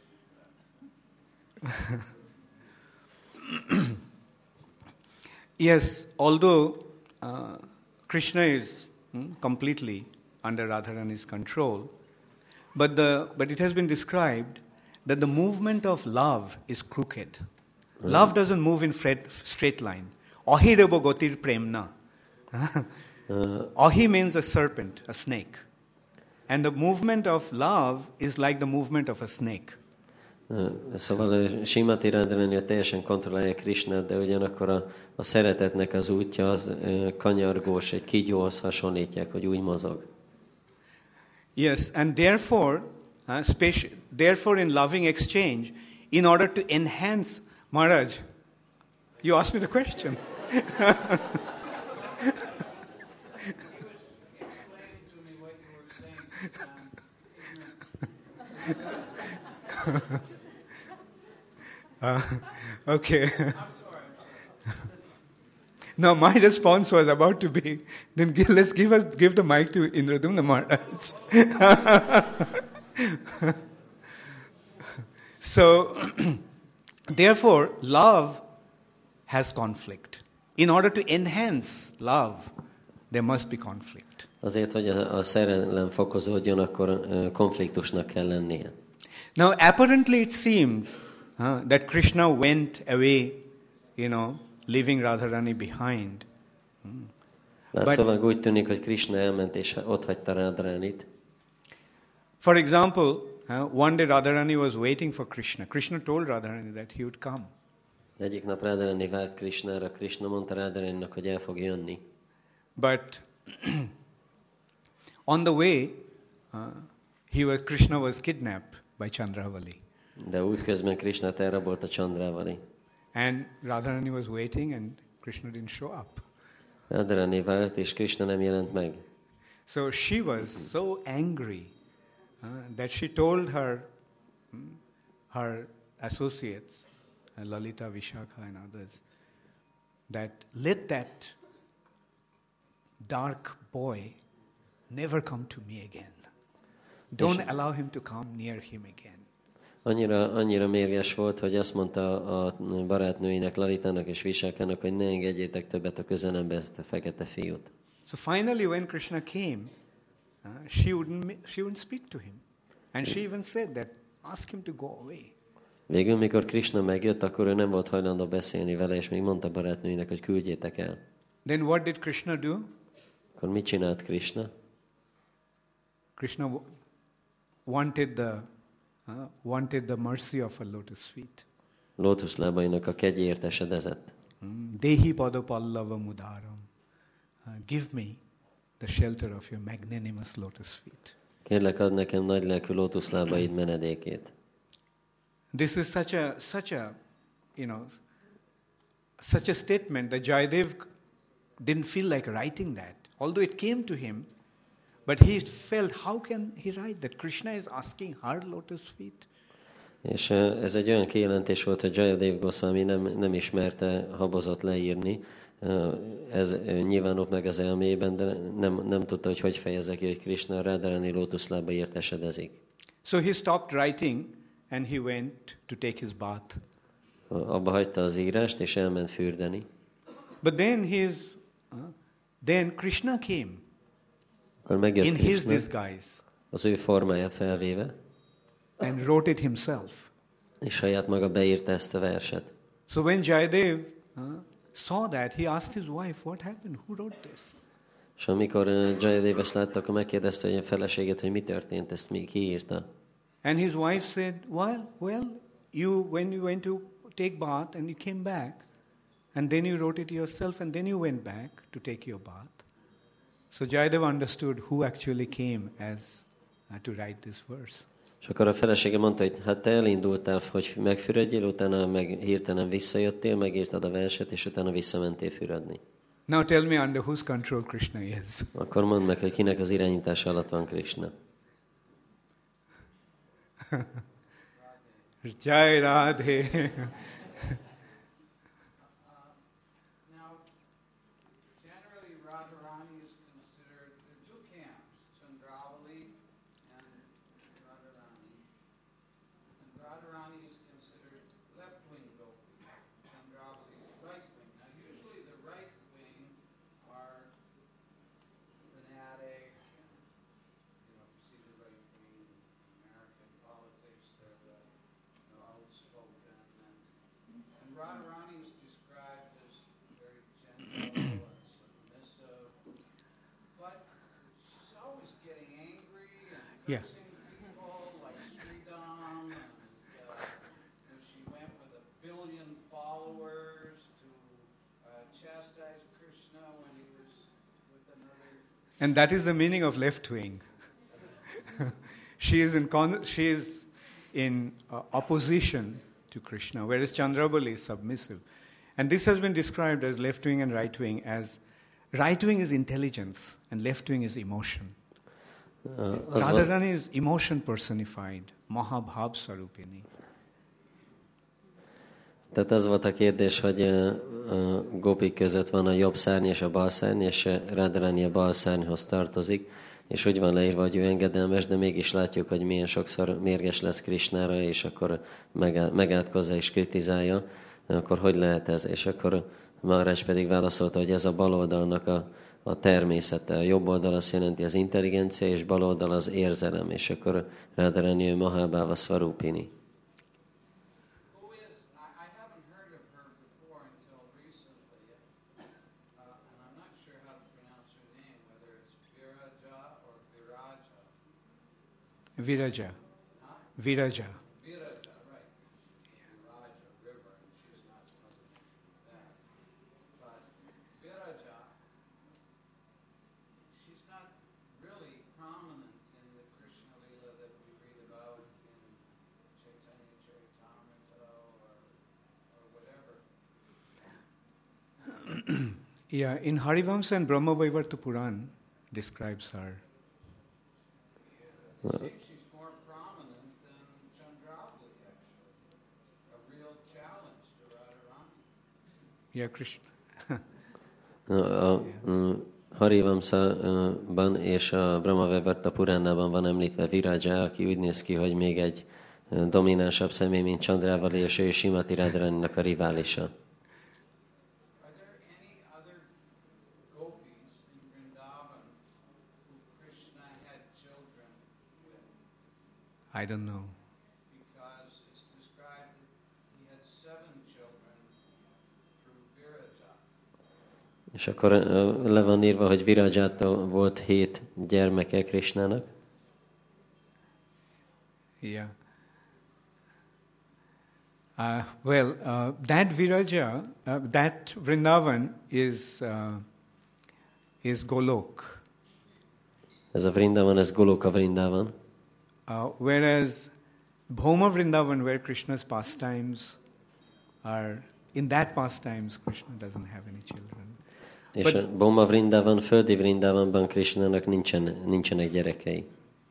B: Yes, although uh, Krishna is hmm, completely under Radharani's control, but the but it has been described that the movement of love is crooked. Love doesn't move in fret, straight line. Ahirabo gotir premna. Ahi means a serpent, a snake. And the movement of love is like the movement of a snake.
D: Szóval Simati Radharani teljesen kontrollálja Krishnát, de ugyanakkor a, a szeretetnek az útja az kanyargós, egy kígyóhoz hasonlítják, hogy úgy mozog.
B: Yes, and therefore, uh, speci- therefore in loving exchange, in order to enhance, Maharaj, you asked me the question.
F: Explain to me what you were saying.
B: uh, okay.
F: I'm sorry.
B: Now my response was about to be, then give, let's give us give the mic to Indradumna Maharaj. So, therefore, love has conflict. In order to enhance love, there must be conflict.
D: Azért, hogy a, a szerelem fokozódjon, akkor uh, konfliktusnak kell lennie.
B: Now, apparently it seems uh, that Krishna went away, you know, leaving Radharani behind.
D: Látszólag úgy tűnik, hogy Krishna elment és ott hagyta Radharanit.
B: For example, uh, one day Radharani was waiting for Krishna. Krishna told Radharani that he would come.
D: Egyik nap Radharani várt Krishnára, Krishna mondta Radharaninak, hogy el fog jönni.
B: But on the way, uh, he was, Krishna was kidnapped by Chandravali.
D: De útközben Krishnát elrabolta Chandravali.
B: And Radharani was waiting and Krishna didn't show up.
D: Radharani várt, és Krishna nem jelent meg.
B: So she was so angry uh, that she told her hmm, her associates, uh, Lalita, Vishakha and others, that let that dark boy never come to me again. Don't allow him to come near him again.
D: Annyira, annyira mérges volt, hogy azt mondta a barátnőinek, Lalitának és Vishakának, hogy ne engedjétek többet a közelembe ezt a fekete fiút.
B: So finally when Krishna came, uh, she wouldn't she wouldn't speak to him. And she even said that, ask him to go away.
D: Végül, mikor Krishna megjött, akkor ő nem volt hajlandó beszélni vele, és még mondta barátnőinek, hogy küldjétek el.
B: Then what did Krishna do?
D: Akkor mit csinált Krishna?
B: Krishna w- wanted the uh, wanted the mercy of a lotus feet.
D: Lótuszlábainak a kegyért esedezett.
B: Mm. Dehi padapallava mudaram. Uh, give me the shelter of your magnanimous lotus feet.
D: Kérlek, add nekem nagy lelkű lótuszlábaid menedékét.
B: This is such a such a you know such a statement that Jayadev didn't feel like writing that, although it came to him, but he felt, how can he write that Krishna is asking her lotus feet?
D: És ez egy olyan kijelentés volt, hogy Jayadev Goswami nem, nem ismerte, habozott leírni. Ez nyilvánult meg az elméjében, de nem, nem tudta, hogy hogy fejezze ki, hogy Krishna Radharani lótuszlábaért esedezik.
B: So he stopped writing and he went to take his bath.
D: Abba hagyta az írást, és elment fürdeni.
B: But then his, uh, then Krishna came
D: Akkor megjött
B: in his
D: Krishna,
B: disguise
D: az ő formáját felvéve,
B: and wrote it himself.
D: és saját maga beírta ezt a verset.
B: So when Jayadev uh, saw that, he asked his wife, what happened? Who wrote this?
D: És amikor Jayadev ezt látta, akkor megkérdezte hogy a feleségét, hogy mi történt, ezt még kiírta.
B: And his wife said, well, well, you when you went to take bath and you came back, and then you wrote it yourself, and then you went back to take your bath. So Jayadev understood who actually came as uh, to write this verse.
D: És akkor a felesége mondta, hogy hát te elindultál, hogy megfürödjél, utána meg hirtelen visszajöttél, megírtad a verset, és utána visszamentél fürödni.
B: Now tell me under whose control Krishna is.
D: Akkor mondd meg, hogy kinek az irányítása alatt van Krishna.
B: Jai Radhe.
F: Now, generally Radharani is considered, there are two camps, Chandravali and Radharani. And Radharani is considered left-wing gopi, Chandravali is right-wing. Now usually the right-wing are fanatic, you know, you see the right-wing in American politics, they're the, you know, outspoken. And, and Radharani is described as very gentle and submissive, but she's always getting angry and
B: Yeah.
F: cursing people like Sridham, and uh, you know, she went with a billion followers to uh, chastise Krishna when he was with another.
B: And that is the meaning of left wing. she is in con- she is in uh, opposition to Krishna, whereas Chandrabali is submissive. And this has been described as left wing and right wing as right wing is intelligence and left wing is emotion.
D: Uh, az van,
B: Radharani is emotion personified, Mahabhav Sarupini.
D: tehát az volt a kérdés, hogy uh, a gopik között van a jobb szárny és a bal szárny, és uh, Radharani a bal szárnyhoz tartozik, és úgy van leírva, hogy ő engedelmes, de mégis látjuk, hogy milyen sokszor mérges lesz Krishnára, és akkor megá- megátkozza és kritizálja, akkor hogy lehet ez? És akkor Maharaj pedig válaszolta, hogy ez a bal oldalnak a, a természete. A jobb oldal azt jelenti az intelligencia, és bal oldal az érzelem, és akkor Radharani ő Mahabhava Svarupini.
F: Who is, I, I haven't heard of her before until recently, uh, and I'm not sure how to pronounce her name, whether it's Viraja or Viraja.
B: Viraja.
F: Huh?
B: Viraja.
F: Viraja, right. Viraja, river, and she's not supposed to be that. But Viraja, she's not really prominent in the Krishna Lila that we read about in Chaitanya Charitamrita or, or whatever.
B: Yeah, in Harivamsa and Brahmavaivarta Puran describes her.
F: It seems she's more prominent than Chandravali, actually. A real challenge to Radharani.
B: Yeah, Krishna.
D: A, a Harivamsa-ban és a Brahmavaivarta Puránában van említve Viraja, aki úgy néz ki, hogy még egy ö, dominánsabb személy, mint Chandravali, és ő Simati Radharaninak a riválisa.
F: Are there any other gopis in Vrindavan who Krishna had children with?
B: I don't know.
F: Because it's described that he had seven children through Viraja.
D: És akkor ö, le van írva, hogy Virajától volt hét gyermeke Krishnának.
B: Yeah. Uh, well, uh, that Viraja, uh, that Vrindavan is uh, is Golok,
D: Ez a Vrindavan, ez Goloka Vrindavan.
B: uh, whereas Bhoma Vrindavan, where Krishna's pastimes are, in that pastimes Krishna doesn't have any children.
D: És
B: But-
D: a Bhoma Vrindavan, földi Vrindavanban Krishnának nincsen, nincsenek gyerekei.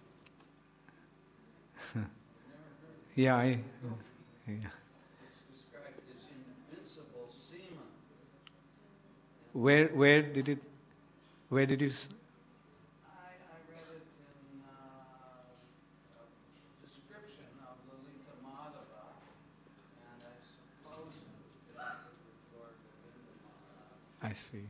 B: Yeah, I, yeah.
F: It's described as invincible semen.
B: Where where did it? Where did you? s-
F: I, I read it in uh, a description of Lalita Madhava, and I suppose it was connected with Lord Govinda Maharaj.
B: I see.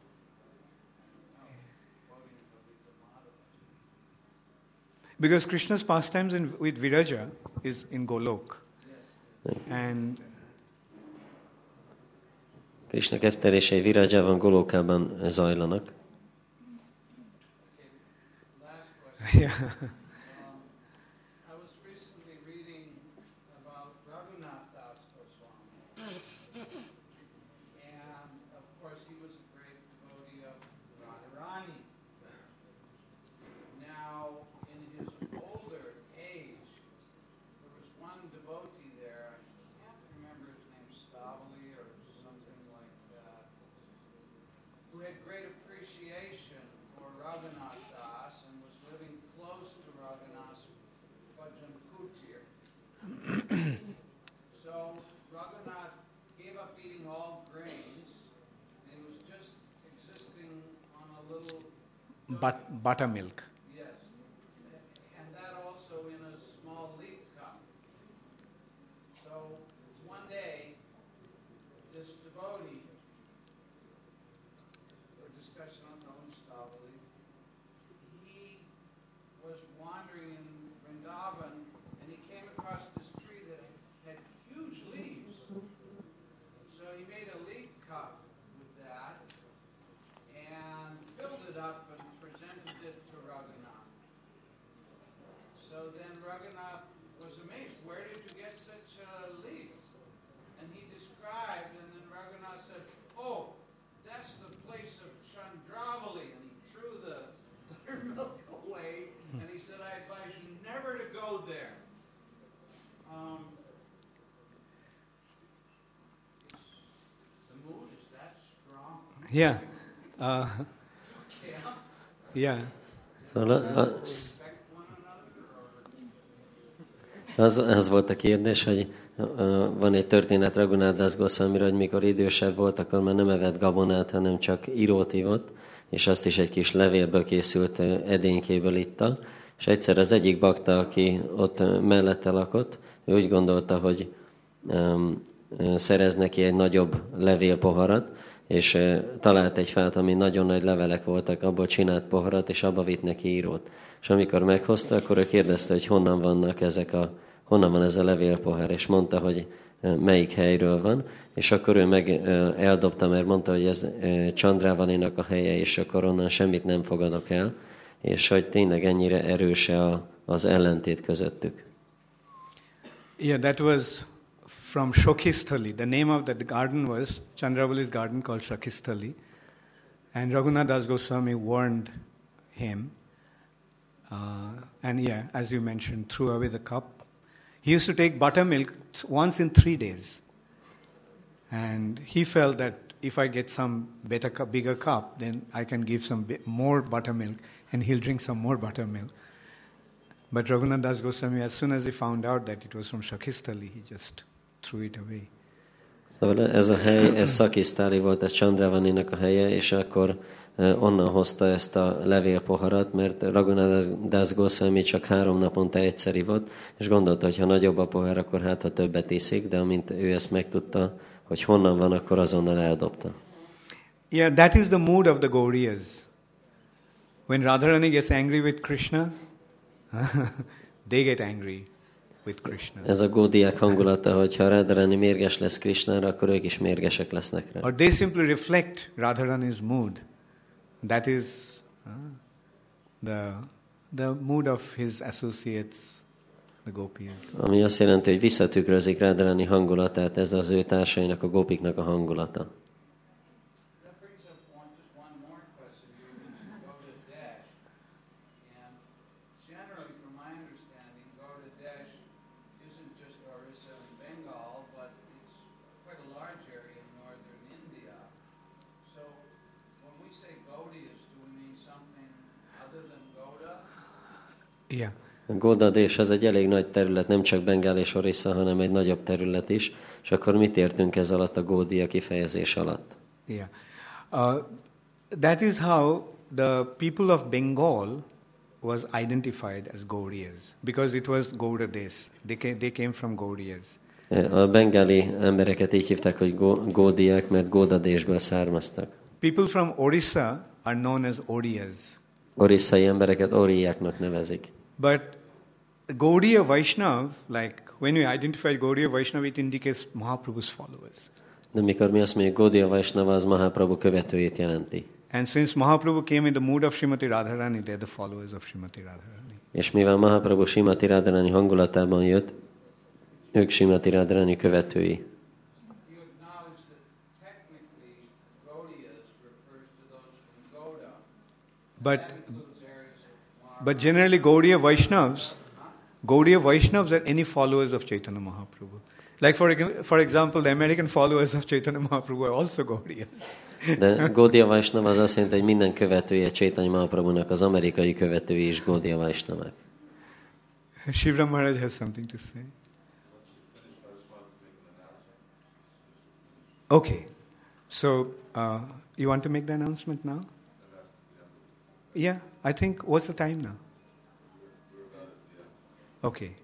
F: Quoting Lalita Madhava.
B: Because Krishna's pastimes in, with Viraja is in Golok, and
D: Krishna kettelései Virajában, Golokában zajlanak.
F: Last question.
B: yeah,
F: Um, I was recently reading about Raghunath Das Goswami. And of course, he was a great devotee of Radharani. Now, in his older age, there was one devotee there, I can't remember his name, Stavali or something like that, who
B: but, buttermilk.
F: Yes. And that also in a small leaf cup. So one day, this devotee, for discussion on Namastavali, he was wandering in Vrindavan and he came across this tree that had huge leaves. So he made a leaf cup with that and filled it up and presented it to Raghunath. So then Raghunath was amazed, where did you get such a leaf? And he described, and then Raghunath said, oh, that's the place of Chandravali. And he threw the buttermilk away, and he said, I advise you never to go there. Um, the mood is that strong.
B: Yeah. Uh, yeah.
D: Szóval a, a,
F: Respect one another, or
D: az, az volt a kérdés, hogy uh, van egy történet Raghunath Das Goswamiről, hogy mikor idősebb volt, akkor már nem evett gabonát, hanem csak írót ivott, és azt is egy kis levélből készült uh, edénykéből itta. És egyszer az egyik bakta, aki ott uh, mellette lakott, ő úgy gondolta, hogy um, uh, szerez neki egy nagyobb levélpoharat, és uh, talált egy fát, ami nagyon nagy levelek voltak, abból csinált poharat, és abba vitt neki írót. És amikor meghozta, akkor ő kérdezte, hogy honnan vannak ezek a, honnan van ez a levélpohár, és mondta, hogy uh, melyik helyről van, és akkor ő meg uh, eldobta, mert mondta, hogy ez uh, Chandravaninak a helye, és akkor onnan semmit nem fogadok el, és hogy tényleg ennyire erős a, az ellentét közöttük.
B: Yeah, that was from Shokistali. The name of that garden was Chandravali's garden called Shokistali. And Raghunath Das Goswami warned him. Uh, and yeah, as you mentioned, threw away the cup. He used to take buttermilk once in three days. And he felt that if I get some better cup, bigger cup, then I can give some bit more buttermilk and he'll drink some more buttermilk. But Raghunath Das Goswami, as soon as he found out that it was from Shakistali, he just threw it away.
D: Szóval ez a hely, ez Szakisztáli volt, ez Chandravaninak a helye, és akkor uh, onnan hozta ezt a levélpoharat, mert Raghunath Das Goswami csak három naponta egyszer ivott, és gondolta, hogy ha nagyobb a pohár, akkor hát ha többet iszik, de amint ő ezt megtudta, hogy honnan van, akkor azonnal eldobta.
B: Yeah, that is the mood of the Gauriyas. When Radharani gets angry with Krishna, they get angry with Krishna.
D: Ez a gódiák hangulata, hogyha Radharani mérges lesz Krishnára, akkor ők is mérgesek lesznek rá.
B: Or they simply reflect Radharani's mood. That is uh, the, the mood of his associates, the gopis.
D: Ami azt jelenti, hogy visszatükrözik Radharani hangulatát, ez az ő társainak, a gopiknak a hangulata.
F: that brings up one, just one more question. You mentioned Gauda Dash, and generally, from my understanding, Gauda Dash isn't just Orissa and Bengal, but it's quite a large area in northern India. So, when we say Gaudiyas, do we mean something other than Gauda?
B: Yeah.
D: A Gódadés az egy elég nagy terület, nem csak Bengál és Orissa, hanem egy nagyobb terület is. És akkor mit értünk ez alatt a gódia kifejezés alatt?
B: Yeah. Uh, that is how the people of Bengal was identified as Gauriyas, because it was Gauda Desh. They came, they came from Gauriyas.
D: A bengáli embereket így hívták, hogy gó- gódiák, mert Gódadésből származtak.
B: People from Orissa are known as Oriyas.
D: Orisszai embereket oriáknak nevezik.
B: But Gaudiya Vaishnav, like when we identify Gaudiya Vaishnav, it indicates Mahaprabhu's followers.
D: De mikor mi azt mondjuk, Gaudiya Vaishnava, az Mahaprabhu követőjét jelenti.
B: And since Mahaprabhu came in the mood of Srimati Radharani, they're the followers of Srimati Radharani.
D: És mivel Mahaprabhu Srimati Radharani hangulatában jött, ők Srimati Radharani követői.
F: You acknowledge that technically Gaudiyas refers to those from Gauda.
B: But
F: That includes areas of Maharashtra.
B: but generally Gaudiya Vaishnavas, Gaudiya Vaishnavas are any followers of Chaitanya Mahaprabhu. Like for ex- for example, the American followers of Chaitanya Mahaprabhu are also Gaudiyas.
D: De Gaudiya Vaishnava az azt jelenti, hogy minden követője Chaitanya Mahaprabhunak, az amerikai követői is Gaudiya Vaishnavák.
B: Shivram Maharaj has something to say. Okay, so uh, you want to make the announcement now? Yeah, I think, what's the time now? Okay.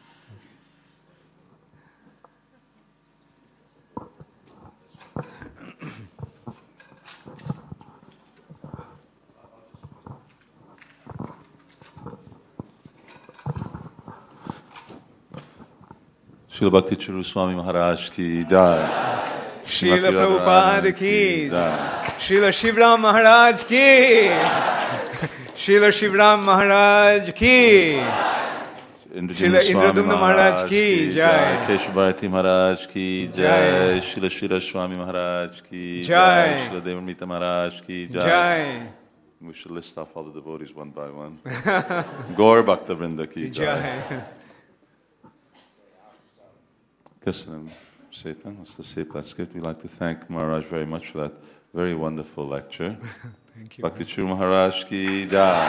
A: Srila Bhakti Churu Swami Maharaj ki jai.
B: Srila Prabhupada ki jai. Srila Shivram Maharaj ki. Srila Shivram Maharaj ki. Srila Indradumna Maharaj ki jai.
A: Keshavbharati Maharaj ki jai. Srila Srila Swami Maharaj ki
B: jai.
A: Srila Devamrita Maharaj ki jai.
B: Jai.
A: We should list off all the devotees one by one. Gaur Bhakta Vrinda ki jai.
B: Jai.
A: Köszönöm szépen, azt a szép leckét. We'd like to thank Maharaj very much for that very wonderful lecture.
B: Thank you.
A: Bhakti Churu Maharaj ki jai.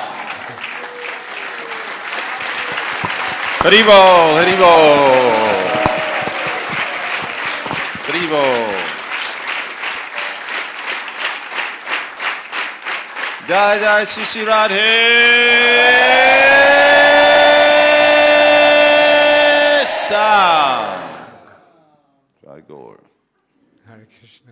A: Haribol, Haribol. Haribol. Jai Jai Sri Sri Radhe. Sam. Jai Gaur.
B: Hare Krishna.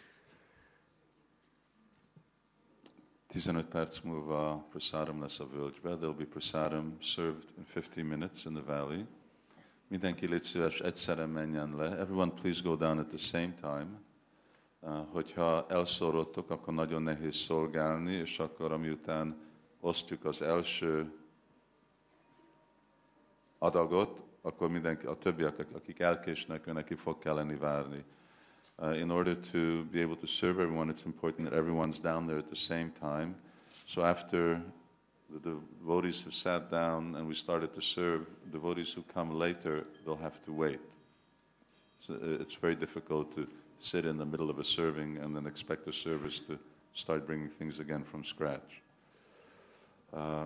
A: tizenöt perc múlva prasadam lesz a völgybe. There'll be prasadam served in fifteen minutes in the valley. Mindenki légy szíves, egyszerre menjen le. Everyone please go down at the same time. Uh, hogyha elszórodtok, akkor nagyon nehéz szolgálni, és akkor amiután osztjuk az első adagot, akkor mindenki, a többiek, akik elkésnek, őnek ki fog kelleni várni. Uh, in order to be able to serve everyone, it's important that everyone's down there at the same time. So after the devotees have sat down and we started to serve, devotees who come later, they'll have to wait. So it's very difficult to sit in the middle of a serving and then expect the service to start bringing things again from scratch. Uh,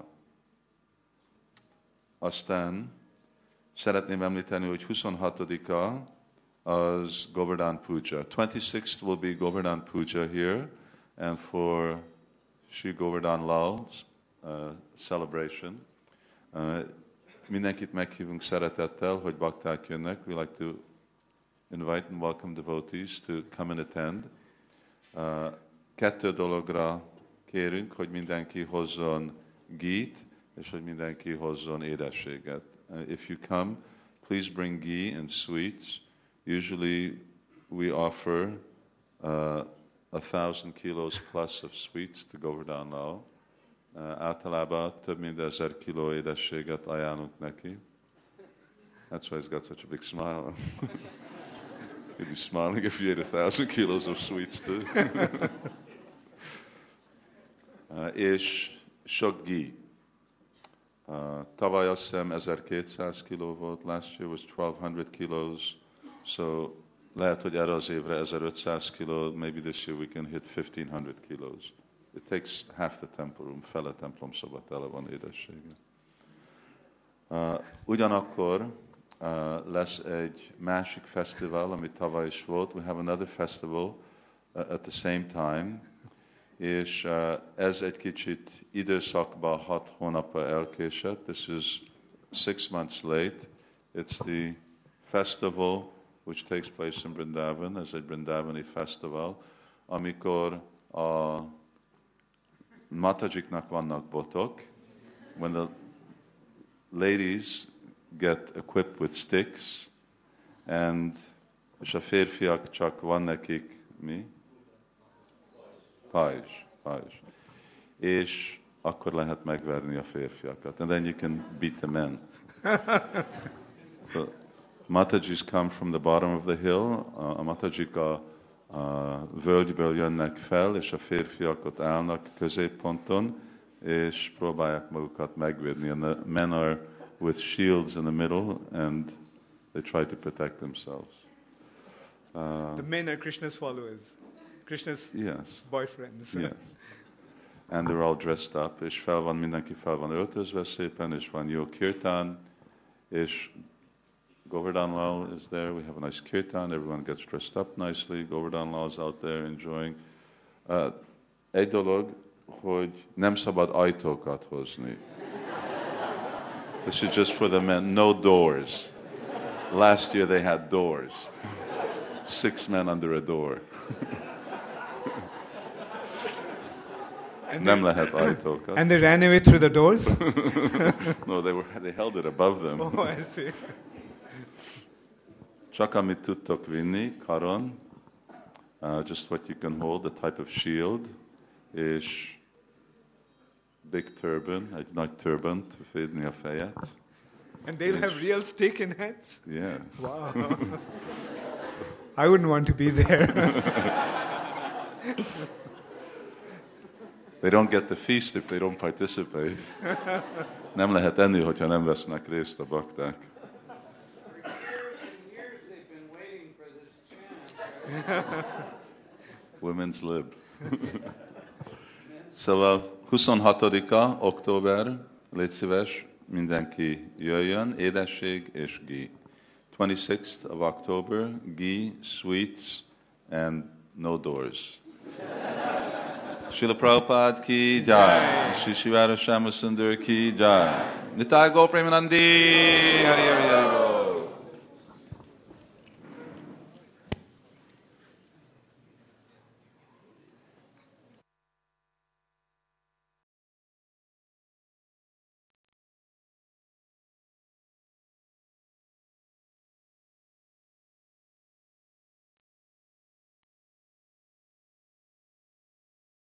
A: aztán szeretném említeni, hogy huszonhatodika az Govardhan Puja. twenty-sixth will be Govardhan Puja here, and for Sri Govardhan Lal's uh, celebration. Uh, mindenkit meghívunk szeretettel, hogy bakták jönnek. We like to invite and welcome devotees to come and attend. Uh, kettő dologra kérünk, hogy mindenki hozzon gít, és hogy mindenki hozzon édességet. Uh, if you come, please bring ghee and sweets. Usually we offer uh, a thousand kilos plus of sweets to Govardhan Lal. Uh, általában több mint ezer kiló édességet ajánlunk neki. That's why he's got such a big smile. He'd be smiling if you ate a thousand kilos of sweets too. uh, és sok ghee. Uh, tavaly azt hiszem ezerkétszáz kiló volt, last year was twelve hundred kilos, so lehet, hogy erre az évre ezerötszáz kiló, maybe this year we can hit fifteen hundred kilos. It takes half the temple room, fele templom szoba tele van édessége. Uh, ugyanakkor uh, lesz egy másik fesztivál, ami tavaly is volt. We have another festival uh, at the same time, és uh, ez egy kicsit időszakban hat hónapra elkésett. This is six months late. It's the festival which takes place in Vrindavan, as a Vrindavani festival, amikor a matajiknak vannak botok. When the ladies get equipped with sticks, and és a férfiak csak van nekik mi? Pajzs, pajzs. És akkor lehet megverni a férfiakat. And then you can beat the men. So, Matajis come from the bottom of the hill. A Matajik a, a völgyből jönnek fel, és a férfiak ott állnak középponton, és próbálják magukat megvédni. And the men are with shields in the middle, and they try to protect themselves. Uh,
B: The men are Krishna's followers, Krishna's
A: yes.
B: boyfriends.
A: Yes. And they're all dressed up, és fel van, mindenki fel van öltözve szépen, és van jó kirtan, és Govardhan Lal is there. We have a nice kirtan. Everyone gets dressed up nicely. Govardhan Lal is out there enjoying. Uh, egy dolog, hogy nem szabad ajtókat hozni. This is just for the men. No doors. Last year they had doors. Six men under a door. Nem lehet ajtókat.
B: And they ran away through the doors?
A: No, they were they held it above them.
B: Oh, I see.
A: Csak amit tudtok vinni, karon, uh, just what you can hold, a type of shield, és big turban, egy nagy turban, fedni a fejet.
B: And they'll have real steak in heads?
A: Yeah.
B: Wow. I wouldn't want to be there.
A: They don't get the feast if they don't participate. Nem lehet enni, hogyha nem vesznek részt a bakták.
F: years they've been waiting for this chant.
A: Women's lib. Szóval huszonhatodika október, légy szíves, mindenki jöjjön, édesség és ghee. twenty-sixth of October, ghee, sweets, and no doors. Srila Prabhupada ki jai, Shri Shivara Shama Sundar ki jai, Nitai Gaur Premanandi, Hari Hari Hari.